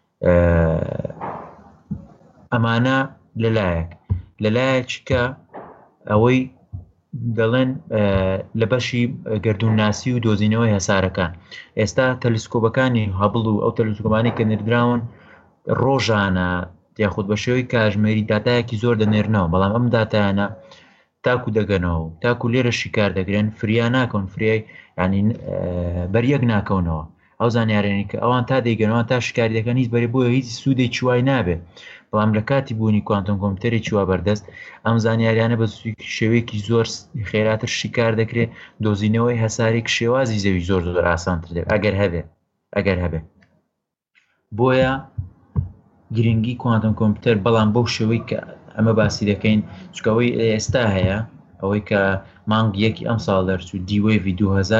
ئەمانە لەلایەک کە ئەوەی دەڵێن لە بەشی گەردوونناسی و دۆزینەوەی هەسارەکان ئێستا تەلسکۆبەکانی هەبڵ و ئەو تەلسکۆبانی کە نردراون ڕۆژانە یاخود بە شێوەی کاتژمێری داتایەکی زۆر دەنێرنەوە بەڵام ئەم داتایانە تاکو دەگەنەوە و تاکو لێرە شیکار دەگرێن فریا ناکەون فریای ینی بەریەک ناکەونەوە ئەو زانیارێنی کە ئەوان تا دەیگەنەوە تا شکاری دەکەن هیچ بەرێ بۆیە هیچ سوودێک چوای نابێ بەڵام لە کاتی بوونی کوانتۆم کۆمپیوتەری چوە بەردەست ئەم زانیاریانە بە شێوەیەکی زۆر خێراتر شیکار دەکرێت دۆزینەوەی هەسارێک شێوازی زەوی زۆر زۆر ئاسانتر دێت ئەگەر هەبێ بۆیە گرنگی کوانتۆم کۆمپیوتەر بەڵام بەو شێوەی کە ئەمە باسی دەکەین چکەوەی ئێستا هەیە ئەوەی کە مانگ یەکی ئەم ساڵ دەرچوو دیوێڤی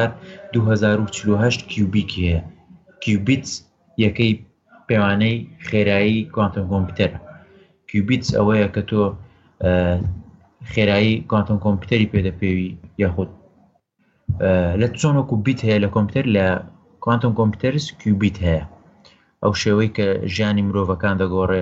2048 کیوبیکی هەیە کیوبیت یەکەی پەیوانەی خێرایی کوانتۆم کۆمپیوتەرە کیوبیت ئەوەیە کە تۆ خێرایی کوانتۆم کۆمپیوتەری پێدەپێوی یاخود لە چۆن وەکو بیت هەیە لە کۆمپیوتەر لە کوانتۆم کۆمپیوتەرس کیوبیت هەیە ئەو شێوەی کە ژیانی مرۆڤەکان دەگۆڕێ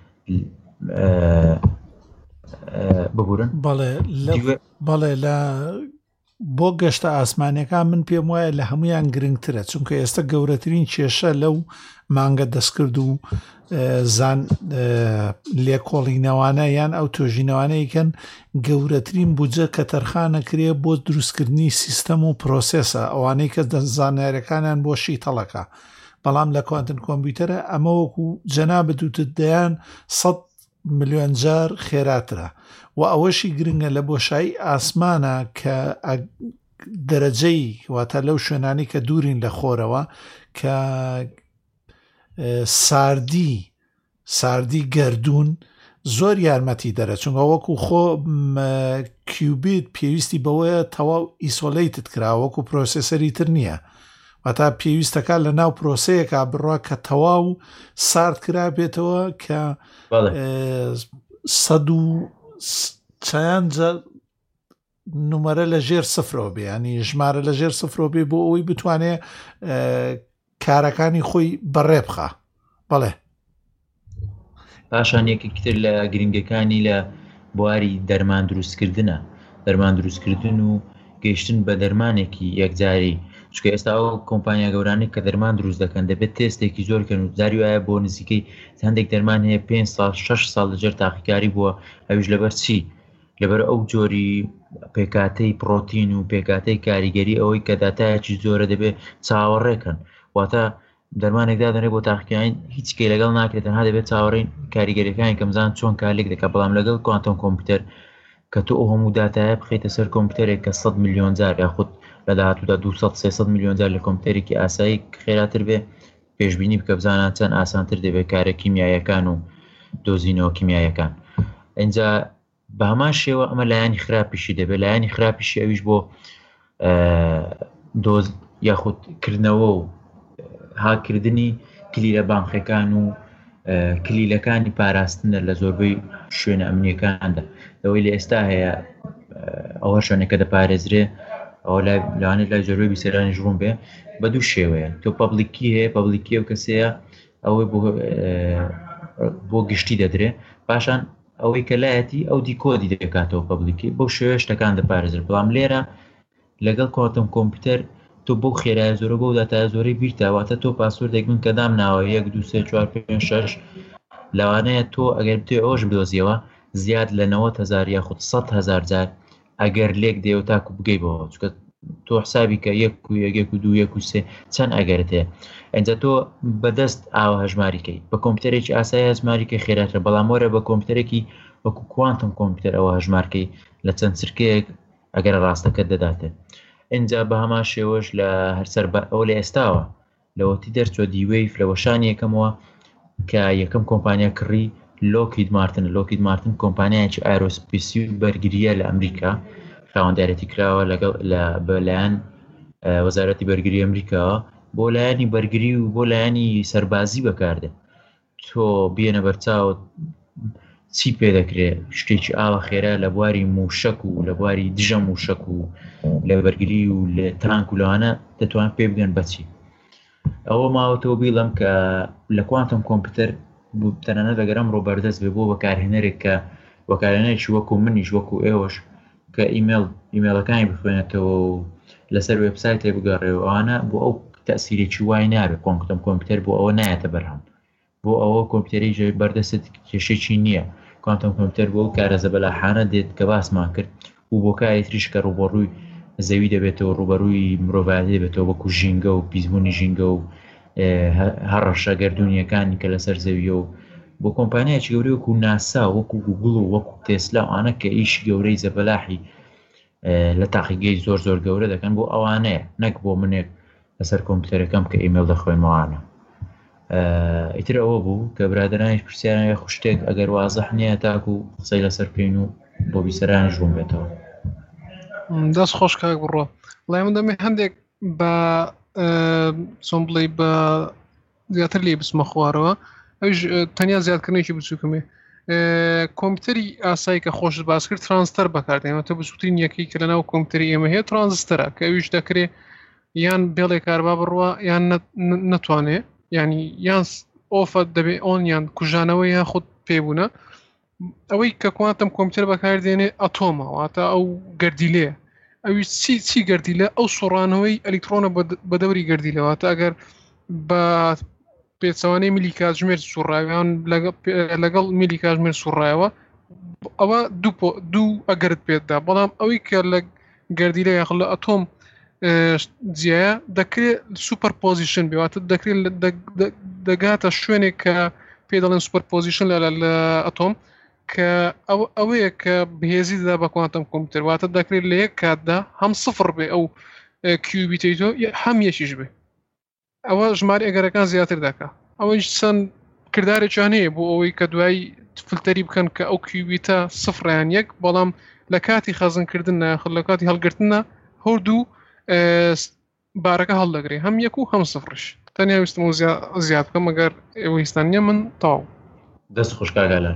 ببورن بەڵێ لە بۆ گەشتە ئاسمانیەکان من پێم وایە لە هەمویان گرنگترە چونکە ئێستا گەورەترین کێشە لەو مانگە دەستکرد و زان لێکۆڵینەوانە یان ئەو تۆژینەوانەیەکەن گەورەترین بودجە کە تەرخانەکرێ بۆ دروستکردنی سیستەم و پرۆسێسە ئەوانەی کە زانیاریەکانیان بۆ شیتەڵەکە بەڵام لە کوانتم کۆمپیوتەرە ئەمە وەکو جەنابەت وتت دەیان 100 ملیۆن جار خێراترە و ئەوەشی گرنگە لە بۆشایی ئاسمانە کە دەرەجەی واتە لەو شوێنانی کە دوورین لە خۆرەوە کە ساردی گەردوون زۆر یارمەتی دەرە چونکە وەکو خۆ کیوبیت پێویستی بەوەیە تەواو ئیسۆلیتت کرا وەکو پرۆسێسەری تر نییە واتە پێویستەکە لە ناو پرۆسەیەکە بڕوا کە تەواو سارد کرا بێتەوە کە 100 نومەرە لە ژێر سفرەوە بێ ینی ژمارە لە ژێر سفرەوە بێ بۆ ئەوەی بتوانێت کارەکانی خۆی بەڕێ بخە بەڵێ پاشان یەکێکتر لە گرنگەکانی لە بواری دەرمان دروستکردن و گەیشتن بە دەرمانێکی یەکجاری چکە ئێستا ئەو کۆمپانیا گەورانێک کە دەرمان دروست دەکەن دەبێت تێستێکی زۆرکەن و جاری وایە بۆ نزیکەی هەندێک دەرمان هەیە 5 ساڵ 6 ساڵ لەجێر تاقیکاری بووە ئەویش لەبەر چی لەبەر ئەو جۆری پێکاتەی پرۆتین و پێکاتەی کاریگەری ئەوەی کە داتایەکی زۆرە دەبێت چاوەڕێکن واتە دەرمانێکدا دەنێ بۆ تاقیکردن هیچ کەی لەگەڵ ناکرێت تەنها دەبێت چاوەڕێی کاریگەریەکانی کەمزان چۆن کارلێک دەکات بەڵام لەگەڵ کوانتۆم کۆمپیوتەر کە تۆ ئەو هەموو داتایە بخیتە سەر کۆمپیوتەرێک کە 100 ملیۆن جار یاخود لە داهاتوودا 200-300 ملیۆن جار لە کۆمپیوتەرێکی ئاسایی خێراتر بێ پێشبینی بکە بزانان چەند ئاسانتر دەبێت کارە کیمیایەکان و دۆزینەوە کیمیایەکان ئەینجا بە هەمان شێوە ئەمە لایانی خراپیشی دەبێت لایانی خراپیشی ئەویش بۆ دۆز یاخودکردنەوە و هاکردنی کلیلە بانقیەکان و کلیلەکانی پاراستنە لە زۆربەی شوێنە ئەمنیەکاندا ئەوەی لە ئێستا هەیە ئەوە شوێنەکە دەپارێزرێ ئەو لەوانێت لای زۆربەی بیسەرانی ژوون بێ بە دوو شێوەیە تۆ پەبلیکی هەیە پەبلیکی ئەو کەسەیە ئەوەی بۆ گشتی دەدرێ پاشان ئەوەی کە لایەتی ئەو دیکۆدی دەکاتەوە پەبلیکی بەو شێوەیە شتەکان دەپارێزر بەڵام لێرە لەگەڵ کوانتۆم کۆمپیوتەر تۆ بەو خێرایە زۆرە بۆ داتایە زۆرەی بیرتاواتە تۆ پاسوردێک من کە دامناوە 1 2 3 4 5 6 لەوانەیە تۆ ئەگەر بتێ ئەوش بدۆزیەوە زیاد لە 90,000 یاخود 100,000 جار ئەگەر لێک دێ و تاکو بگەیبەوە چکە تۆ حسابی کە 1 و 2 1 و 3 چەند ئەگەرت هەیە ئەنجا تۆ بەدەست ئاوە هەژماریکەی بە کۆمپیوتەرێکی ئاسایی هەژماریکە خێراترە بەڵام وەرە بە کۆمپیوتەرێکی وەکو کوانتم کۆمپیوتەر ئەوە هەژمارکەی لە چەند سرکەیەک ئەگەر ڕاستەکە دەداتێت ئینجا بە هەمان شێوەش لە هەرسەر ئەو لە ئێستاوە لەوەتی دەرچوە دیوەیف لە وەشانی یەکەمەوە کە یەکەم کۆمپانیا کڕی لۆکید مارتن کۆمپانیایکی ئایرۆسپیسی و بەرگریە لە ئەمریکا خاوەندارەتی کراوە بەلایەن وەزارەتی بەرگری ئەمریکاوە بۆ لایەنی بەرگری و بۆ لایەنی سەربازی بەکاردێت تۆ بێنە بەرچاو چی پێ دەکرێت شتێکی ئاوە خێرا لە بواری موشک و لە بواری دژە موشک و لە بەرگری و لە تانک و لەوانە دەتوان پێ بگەن بەچی ئەوە ماوەتەوە بیڵم کە لە کوانتم کۆمپیوتەر تەنانەت لەگەرم ڕۆبەردەست بێ بۆ بەکارهێنەرێک کە بەکارهێنەرێکی وەکو منیش وەکو ئێوەش کە ئیمێلەکانی بخوێنێتەوە و لەسەر وێبسایتێ بگەڕێەوە ئەوانە بۆ ئەو تەسیرێکی وای نابێت کوانتم کۆمپیوتەر بۆ ئەوە نایەتە بەرهەم بۆ ئەوە کۆمپیوتەری بەردەست کێشێکی نییە کوانتم کۆمپیوتەر بۆ کارەزە بەلاحانە دێت کە باسمان کرد و بۆ کاری تریش کە ڕوبەڕووی زەوی دەبێتەوە ڕوبەڕووی مرۆڤایەتی دەبێتەوە وەکو ژینگە و پیسبوونی ژینگە و هەڕەشە گەردوونیەکانی کە لەسەر زەویە و بۆ کۆمپانیایکی گەورەی وەکو ناسا وەکو گوگڵ و وەکو تێسلا ئەوانە کە ئیشی گەورەی زەبەلاحی لە تاقیگەی زۆر گەورە دەکەن بۆ ئەوانەیە نەک بۆ منێک لەسەر کۆمپیوتەرەکەم کە ئیمێل دەخۆیمەوانە. ئیتر ئەوە بوو کە برادرانیش پرسیارە خوشتێک ئەگەر وازەح نییە تاکو قسەی لەسەر بکەین و بۆ بیسەرانیش ڕوون بێتەوە. دەست خۆش کاک بڕۆ وڵای من دەمێ هەندێک بە چۆن بڵێ بە زیاتر لێ بسمە خوارەوە ئەوش تەنیا زیادکردنێکی بچووکمێ کۆمپیوتەری ئاسایی کە خۆش باس کرد ترانزستەر بەکاردێنێتە بچووترین یەکەی کە لەناو کۆمپیوتەری ئێمە هەیە ترانزستەرە کە ئەویش دەکرێت یان بێڵێ کاربا بڕوە یان نەتوانێت ینی یان ئۆفە دەبێت ئۆن یان کوژانەوەی یان خودت پێبوونە ئەوەی کە کوانتم کۆمپیوتەر بەکاردێنێ ئەتۆمە واتە ئەو گەردیلەیە ئەوی چی گەردیلە ئەو سوڕانەوەی ئەلیکترۆنە بە دەوری گەردیلەواتە ئەگەر بە پێچەوانەی میلی کاتژمێر سوڕاویان لەگەڵ میلی کاتژمێر سوڕایەوە ئەوە دوو ئەگەرت پێتدا بەڵام ئەوەی کە لە گەردیلە یاخل لە ئەتۆم جیایە دەکرێت سوپەر پۆزیشن بێواتە دەکرێت دەگاتە شوێنێک کە پێ دەڵێن سوپەر پۆزیشن لە ئەتۆم کە ئەوەیە کە بەهێزی دەدا بە کوانتم کۆمپیوتەر واتە دەکرێت لە یەک کاتدا هەم سفر بێ ئەو کیوبیتیتۆ هەم یەکیش بێ ئەوە ژماری ئەگەرەکان زیاتر دەکات ئەوەش چەند کردارێکیان هەیە بۆ ئەوەی کە دوای فلتەری بکەن کە ئەو کیوبیتە سفریان یەک بەڵام لە کاتی خەزنکردن ناخل لە کاتی هەڵگرتنە هەردوو بارەکە هەڵدەگرێ هەم یەک و هەم سفرش تەنیا ویستم و زیاد بکەم ئەگەر ئێوەستان نیە من تاو دەست خۆشکاگالە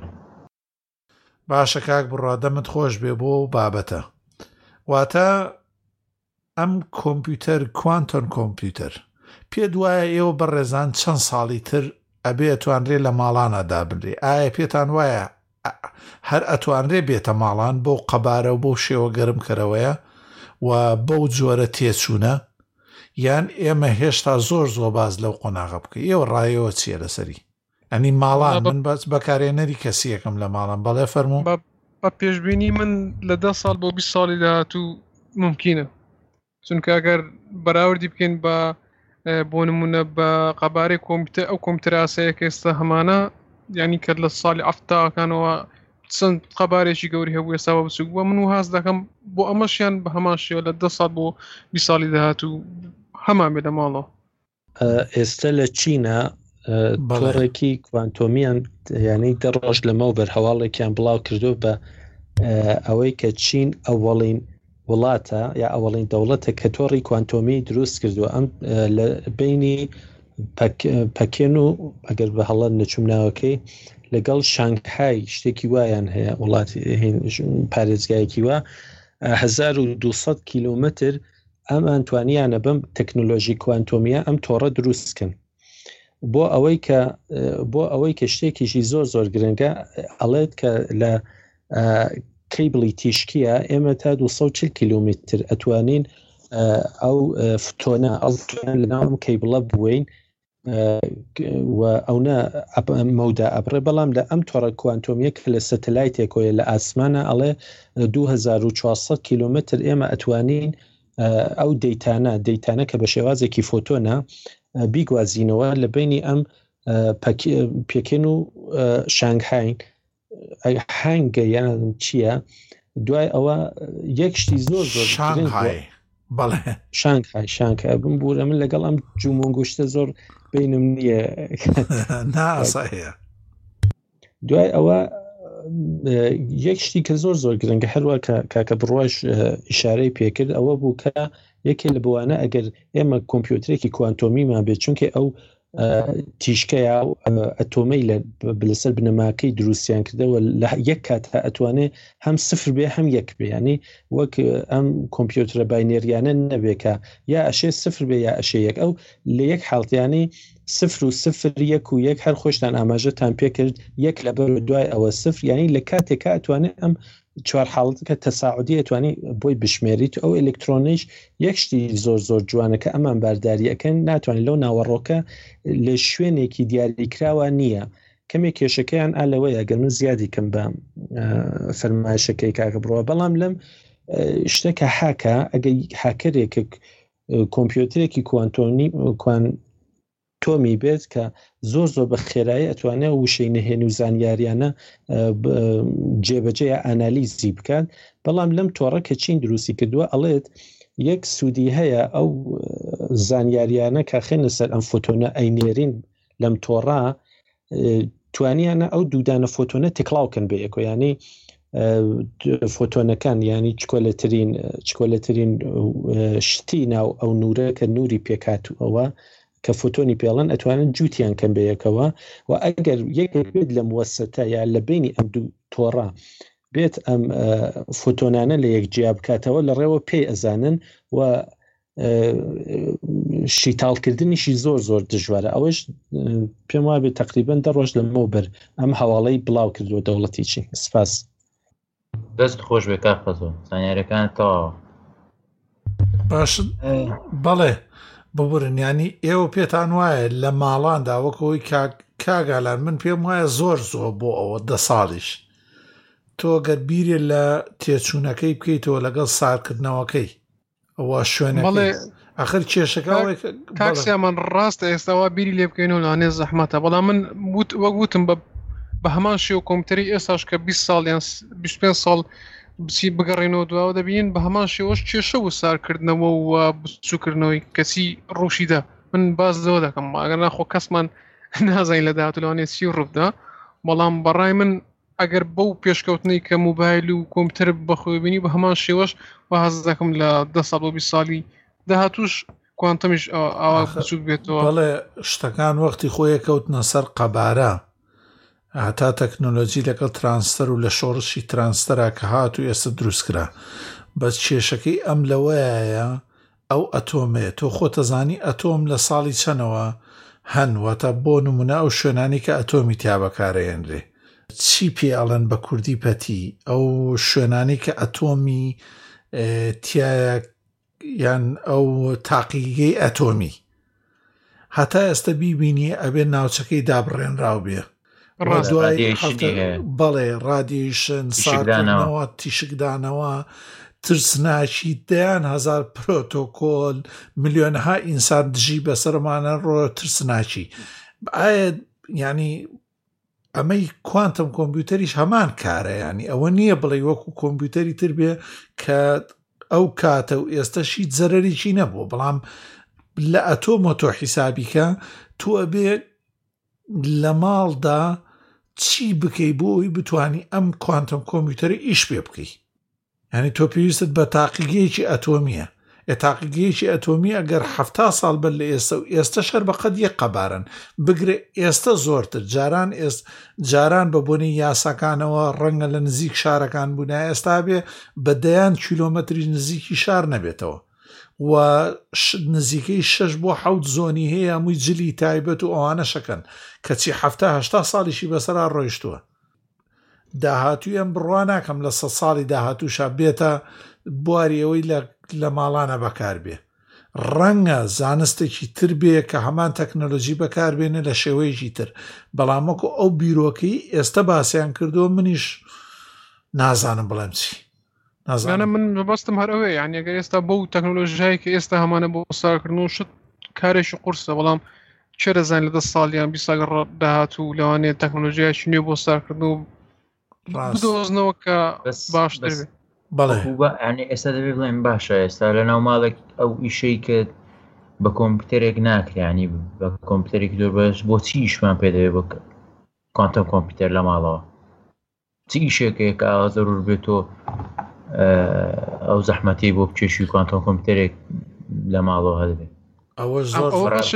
باشە کاک بڕا دەمت خۆش بێ بۆ بابەتە واتە ئەم کۆمپیوتەر کوانتۆن کۆمپیوتەر پێ دوایە ئێوە بەڕێزان چەند ساڵی تر ئەبێ ئەتوانرێ لە ماڵانەدا بنرێ ئایا پێتان وایە هەر ئەتوانرێ بێتە ماڵان بۆ قەبارە و بۆ شێوە گەرمکەرەوەیە و بەو جۆرە تێچوونە یان ئێمە هێشتا زۆر باز لەو قۆناغە بکە ئێوە ڕایەوە چیە لەسەری ئەنی ماڵان من بەس بەکارێنەری کەسیەکەم لە ماڵم بەڵێ فەرموو بە پێشبینی من لە 10 ساڵ بۆ 20 ساڵی داهاتوو ممکنە چونکە ئەگەر بەراوردی بکەین بە بۆ نمونە بە قەبارەی کۆمپیوتەر ئەو کۆمپیوتەر ئاساییە کە ئێستا هەمانە یعنی کە لە ساڵی ئەفتاکانەوە چەند قەبارێکی گەوری هەبوو ئێستاوە بچووک بووە من و هاز دەکەم بۆ ئەمەشیان بە هەمان شێوە لە 10 ساڵ بۆ 20 ساڵی داهاتوو هەمان بێ لە ماڵەوە. ئێستا لە چینە تۆڕێکی کوانتۆمیان یعنی 10 ڕۆژ لەمەوە بەرهەواڵێکیان بڵاو کردو بە ئەوەی کە چین ئەوەڵین وڵاتە یا ئەوەڵین دەوڵەتە کە تۆڕی کوانتۆمی دروست کردووە ئەم لە بینی پەکێن و ئەگەر بە هەڵەت نەچوم ناوەکەی لەگەڵ شانگهای شتێکی وایان هەیە وڵاتی پارێزگایەکی وە 1200 کیلومتر ئەم ئەتوانیانە بەم تەکنۆلۆژی کوانتۆمیە ئەم تۆڕە دروستکەن بۆ ئەوەی کە شتێکیشی زۆر گرنگە ئەڵێت کە لە کەیبڵی تیشکیە ئێمە تا 240 کیلومتر ئەتوانین ئەو فتۆنە لەناو ئەم کەیبڵە بووین و ئەوە مەودا ئەبڕێ بەڵام لە ئەم تۆڕە کوانتۆمیە کە لە سەتەلایتێکۆیە لە ئاسمانە ئەڵێ 2400 کیلومتر ئێمە ئەتوانین ئەو دەیتانە کە بە شێوازێکی فۆتۆنە بیگوازینەوە لە بینی ئەم پێکێن و شانگهای هەنگە یان چییە دوای ئەوە یەک شتی زۆر شانگهای بم بوورە من لەگەڵ ئەم جومۆنگوشتە زۆر بینم نییە ناسەیە دوای ئەوە یەک شتی کە زۆر گرنگە هەروە کاکە بڕواش ئیشارەی پێکرد ئەوە بوو کە یەکێ لە بوانە ئەگەر ئێمە کۆمپیوترێکی کوانتۆمیمان بێت چونکە ئەو تیشکەیە و ئەتۆمەی لەسەر بنەماکەی دروستیان کردەوە لە یەک کاتە ئەتوانێت هەم سفر بێ هەم یەک بێ ینی وەک ئەم کۆمپیوترە باینێریانە نەبێکە یا ئەشێ سفر بێ یا ئەشێ یەک ئەو لە یەک حاڵتیانی سفر و سفر یەک و یەک هەر خۆشتان ئاماژەتان پێکرد یەک لەبەر دوای ئەوە سفر ینی لە کاتێکە ئەتوانێت ئەم چوار حاڵەتەکە تەساعودی ئەتوانی بۆی بشمێریت ئەو ئەلکترۆنیش یەک شتی زۆر جوانەکە ئەمان بارداریەکەن ناتوانێت لەو ناوەڕۆکە لە شوێنێکی دیاریکراوە نییە کەمێک کێشەکەیان ئالەوەیە گەر من زیادی کەم بە فەرمایشەکەی کاکە بڕەوە بەڵام لەم شتێکە حاکە ئەگەر حاکەرێکە کۆمپیوترێکی کوانتۆمی بێت کە زۆر بە خێرایی ئەتوانێت وشەی نهێن و زانیاریانە جێبەجێ ئانالیزی بکات. بەڵام لەم تۆڕە کە چین دروستی کردووە ئەڵێت یەک سوودی هەیە ئەو زانیاریانە کە خێنە سەر ئەم فۆتۆنە ئەینێرین لەم تۆڕە توانیانە ئەو دوودانە فۆتۆنە تێکڵاوکەن بە یەکۆ، ینی فۆتۆنەکان ینی چکۆلەترین شتی ناو ئەو نورە کە نوری پێکاتوەوە کە فۆتۆنی پێڵەن ئەتوانن جووتیان کەم بە یەکەوە. و ئەگەر یەکێک بێت لەم وەسەتە یا لە بینی ئەم دوو تۆڕە بێت ئەم فۆتۆنانە لە یەک جیا بکاتەوە لە ڕێوە پێی ئەزانن و شیتاڵکردنیشی زۆر دژوارە. ئەوەش پێم وایە بێت تقریبەن 10 ڕۆژ لەمەوە بەر ئەم هەواڵەی بڵاو کردووە دەوڵەتی چین. سپاس. دەست خۆش بێ کاکەزۆ زانیاریەکان تەواوە. باش بەڵێ ببورن، ینی ئێوە پێتان وایە لە ماڵاندا وەکەوەی کاگالان من پێم وایە زۆر بۆ ئەوە 10 ساڵیش تۆ گەر بیرێ لە تێچوونەکەی بکەیتەوە لەگەڵ سارکردنەوەکەی ئەوە شوێنەکەی ئاخر کێشەکە تاکسیامان ڕاستە ئێستاوا بیری لێ بکەینەوە لەوانێ زەحمەتە. بەڵام من وەگوتم بە هەمان شێوە کۆمپیوتەری ئێستاش کە 20 ساڵ یان 25 ساڵ بچی بگەڕێنەوە دواوە دەبین بە هەمان شێوەش کێشە و سارکردنەوە و بچووکردنەوەی کەسی ڕوشیدا. من باز لەوە دەکەم ئەگەر ناخۆ کەسمان نازانین لە داهاتوو لەوانێ چی ڕووبدا. بەڵام بەڕای من ئەگەر بەو پێشکەوتنەی کە موبایل و کۆمپیوتەر بەخۆی بینی بە هەمان شێوەش واز دەکەم لە 10 ساڵ و 20 ساڵی داهاتووش کوانتەمیش ئاوا بچووک بێتەوە. بەڵێ شتەکان وەختی خۆیە کەوتنە سەر قەبارە هەتا تەکنۆلۆجی لەگەڵ ترانسفەر و لە شۆڕشی ترانسفەرا کە هاتوو ئێستا دروستکرا. بەس کێشەکەی ئەم لەوەیە ئەو ئەتۆمێ تۆ خۆتەزانی ئەتۆم لە ساڵی چەنەوە هەنوەتە بۆ نمونە ئەو شوێنانی کە ئەتۆمی تیا بەکارەهێنرێ چی پێ ئەڵەن بە کوردی پەتی ئەو شوێنانی کە ئەتۆمی تایە یان ئەو تاقیگەی ئەتۆمی هەتا ئێستا بیبینی ئەبێ ناوچەکەی دابڕێنراو بێ بەڵێ ڕادیشن ساکردنەوە تیشکدانەوە ترسناکی 10,000 پرۆتۆکۆل ملیۆنها ئینسان دژی بەسەرمانە ڕۆ ترسناکی. ئایا ینی ئەمەی کوانتم کۆمپیوتەریش هەمان کارە، ینی ئەوە نییە بڵێ وەکو کۆمپیوتەری تر بێ کە ئەو کاتە و ئێستاشی زەرەرێکی نەبووە. بەڵام لە ئەتۆمە تۆ حیسابیکە تۆ ئەبێ لە ماڵدا چی بکەی بۆی بتانی ئەم کوانتم کۆمپیوتەری ئیش پێ بکەی. ینی تۆ پێویستت بە تاقیگەیەکی ئەتۆمیە. تاقیگەیەکی ئەتۆمی ئەگەر 70 ساڵ بەر لە ئێستا و ئێستا شەر بەقەت یەک قەبارن بگرێ ئێستا زۆرتر جاران بە بۆنی یاساکانەوە ڕەنگە لە نزیک شارەکان بوون ئێستا بێ بە 10 کیلۆمەتری نزیکی شار نەبێتەوە و نزیکەی 6 بۆ 7 زۆنی هەیە هەمووی جلی تایبەت و ئەوانە شەکەن کەچی 70 ساڵیشی بەسەرا ڕۆیشتووە. داهاتوی ئەم بڕوا ناکەم لە 100 ساڵی داهاتووشا بێتە بواریەوەی لە ماڵانە بەکار بێ. ڕەنگە زانستێکی تر بێ کە هەمان تەکنۆلۆژی بەکاربێنە لە شێوەیەکی تر. بەڵامەکو ئەو بیرۆکەی ئێستا باسییان کردووە منیش نازانم بڵێم چی نازانم. من بەبستم هەر ئەوەیە یعنی ئەگەر ئێستا بەو تەکنۆلۆژیایی کە ئێستا هەمانە بۆ سارکردن و شت کارێکی قورسە. بەڵام چێ دەزانین لە 10 ساڵیان 20 ساڵ داهاتوو لەوانەیە تەکنۆلۆژیایکی نوێ بۆ سارکردن و بدۆزنەوە کە باشتر بێت. ینی ئێستا دەبێ بڵێن باشە ئێستا لە ناو ماڵێک ئەو ئیشەی کە بە کۆمپیوتەرێک ناکرێنی بە کۆمپیوتەرێکی زۆر بەش بۆچی ئیشمان پێ دەوێت بە کوانتم کۆمپیوتەر لە ماڵەوە چی ئیشێکەیە کە ئاوا زەرور بێتەوە ئەو زەحمەتی بۆ بچێشی کوانتم کۆمپیوتەرێک لە ماڵەوە هەدەبێت. ئەوە زۆر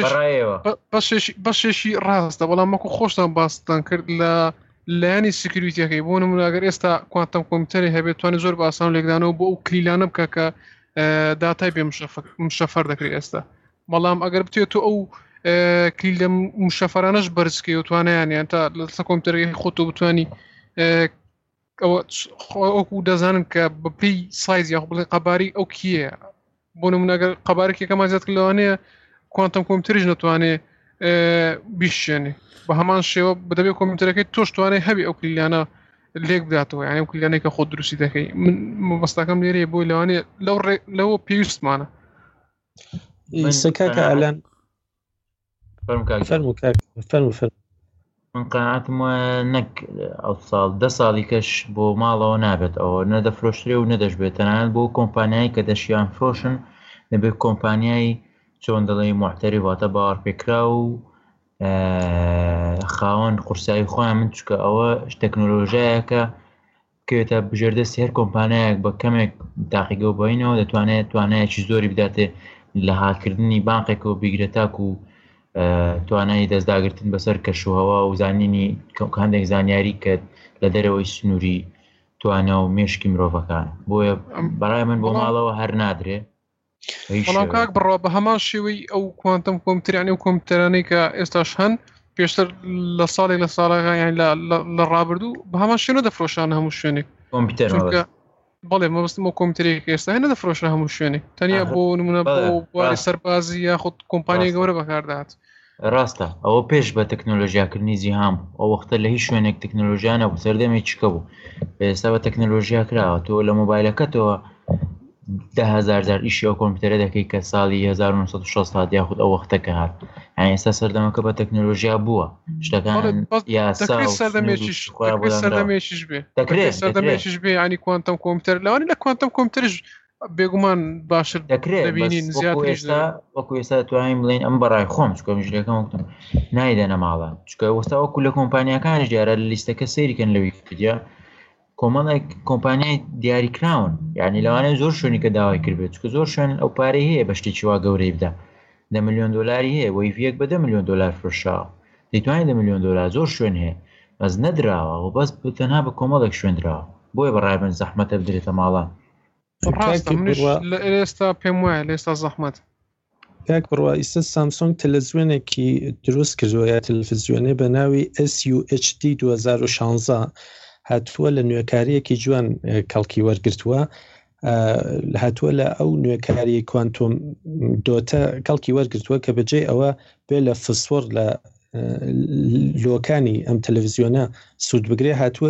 بەشێکی ڕاستە. بەڵام مەکو خۆشتان باستان کرد لایانی سکیوریتیەکەی بۆ نمونە ئەگەر ئێستا کوانتم کۆمپیوتەری هەبێت توانێت زۆر بە ئاسان لێکدانەوە بۆ ئەو کلیلانە بکە کە داتای بێ مشەفەر دەکرێت ئێستا. بەڵام ئەگەر بتێت ئەو کلیل لە مشەفەرانەش بەرزکەی و توانیان تا لەسەر کۆمپیوتەرەکەی خۆت و بتوانی ئەوکو دەزانن کە بەپی سایز یا بڵێ قەباری ئەو کیە. بۆ نمونە ئەگەر قەبارێکێکەمان زیاد کردلەوانەیە کوانتم کۆمپیوتەریش نەتوانێت بیشێنێ. بە هەمان شێوە بدەبێت کۆمپیوتەرەکەی تۆش توانێت هەبی ئەو کلیلانە لێک بداتەوە یعنی کلیانێکە خۆ دروستی دەکەی من مەبەستەکەم لێرەیە بۆی لەوانێ لەوە پێویستمانە سەکاکە ئالان فەرمو من قەناعەتم وایە نەک ئەو ساڵ 10 ساڵی کەش بۆ ماڵەوە نابێت ئەوە نەدەفرۆشترێ و نەدەشبێت تەنانەت بۆ کۆمپانیایی کە دەشیان فرۆشن دەبێت کۆمپانیایی چۆن دەڵێ محتەری واتە باوەڕ پێکرا و خاوەن قورسایی خۆیان من چکە ئەوە تەکنۆلۆژیایەکە بکەوێتە بژێردەستی هەر کۆمپانیایەک بە کەمێک داقیگە و بەینەوە دەتوانێت توانایەکی زۆری بداتێ لە هاکردنی بانقێکەوە بیگرێتاک و توانایی دەستداگرتن بەسەر کەشوهەوا و زانینی هەندێک زانیاری کە لە دەرەوەی سنووری توانە و مێشکی مرۆڤەکان بۆیە بەڕای من بۆ ماڵەوە هەر نادرێ بەڵام کاک بڕوا بە هەمان شێوەی ئەو کوانتم کۆمپیوتەرانی و کۆمپیوتەرانەی کە ئێستاش هەن پێشتر لە ساڵێک لە ساڵەکان یان لە ڕابردوو بە هەمان شوێنە دەفرۆشانە هەموو شوێنێک کۆمپیوتەر بەڵێ مەبەستم بۆ کۆمپیوتەرێک ئێستا هێنە دەفرۆشە هەموو شوێنێک تەنیا بۆ نمونە بۆ بواری سەربازی یاخود کۆمپانیای گەورە بەکاردات ڕاستە ئەوە پێش بە تەکنۆلۆژیاکردنی زیهام ئەو وەختە لە هیچ شوێنێک تەکنۆلۆژیانە بوو سەردەمێک چکە بوو ئێستا بە تەکنۆلۆژیا کراوە تۆ لە مۆبایلەکەتەوە 10,000 ئیشی ئەو کۆمپیوتەرە دەکەی کە ساڵی 1960 یاخود ئەو وەختەکە هات یعنی ئێستا سەردەمەکە بە تەکنۆلۆژیا بووە شتەکان یاسا سەردەمێکیش بێ ینی کوانتم کۆمپیوتەر لەوانی لە کوانتم کۆمپیوتەرش بێگومان باشتر دەکرێت وەکو ئێستا دەتوانین بڵێن ئەم بەڕای خۆم چکە مژلەکەم وەختم نایدەنە ماڵان چکە وەستا وەکو لە کۆمپانیەکانش دیارە لە لیستەکە سەیریکەن لە ویکیپیدیا کۆمەڵێک کۆمپانیای دیاریکراون یعنی لەوانەیە زۆر شوێنی کە داوای کردبێت چکە زۆر شوێن ئەو پارەی هەیە بە شتێکی وا گەورەی بدا 10 ملیۆن دلاری هەیە وەیڤیەک بە 10 ملیۆن دلار فرۆشراوە دەیتوانێت 10 ملیۆن دلار زۆر شوێن هەیە بەس نەدراوە و بەس تەنها بە کۆمەڵێک شوێندراوە بۆیە بەڕای من زەحمەتە بدرێتە ماڵان ئێستا پێم وایە لە ئێستا زەحمەت کاک بڕوا ئیستا سامسۆنگ تەلەڤیزیۆنێکی دروست کردووە یا تەلەڤیزیۆنێ بە ناوی SUHD 2016 هاتووە لە نوێکاریەکی جوان کەڵکی وەرگرتووە هاتووە لە ئەو نوێکاری کوانتۆم دۆتە کەڵکی وەرگرتووە کە بەجێ ئەوە بێ لە فسفۆر لە لۆکانی ئەم تەلەڤیزیۆنە سوود بگرێ هاتووە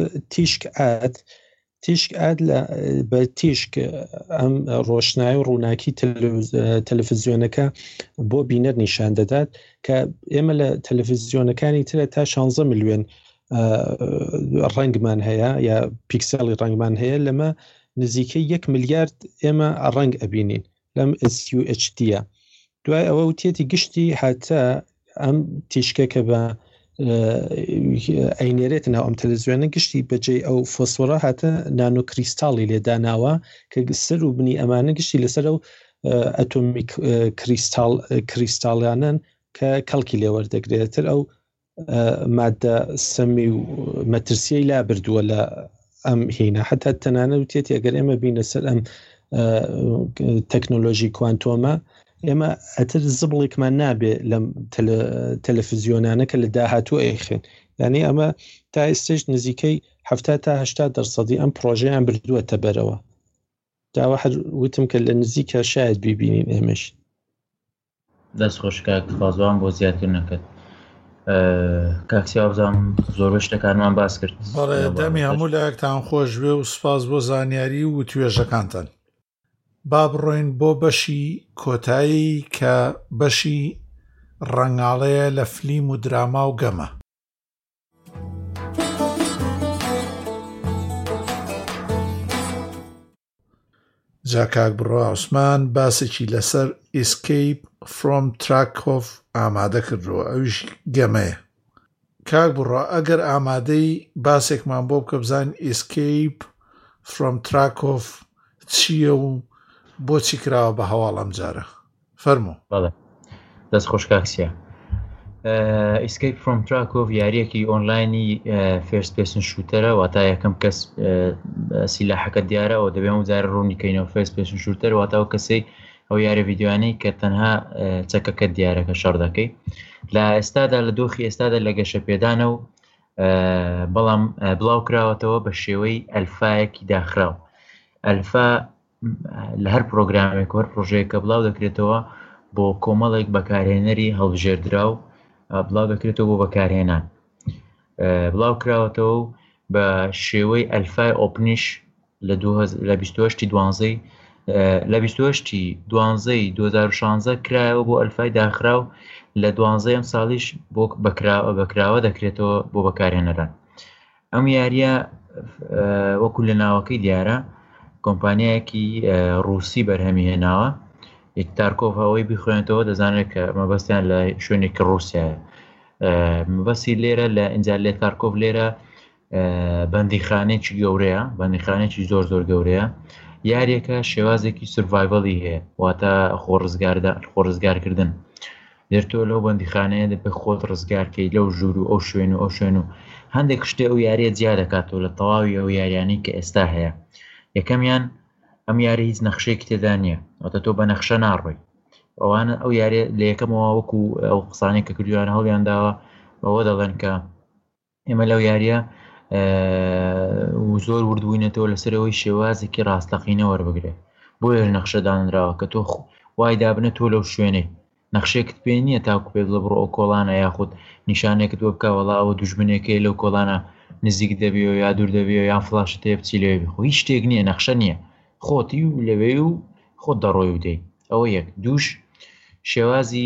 تیشک ئاد بە تیشک ئەم ڕۆشنایی و ڕووناکی تەلەڤیزیۆنەکە بۆ بینەر نیشان دەدات کە ئێمە لە تەلەڤیزیۆنەکانی ترە تا 16 ملیۆن ڕەنگمان هەیە یا پیکسەڵی ڕەنگمان هەیە لەمە نزیکەی 1 ملیارد ئێمە ڕەنگ ئەبینین لەم SUHD-ە دوای ئەوە وتێتی گشتی هاتە ئەم تیشکەکە بە ئەینێرێت ناو ئەم تەلەڤیزیۆنە گشتی بەجێ ئەو فۆسفۆرە هاتە نانۆکریستاڵی لێداناوە کە سەر و بنی ئەمانە گشتی لەسەر ئەو ئەتۆمیک کریستاڵیانن کە کەڵکی لێوەردەگرێتتر ئەو مادە سەمی و مەترسیەی لا بردووە لە ئەم هینە حتا تەنانە وتێتی ئەگەر ئێمە بینە سەر ئەم تەکنۆلۆژی کوانتۆمە ئێمە ئەتر زبڵێکمان نابێ لەم تەلەڤیزیۆنانە کە لە داهاتوو ئەیخێن یعنی ئەمە تا ئێستش نزیکەی 70 تا 80% ئەم پرۆژەیان بردووەتە بەرەوە داوا هەر وتم کە لە نزیکە شاید بیبینین ئێمەش دەست خۆشکە خوازوان بۆ زیاتر نەکرد کاکسیا بزانم زۆر شتەکانمان باس کرد بەڵێ دەمی هەموو لایەکتان خۆش بێ و سپاس بۆ زانیاری و توێژەکانتان با بڕۆین بۆ بەشی کۆتایی کە بەشی ڕەنگاڵەیە لە فلیم و دراما و گەمە جا کاک بڕوا عوسمان باسێکی لەسەر ئیسکەیپ فرۆم تراکۆف ئامادە کردووە ئەویش گەمەیە کاک بڕوا ئەگەر ئامادەی باسێکمان بۆ بکە بزانین ئیسکەیپ فرۆم تراکۆف چییە و بۆچی کراوە بە هەواڵ ئەم جارە فەرموو بەڵێ دەست خۆش کاکسیا ئیسکەیپ فرۆم تراکۆف یاریەکی ئۆنلاینی فێرست پێرسن شوتەرە واتە یەکەم کەس سیلاحەکە دیارەوە دەبێ و جارە ڕوونیکەینەوە فێرست پێرسن شوتەر واتە ئەو کەسەی ئەو یارە ڤیدیوانەی کە تەنها چەکەکە دیارەکە شەڕ دەکەی لە ئێستادا لە دۆخی ئێستادا لە گەشە پێدانە و بەڵام بڵاو کراوەتەوە بە شێوەی ئەلفایەکی داخراو ئەلفا لە هەر پرۆگرامێک هەر پرۆژەیەکە بڵاو دەکرێتەوە بۆ کۆمەڵێک بەکارهێنەری هەڵبژێردرا و بڵاو دەکرێتەوە بۆ بەکارهێنان بڵاو کراوەتەوە و بە شێوەی ئەلفای ئۆپنیش لە 28 لە 28 دوانزەی 2016 کرایەوە بۆ ئەلفای داخراو لە 12 ساڵیش بۆ بەکراوە دەکرێتەوە بۆ بەکارهێنەران. ئەم یاریە وەکو لە ناوەکەی دیارە کۆمپانیایەکی ڕووسی بەرهەمی هێناوە. تارکۆڤ ئەوەی بخوێنێتەوە دەزانێت کە مەبەستیان لە شوێنێکی ڕووسیایە. مەبەستی لێرە لە ئینجا لێ تارکۆڤ لێرە بەندیخانێکی گەورەیە، بەندیخانێکی زۆر گەورەیە. یاریەکە شێوازێکی سڤایڤەڵی هەیە، واتە خۆڕزگارکردن. دێرتۆ لەو بەندیخانەیە دەبێ خۆت ڕزگارکەی لەو ژوور و ئەو شوێن و هەندێک شتێ ئەو یاریە جیا دەکاتەوە لە تەواوی ئەو یاریانەی کە ئێستا هەیە. یەکەمیان ئەم یاری هیچ نەخشەیەکی تێدا نییە، واتە تۆ بە نەخشە ناڕۆی. ئەوانە ئەو یاریە لە یەکەمەوە وەکو ئەو قسانێک کە کردویان هەڵیان داوە بەوە دەڵێن کە ئێمە لەو یاریە زۆر وردبووینەتەوە لەسەرەوەی شێوازێکی ڕاستەقینە وەربگرێت. بۆیە نەخشە دانراوە کە تۆ وای دابنە تۆ لەو شوێنەی نەخشێکت پێ نییە تاکو پێ بڵێ بڕۆ ئەو کۆڵانە یاخود نیشانێکت وە بکە وەڵا ئەوە دوژمنێکی لەو کۆڵانە نزیک دەبێ و یا دوور دەبێ و یان فلاشت هەیە بچی لێوێ خۆ هیچ شتێک نییە، نەخشە نییە، خۆتی و لەوێ و خۆت دەڕۆی و دەی. ئەوە یەک. دووش شێوازی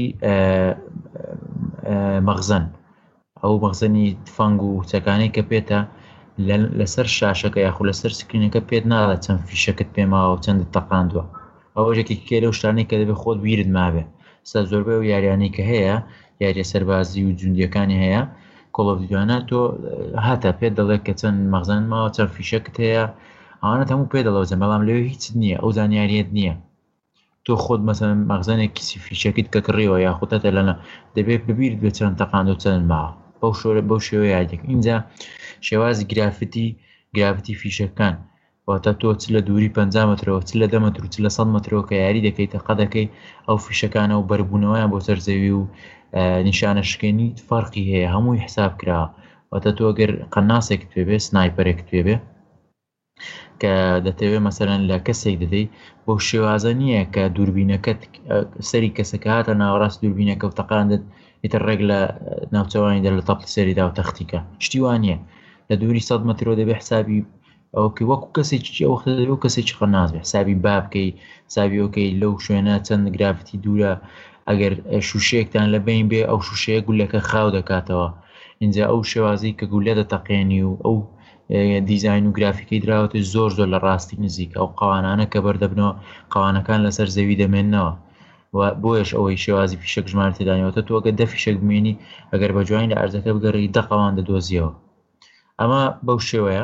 مەخزن، ئەو مەخزنی فەنگ و چەکانەی کە پێتە لەسەر شاشەکە یاخود لەسەر سکرینەکە پێت ناڵێت چەند فیشەکەت پێماوە و چەندت تەقاندووە. ئەوە ژێکی کێ لەو شتانەی کە دەبێت خۆت بیرت مابێ. ستا زۆربەی و یاریانەی کە هەیە، یاریە سەربازی و جوندیەکانی هەیە کۆڵ ئۆف دیوتیانە، تۆ هاتە پێت دەڵێت کە چەند مەخزن ماوە چەند فیشەکت هەیە، ئەوانەت هەموو پێ دەڵێوزە، بەڵام لەوێ هیچت نییە، ئەو زانیاریت نییە. تۆ خۆت مەسەڵەن مەخزنێکی فیشەکەیت کە کڕیەوە یاخودەتە لەنە دەبێت ببیرت بێت چەند تەقاند و چەند ماوە. بەو شێوەیە یادێک. اینجا شێوازی گرافتی فیشەکان، واتە تۆ چ لە دووری 50 مترەوە چ لە 10 متر و چ لە 100 مترەوە کە یاری دەکەیتە قەدەکەی ئەو فیشەکانە و بەربوونەوەیان بۆ سەرزەوی و نیشانە شکێنی فەرقی هەیە، هەمووی حساب کراوە. واتە تۆ ئەگەر قەناسێکت پێبێ، سنایپەرێکت پێبێ کە دەتەوێت مەسەرەن لە کەسێک دەدەی، بۆ شێوازە نییە کە دووربینەکەت سەری کەسەکە هاتە ناوەڕاست دووربینەکە و تەقاندت ئیتر ڕێک لە ناوچەوانی دە لە تەپڵی سەریدا و تەختیکە شتی وان نییە. لە دووری 100 مترەوە دەبێ حسابی ئەوکە وەکو کەسێکی ئەوەختە دەبێ و کەسێکی قەناس بێ، حسابی بابکەی، حسابی ئەوکەی لەو شوێنە چەند گرافتی دوورە، ئەگەر شوشەیەکتان لە بین بێ ئەو شوشەیە گولەکە خاو دەکاتەوە. اینجا ئەو شێوازی کە گولە دەتەقێنی و ئەو دیزاین و گرافیکەی دراوەتی زۆر لە ڕاستی نزیک ئەو قەوانانە کە بەردەبنەوە قەوانەکان لەسەر زەوی دەمێننەوە. بۆیش ئەوەی شێوازی فیشەک ژمارە تێدانیەوەتە تۆ ئەگەر 10 فیشەک بمێنی ئەگەر بە جوانی لە ئەرزەکە بگەڕی 10 قەوان دەدۆزیەوە. ئەمە بەو شێوەیە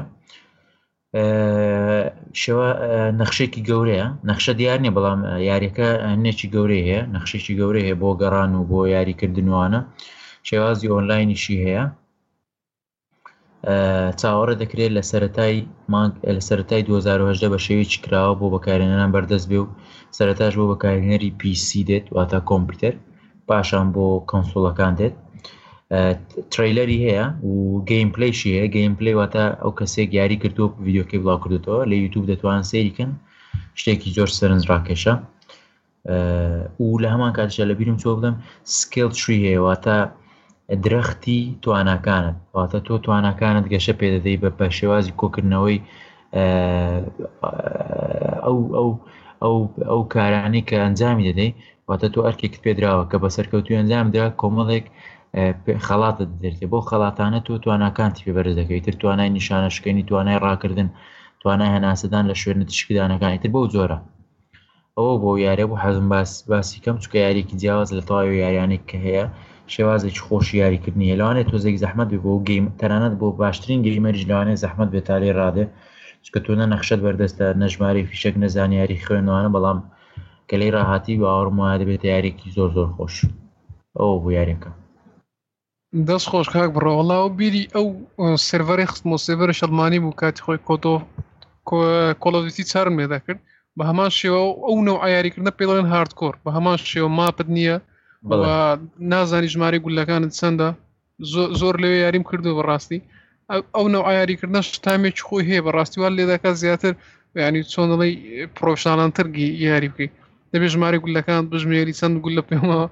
شێوە نەخشێکی گەورەیە، نەخشە دیار نییە بەڵام یاریەکە هەنێکی گەورەی هەیە، نەخشێکی گەورەی هەیە بۆ گەڕان و بۆ یاریکردنوانە. شێوازی ئۆنلاینیشی هەیە، چاوەڕێ دەکرێت لە سەرەتای 2018 بە شێوەیەکی کراوە بۆ بەکارهێنەران بەردەست بێ و سەرەتاش بۆ بەکارهێنەری PC دێت، واتە کۆمپیوتەر، پاشان بۆ کۆنسۆڵەکان دێت. تریلەری هەیە و گەیم پلیشی هەیە. گەیم پلی واتە ئەو کەسێک یاری کردو ڤیدیۆکەی بڵاو کردوتەوە لە یوتیوب دەتوانن سەیریکەن، شتێکی زۆر سەرنجڕاکێشە. و لە هەمان کاتیشە لە بیرم چۆ بڵێم سکیل تری هەیە، واتە درەختی تواناکانت، واتە تۆ تواناکانت گەشە پێ دەدەی بە شێوازی کۆکردنەوەی ئەو کارانەی کە ئەنجامی دەدەی، واتە تۆ ئەرکێکت پێدراوە کە بە سەرکەوتوی ئەنجام درا کۆمەڵێک خەڵاتت دەرێت، بۆ خەڵاتانە تۆ تواناکانتی پێبەرز دەکەی، تر توانای نیشانە شکێنی، توانای ڕاکردن، توانای هەناسەدان لە شوێنە تشکدانەکانی تر بەو جۆرە. ئەوە بۆ یارە بۆ حەزم باسی کەم چکە یاریکی جیاواز لە تەواوی یاریانێک کە هەیە شێوازێکی خۆشی یاریکردنی هەیە. لەوانێت تۆزێک زەحمەت بێ بۆ گەیم، تەنانەت بۆ باشترین گەیمەریش لەوانێت زەحمەت بێت تا لێ ڕادێ، چکە تۆ نە نەخشەت بەردەستە، نە ژمارەی فیشەک، نە زانیاری خوێندنەوەوانە، بەڵام کە لەی ڕاهاتی باوەڕم وایە دەبێت یاریێکی زۆر خۆش. ئەوە بۆ یاریەکە. دەست خۆش کاک بڕۆ. وەڵاو بیری ئەو سێڤەری خستمەوە، سێڤەرە شەڵمانی بوو کاتی خۆی کۆڵ ئۆف دیوتی چارم لێدا کرد. بە هەمان شێوە ئەو نەوع یاریکردنە پێ دەڵێن هاردکۆر، بە هەمان شێوە ماپت نییە و نازانی ژمارەی گولەکانت چەندە. زۆر لەوێ یاریم کردو بەڕاستی. ئەو نەوع یاریکردنەش تامێکی خۆی هەیە، بەڕاستی وا لێ دەکات زیاتر یعنی چۆن دەڵێ پرۆفشناڵانتر یاری بکەیت. دەبێت ژمارەی گولەکان بژمێری چەند گول لە پێمەوە.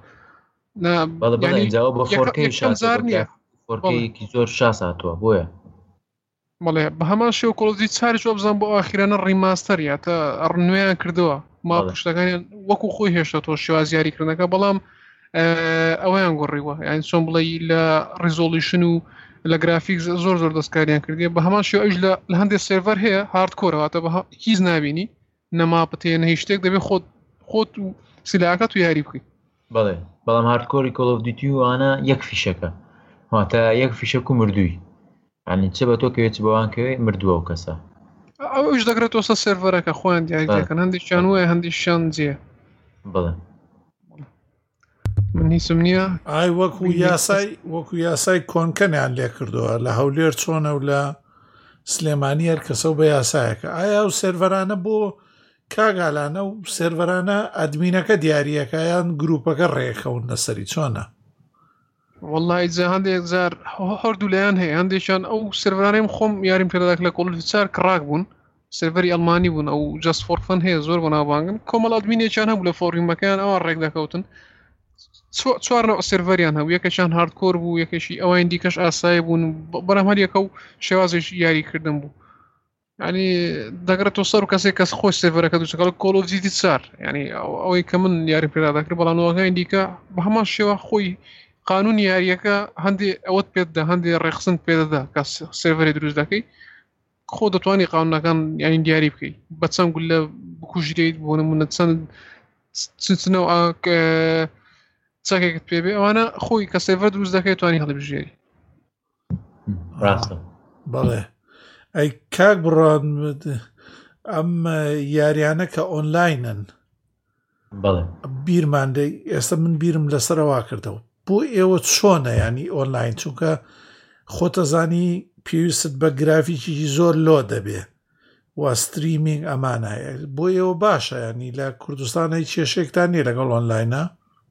بەڵێ بە 4K زۆر شاس هاتووە بۆیە بەڵێ بە هەمان شێو کۆڵۆزی چاری چۆ بزان بۆ ئاخیرانە ڕیماستەر تا نوێیان کردووە ما پشتەکانیان وەکو خۆی هێشتا تۆ شێواز یاریکردنەکە بەڵام ئەوەیان گۆڕیوە یان چۆن بڵێ لە ڕیزۆلیشن و لە گرافیکس زۆر دەستکاریان کردی بە هەمان شێو ئەوش لە هەندێک سێڤەر هەیە هاردکۆرەواتە بە هیچ نابینی نەماپەتێنە هیچ شتێک دەبێت خۆت و سلاکە تو یاری بکەیت بەڵێ بەڵام هاردکۆری کۆڵ ئۆف دیوتی وانە یەک فیشەکە واتە یەک فیشەک و مردووی ینی چ بە تۆ کەوێت بەوانکەوێ مردووە و کەسە ئەوش دەگرێت تۆسە سێڤەرەکە خۆیان دیاریەکەن هەندێکیان وایە هەندێکیان جێ بڵێ من هیچم نییە ئای وەکو یاسای کۆنکەنیان لێ کردووە لە هەولێر چۆنە و لە سلێمانی هەر کەسە و بە یاسایەکە ئایا و سێڤەرانە بۆ کاگالانە و سێڤەرانە ئەدمینەکە دیارریەکە یان گروپەکە ڕێکخەون لەسەری چۆنە والله جا هەندێک جار هەردوو لایەن هەیە هەندێکیان ئەو سێڤەرانەی خۆم یاریم پێداک لە کۆڵۆفیچار کڕاک بوون سێڤەری ئەڵمانی بوون ئەو جەست فۆر فەن هەیە زۆر بەناوبانگن کۆمەڵ ئەدمینێکیان هەبوو لە فۆڕیمەکەیان ئەوان ڕێک دەکەوتن چوارنەوە سێڤەریان هەبوو یەکەشان هاردکۆر بوو یەکەشی ئەوان دیکەش ئاسایی بوون بەرەم هەریەکە و شێوازێک یاریکردن بوو ینی دەگرێت تۆ سەر و کەسێک کەس خۆش سێڤەرەکە دووچەکە لە کۆڵ ئۆف دیوتی چار ینی ئەوەی کە من یاری پێدا دەکرد بەڵام نەوەکانی دیکە بە هەمان شێوە خۆی قانون یاریەکە هەندێ ئەوەت پێددا هەندێ ڕێخسن پێدەدا کە سێڤەری دروست دەکەی خۆ دەتوانانی قانونەکان ینی دیاری بکەیت بە چەند گولە بکوژرێت بۆ نمونە چەند چنەوە چاکێکت پێبێ ئەوانە خۆی کە سێڤەر دروست دەکەی توانی هەڵبژێری ڕاستە بەڵێ ئەی کاک بڕان ئەم یاریانە کە ئۆنلاینن بەڵێ بیرماندەی ئێستا من بیرم لەسەرەوە کردەوە بۆ ئێوە چۆنە ینی ئۆنلاین چونکە خۆتەزانی پێویست بە گرافیکی زۆر لۆ دەبێ و ستریمینگ ئەمانایە بۆ ئێوە باشە ینی لە کوردستان هیچ کێشێکتان نیە لەگەڵ ئۆنلاینە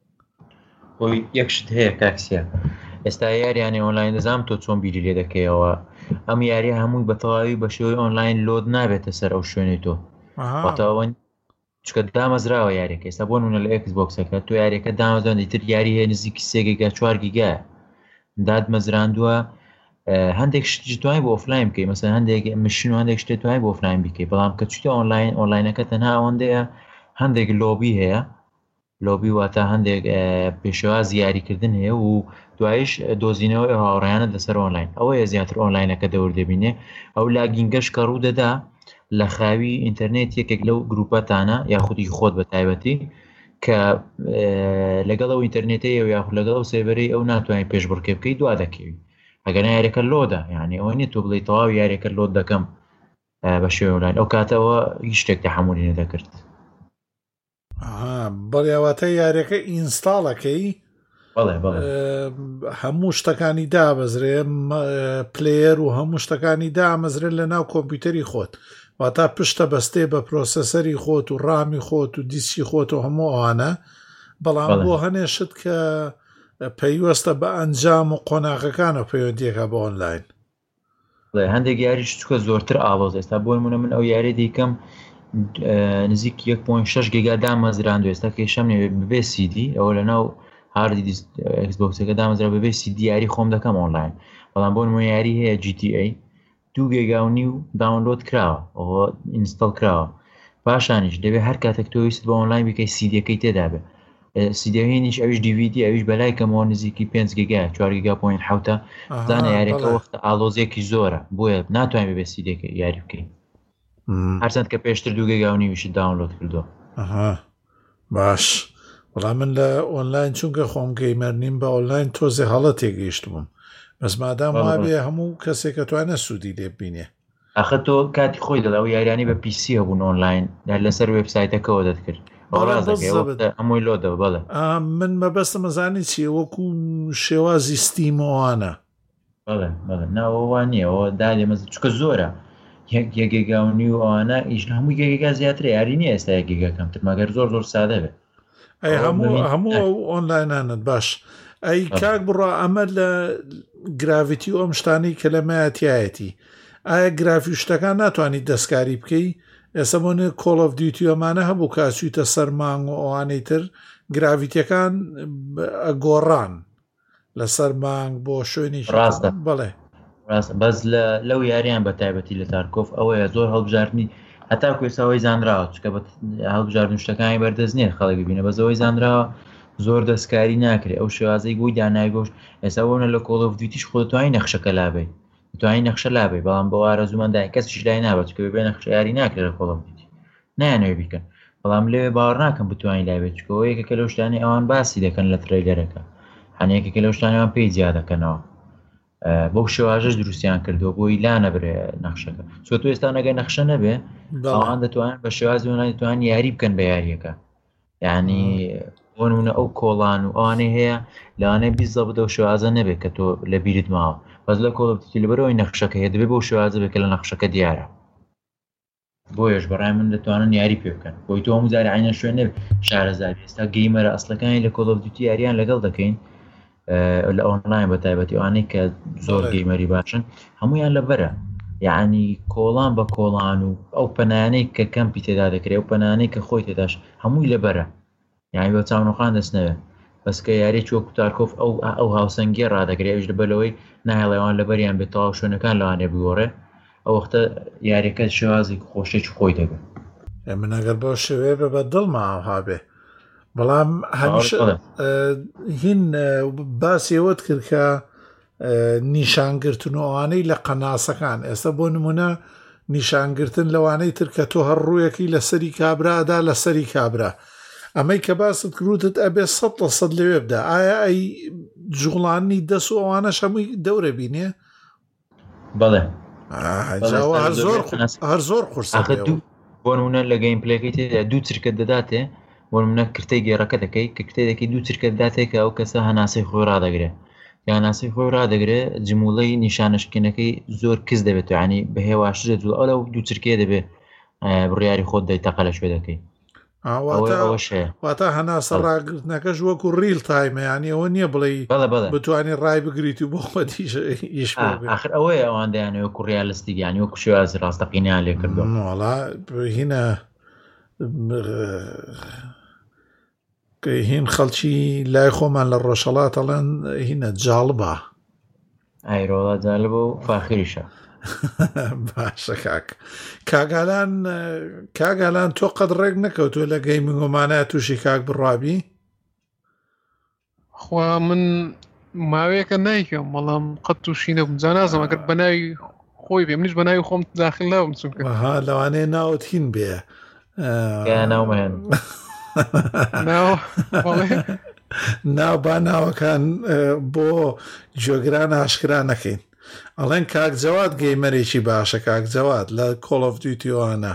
بۆی یەکشت هەیە کاکسیە ئێستا یاریانی ئۆنلاین دەزانم تۆ چۆن بیری لێ دەکەیەوە ئەم یاریە هەمووی بە تەواوی بە شێوەی ئۆنلاین لۆد نابێتە سەر ئەو شوێنی تۆ واتەوە چکە دامەزراوە یاریەکە ئێستا بۆ نمونە لە ئێکس بۆکسەکە تۆ یاریەکە دامەزران دیتر یاری هەیە نزیکی 3 گیگا 4 گیگا دادمەزراندووە هەندێک شتی توانای بۆ ئۆفلاین بکەیت مەسەن هەندێک مشین و هەندێک شتێک توانای بۆ ئۆفلاین بکەیت بەڵام کە چوتە ئۆنلاینەکە تەنها ئەوەندەیە هەندێک لۆبی هەیە لۆبی واتە هەندێک پێشەواز یاریکردن هەیە و دوایش دۆزینەوەی هاوڕێیانە لەسەر ئۆنلاین ئەوەیە زیاتر ئۆنلاینەکە دەوردەبینێ ئەو لاگینگەش کە ڕوو دەدا لە خاوی ئینتەرنێت یەکێک لەو گروپەتانە یاخودی خۆت بە تایبەتی کە لەگەڵ ئەو ئینتەرنێتەیە و یاخود لەگەڵ ئەو سێڤەرەی ئەو ناتوانین پێشبڕکێ بکەیت دوا دەکەوی ئەگەر یاریەکە لۆدا یعنی ئەوە نیە تۆ بڵێ تەواو یاریەکە لۆد دەکەم بە شێوەی ئۆنلاین ئەو کاتەوە هیچ شتێک تەحمولی نەدەکرد بەڵێواتە یاریەکە ئینستاڵەکەی هەموو شتەکانی دابەزرێ پلێر و هەموو شتەکانی دامەزرێت لە ناو کۆمپیوتەری خۆت واتا پشتە بەستێ بە پرۆسەسەری خۆت و ڕامی خۆت و دیسکی خۆت و هەموو ئەوانە بەڵام بۆ هەنێشت کە پەیوەستە بە ئەنجام و قۆناغەکانە پەیوەندیەکە بە ئۆنلاین هەندێک یاریش چکە زۆرتر ئاڵۆز ئێستا بۆ نمونە من ئەو یاری دیکەم نزیک 1.6 گیگا دامەزراند و ئێستا کێشەم نێ ببێ سیدی ئەوە لە ناو هاردی ئەکسبۆکسەکە دامەزرا ببێ سیدی یاری خۆم دەکەم ئۆنلاین بەڵام بۆ نمونە یاری هەیە GTA 2 گیگا و نیو داونلۆد کراوە ئەوە ئینستاڵ کراوە پاشانیش دەبێت هەر کاتێک تۆ ویست بە ئۆنلاین بکەی سیدیەکەی تێدا بێ سیدیهێنیش ئەویش DVD ئەویش بەلای کەمەوە نزیکی 5 گیگا 4 گیگا پوینت حوتە زانە یاریەکە وەختە ئالۆزێکی زۆرە بۆیە ناتوانین ببێ سیدیەکە یاری بکەین هەرچەند کە پێشتر 2 گیگا و نیویشی داونلۆد کردووە باش وەڵام من لە ئۆنلاین چونکە خۆم گەیمەر نیم بە ئۆنلاین تۆزێ هەڵە تێگەیشت بووم بەس مادام وابێ هەموو کەسێکە توانە سوودی لێ ببینێ ئەخە تۆ کاتی خۆی دەڵاو یاریانی بە PC هەبوون ئۆنلاین لەسەر وێبسایتەکەەوە دەتکرد هەمووی لۆدەوە بەڵێ من مەبەستە مەزانی چیە وەکو شێوازی ستیمەوانە ناوەوان نییەەوە دادێمەز چکە زۆرە یەکێگا و نیو ئەوانە ئیش هەمووی گێگا زیاتر یاری نیە ئێستا یەکێگا کەمتر مەگەر زۆر سادە بێت ئەی هەموو ئۆنلاینانت باش ئەی کاک بڕە ئەمە لە گراڤیتی ئەم شتانی کە لە مایەتیایەتی ئایا گرافی شتەکان ناتوانیت دەستکاری بکەی ئێستا بۆنێ کۆڵ ئۆف دیوتی ئەمانە هەبوو کاچوویتە سەر مانگ و ئەوانەی تر گراڤیتیەکان گۆڕان لەسەر مانگ بۆ شوێنی ڕاستە بڵێ بەس لەو یاریان بە تایبەتی لە تارکۆف ئەوەیە زۆر هەڵبژاردننی هەتا کوێساەوەی زانراوە چکە بە هەڵبژاردن شتەکانی بەردەست نیە خەڵک ببینە بەزەوەی زانراوە زۆر دەستکاری ناکرێت ئەو شێوازەی گوی دانای گۆشت ئێستا بۆنە لە کۆڵ ئۆف دیوتیش خۆ توانی نەخشەکە لابێ توانی نەخشە لابێ بەڵام بە وارە زوومەندای کەسیش لای نابێت چکە بێ نەخشە یاری ناکرێت لە کۆڵ ئۆف دیوتی نایانەوێ بیکەن بەڵام لێوێ باوەڕ ناکەم بتوانین لابێت چکەوە یەکێکە لەو شتانی ئەوان باسی دەکەن لە ترەیلەرەکە هەنێکێکە لەو شتانیان پێی جیا دەکەنەوە بەو شێواژەش دروستیان کردووە بۆی لا نەبرێ نەخشەکە چۆ تو ئێستا نەگەی نەخشە نەبێ ئەوان دەتوانن بە شێوازی ناتوانن یاری بکەن بە یاریەکە یعنی بۆ نمونە ئەو کۆڵان و ئەوانەی هەیە لەوانەیە بیست بدە و شێوازە نەبێت کە تۆ لە بیرت ماوە بەس لە کۆڵ ئۆف دیوتی لەبەرەوەی نەخشەکە هەیە دەبێت بەو شێوازە بێت کە لە نەخشەکە دیارە بۆیەش بەڕای من دەتوانن یاری پێ بکەن بۆی تۆ هەموو جارە عینە شوێن نەبێت شارەزای ئێستا گەیمەرە ئەسڵەکانی لە کۆڵ ئۆف دیوتی یاریان لەگەڵ دەکەین لە ئۆنلاین بە تایبەتی ئەوانەی کە زۆر گەیمەری باشن هەمویان لەبەرە یعنی کۆڵان بە کۆڵان و ئەو پەنانەی کە کەمپی تێدا دەکرێت ئەو پەنانەی کە خۆی تێداش هەمووی لەبەرە یعنی بە چاونۆخان دەستنەوێت بەسکە یاریی وەکو تارکۆف ئەو هاوسەنگی ڕدەگرێت ئەوش لەبەرەوەی ناهێڵەوەیان لەبەریان بێت تەواو شوێنەکان لەوانێ بگۆڕێ ئەو وەختە یاریەکە شێوازی خۆشێکی خۆی دەبێت من ئەگەر بەو شێوەیە بە بەدڵما ئەوها بێ بەڵام هەمیشە هین باسی ئەوەت کرد کە نیشانگرتن و ئەوانەی لە قەناسەکان ئێستا بۆ نمونە نیشانگرتن لەوانەی تر کە تۆ هەر ڕوویەکی لەسەری کابرادا لەسەری کابرا ئەمەی کە باست کروتت ئەبێ 100% لەوێ بدا ئایا ئەی جوڵانی دەس و ئەوانە هەمووی دەورە بینێ بەڵێ هەر زۆر قورسە بۆ نمونە لە گەیم پلەکەی تێدا دوو چرکە دەداتێ بۆ نمونە کرتەی گێڕەکە دەکەی کە کرتەی دەکەی دوو چرکە دەداتێ کە ئەو کەسە هەناسەی خۆی ڕدەگرێت یاناسی خۆی ڕدەگرێت جمولەی نیشانشکینەکەی زۆر کەس دەبێت ینی بە هێواشێت ئەو لەو دوو چرکێ دەبێت بڕیاری خۆت دەیتەقە لە شوێ دەکەی واتە هەناسە ڕاگرتنەکەش وەکو ڕیل تایمە ینی ئەوە نییە بڵێ بتوانانی ڕای بگریت و بۆ خۆتیش آخر ئەوەیە ئەوان دەیانەوە کوڕیالستی یانی وەکو شێوازی ڕاستەقینیان لێ کردووەڵا هینە هین خەڵکی لای خۆمان لە ڕۆژهەڵاتەڵەن هینە جاڵبە ئایرۆڵا جالبە و فاخریشە باشە کاگالان تۆ قەت ڕێک نەکەوتوە لە گەیمنگۆمانە تووشی کاک بڕابی خوا من ماوەیەکە نایکەم بەڵام قەت تووشی نەبووم جا نازەم ئەگەر بە ناوی خۆی بێ منیش بە ناوی خۆم داخل ناوم چونکە لەوانەیە ناوت هین بێ ناومەهێن ناو با ناوەکان بۆ جۆگران ئاشکرا نەکەین ئەڵێن کاک جەواد گەیمەرێکی باشە کاک جەواد لە کۆڵ ئۆف دیوتیوانە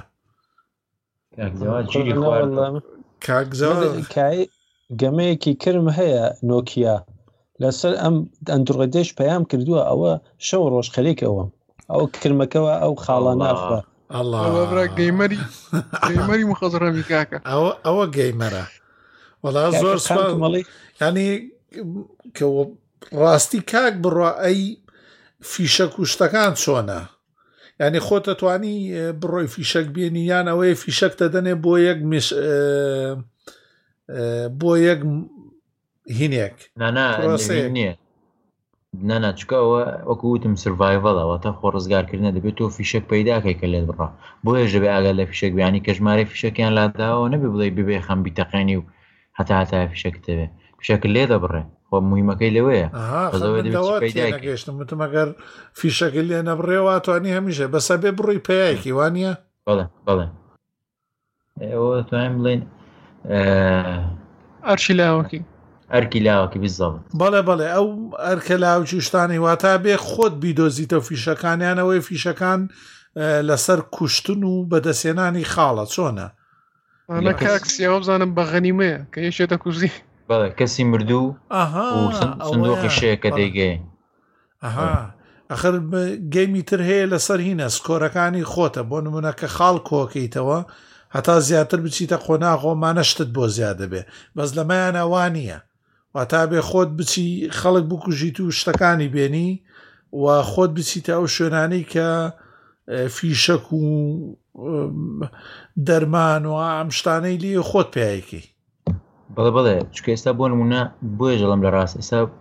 کاک جەواد گەمەیەکی کرم هەیە نۆکیا لەسەر ئەم ئەندرویدش پەیام کردووە ئەوە شەو ڕۆژ خەریکەوە ئەو کرمەکەەوە ئەو خاڵانە ئەخوا گەیمەری مخەزڕەمی کاکە ئەوە گەیمەرە وەڵا زۆر ینی کە ڕاستی کاک بڕوا ئەی فیشە کوشتەکان چۆنە ینی خۆتە توانی بڕۆی فیشەک بێنی یان ئەوەیە فیشەکتە دەنێ بۆ یەک هینێک نییە ناناچکەوە وەکو وتم سڤایڤڵەوە تا خۆ ڕزگارکردنە دەبێت تۆ فیشک پەیداکەی کە لێت بڕا بۆیە ژەبێ ئاگەر لە فیشک بیانی کە ژمارە فیشەکیان لاداوە نەبێ بڵێ ببێ خەم بیتەقێنی و هەتا فیشەکتەوێ فیشەکە لێ دەبڕێ خۆ مویمەکەی لەوەیە گەشتم ئەگەر فیشەکە لێ نەبڕێەوە توانی هەمیشە بەسە بێ بڕووی پێیەکی وانە بەڵێ ئەوە توانین بڵێن ئەرشی لاوەکی ئەرکی لاوەکی بزەڵ بەڵێ ئەو ئەرکە لاوچی شتانی واتە بێ خۆت بیدۆزیتە فیشەکانیانەوەی فیشەکان لەسەر کوشتن و بەدەسێنانی خاڵە چۆنە لە کاکسیەوە بزانم بە غەنیمەیە کە یەشێتە کوزی بەڵێ کەسی مردوو سندوقی شەیەکە دەیگەی ئەخر گەیمی تر هەیە لەسەر هینە سکۆرەکانی خۆتە بۆ نمونە کە خاڵ کۆکەیتەوە هەتا زیاتر بچیتە خۆناغۆمانەشتت بۆ زیادە بێ بەس لەمایان ئەوانیە واتا بێ خۆت بچی خەڵک بکوژیت و شتەکانی بێنی و خۆت بچیتە ئەو شوێنانەی کە فیشەک و دەرمان و ئەم شتانەی لێ خۆت پێیەکی بەڵێ چکە ئێستا بۆ نمونە بۆیە ژەڵم لە ڕاست ئێستا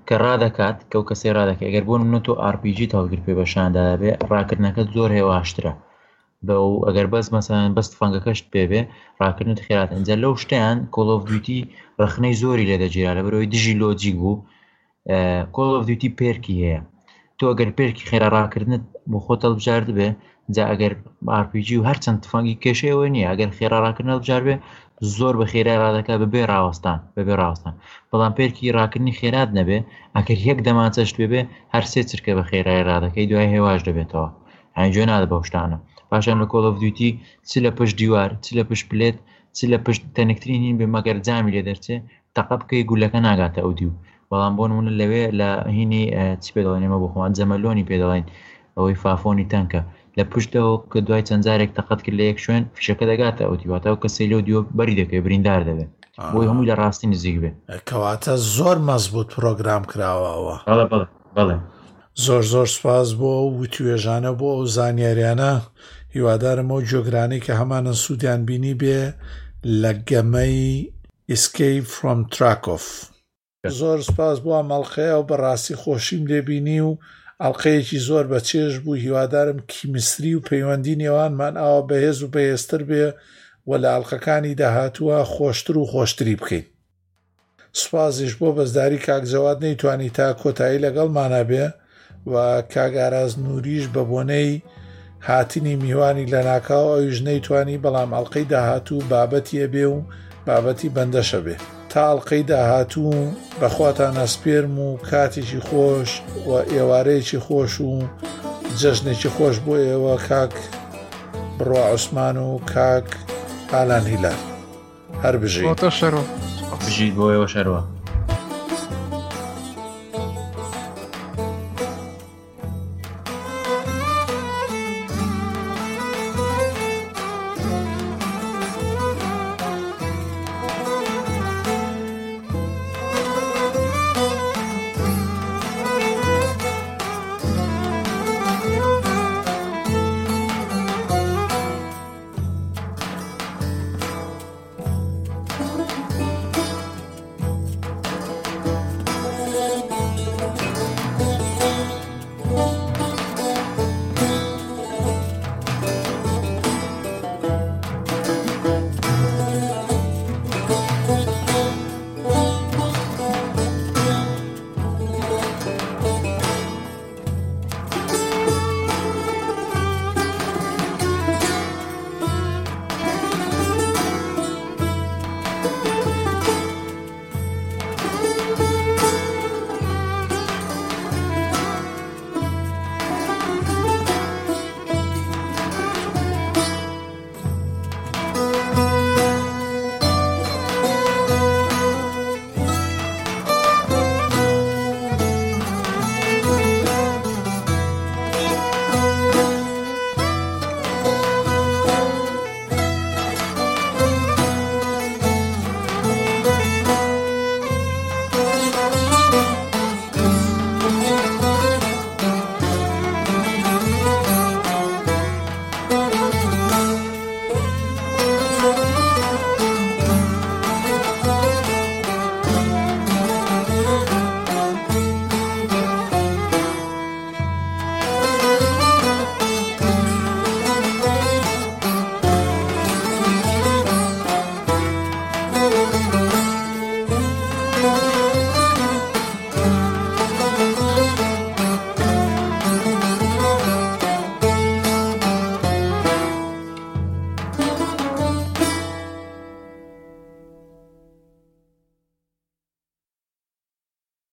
کە ڕادەکات کە و کەسێ ڕادەکە ئەگەر بۆ نمونە تۆ RPG هەڵگر پێ بەشاندا بێ ڕاکردنەکەت زۆر هێواشترە بە و ئەگەر بەس مەسەڵەن بەست فەنگەکەشت پێبێ ڕاکردنت خێراتە. ئەنجا لەو شتیان Call of Duty ڕخنەی زۆری لێ دەگیرا لەبەرەوەی دژی لۆجیک بوو. Call of Duty پێرکی هەیە، تۆ ئەگەر پێرکی خێرا ڕاکردنت بۆ خۆت هەڵبژارد بێ جا ئەگەر RPG و هەرچەند تفەنگی کێشەیەوە نییە ئەگەر خێرا ڕاکردن هەڵبژار بێ زۆر بە خێرای ڕادەکە بەبێ ڕاوەستان بەڵام پێرکی ڕاکردنی خێرات نەبێ ئەگەر یەک دەمانچەشت بێ هەر سێ چرکە بە خێرای ڕادەکەی دوای هێواش دەبێتەوە. هەنجۆ نادە بەو شتانە. پاشان لە Call of Duty چ لە پشت دیوار چ لە پشت پلێت چ لە پشت تەنکترین هین بێ مەگەر جامی لێ دەرچێ تەقە بکەی گولەکە ناگاتە ئەو دیو. بەڵام بۆ نمونە لەوێ لە هینی چی پێ دەڵێنێمە بۆ خۆمان جەمەلۆنی پێ دەڵێن ئەوەی فافۆنی تەنکە لە پشتەوە کە دوای چەند جارێک تەقەت کرد لە یەک شوێن فیشەکە دەگاتە ئەو دیواتەوە کە سەیلۆ دیوە بەری دەکەوێت بریندار دەبێت بۆی هەمووی لە ڕاستی نزیک بێ. کەواتە زۆر مەزبوط پرۆگرام کراوەوە. بەڵێ زۆر سپاس بۆ وتوێژانە بۆ ئەو زانیاریانە. هیوادارم ئەو جۆگرانی کە هەمانە سوودیان بینی بێ لە گەمەی Escape from Tarkov. زۆر سپاس بۆ ئەمەڵقەیە و بەڕاستی خۆشیم لێبینی و ئەڵلقەیەکی زۆر بە چێژ بوو. هیوادارم کیمیستری و پەیوەندی نێوانمان ئاوا بەهێز و بەهێزتر بێ و لە ئەڵلقەکانی داهاتووە خۆشتر و خۆشتری بکەین. سوپاسیش بۆ بەزداری کاک جەواد نەیتوانی تا کۆتایی لەگەڵمانە بێ و کاگاراز نوریش بە بۆنەی هاتنی میوانی لە ناکاو ئەویش نەیتوانی بەڵام ئەڵلقەی داهاتوو بابەتیە بێ و بابەتی بەندەشە بێ. تا ئەڵلقەی داهاتوو بەخواتان ئەسپێرم و کاتێکی خۆش و ئێوارەیەکی خۆش و جەژنێکی خۆش بۆ ئێوە کاک بڕوا عوسمان و کاک ئالان هیلال. هەر بژیت بۆ ئێوە شەرەوە.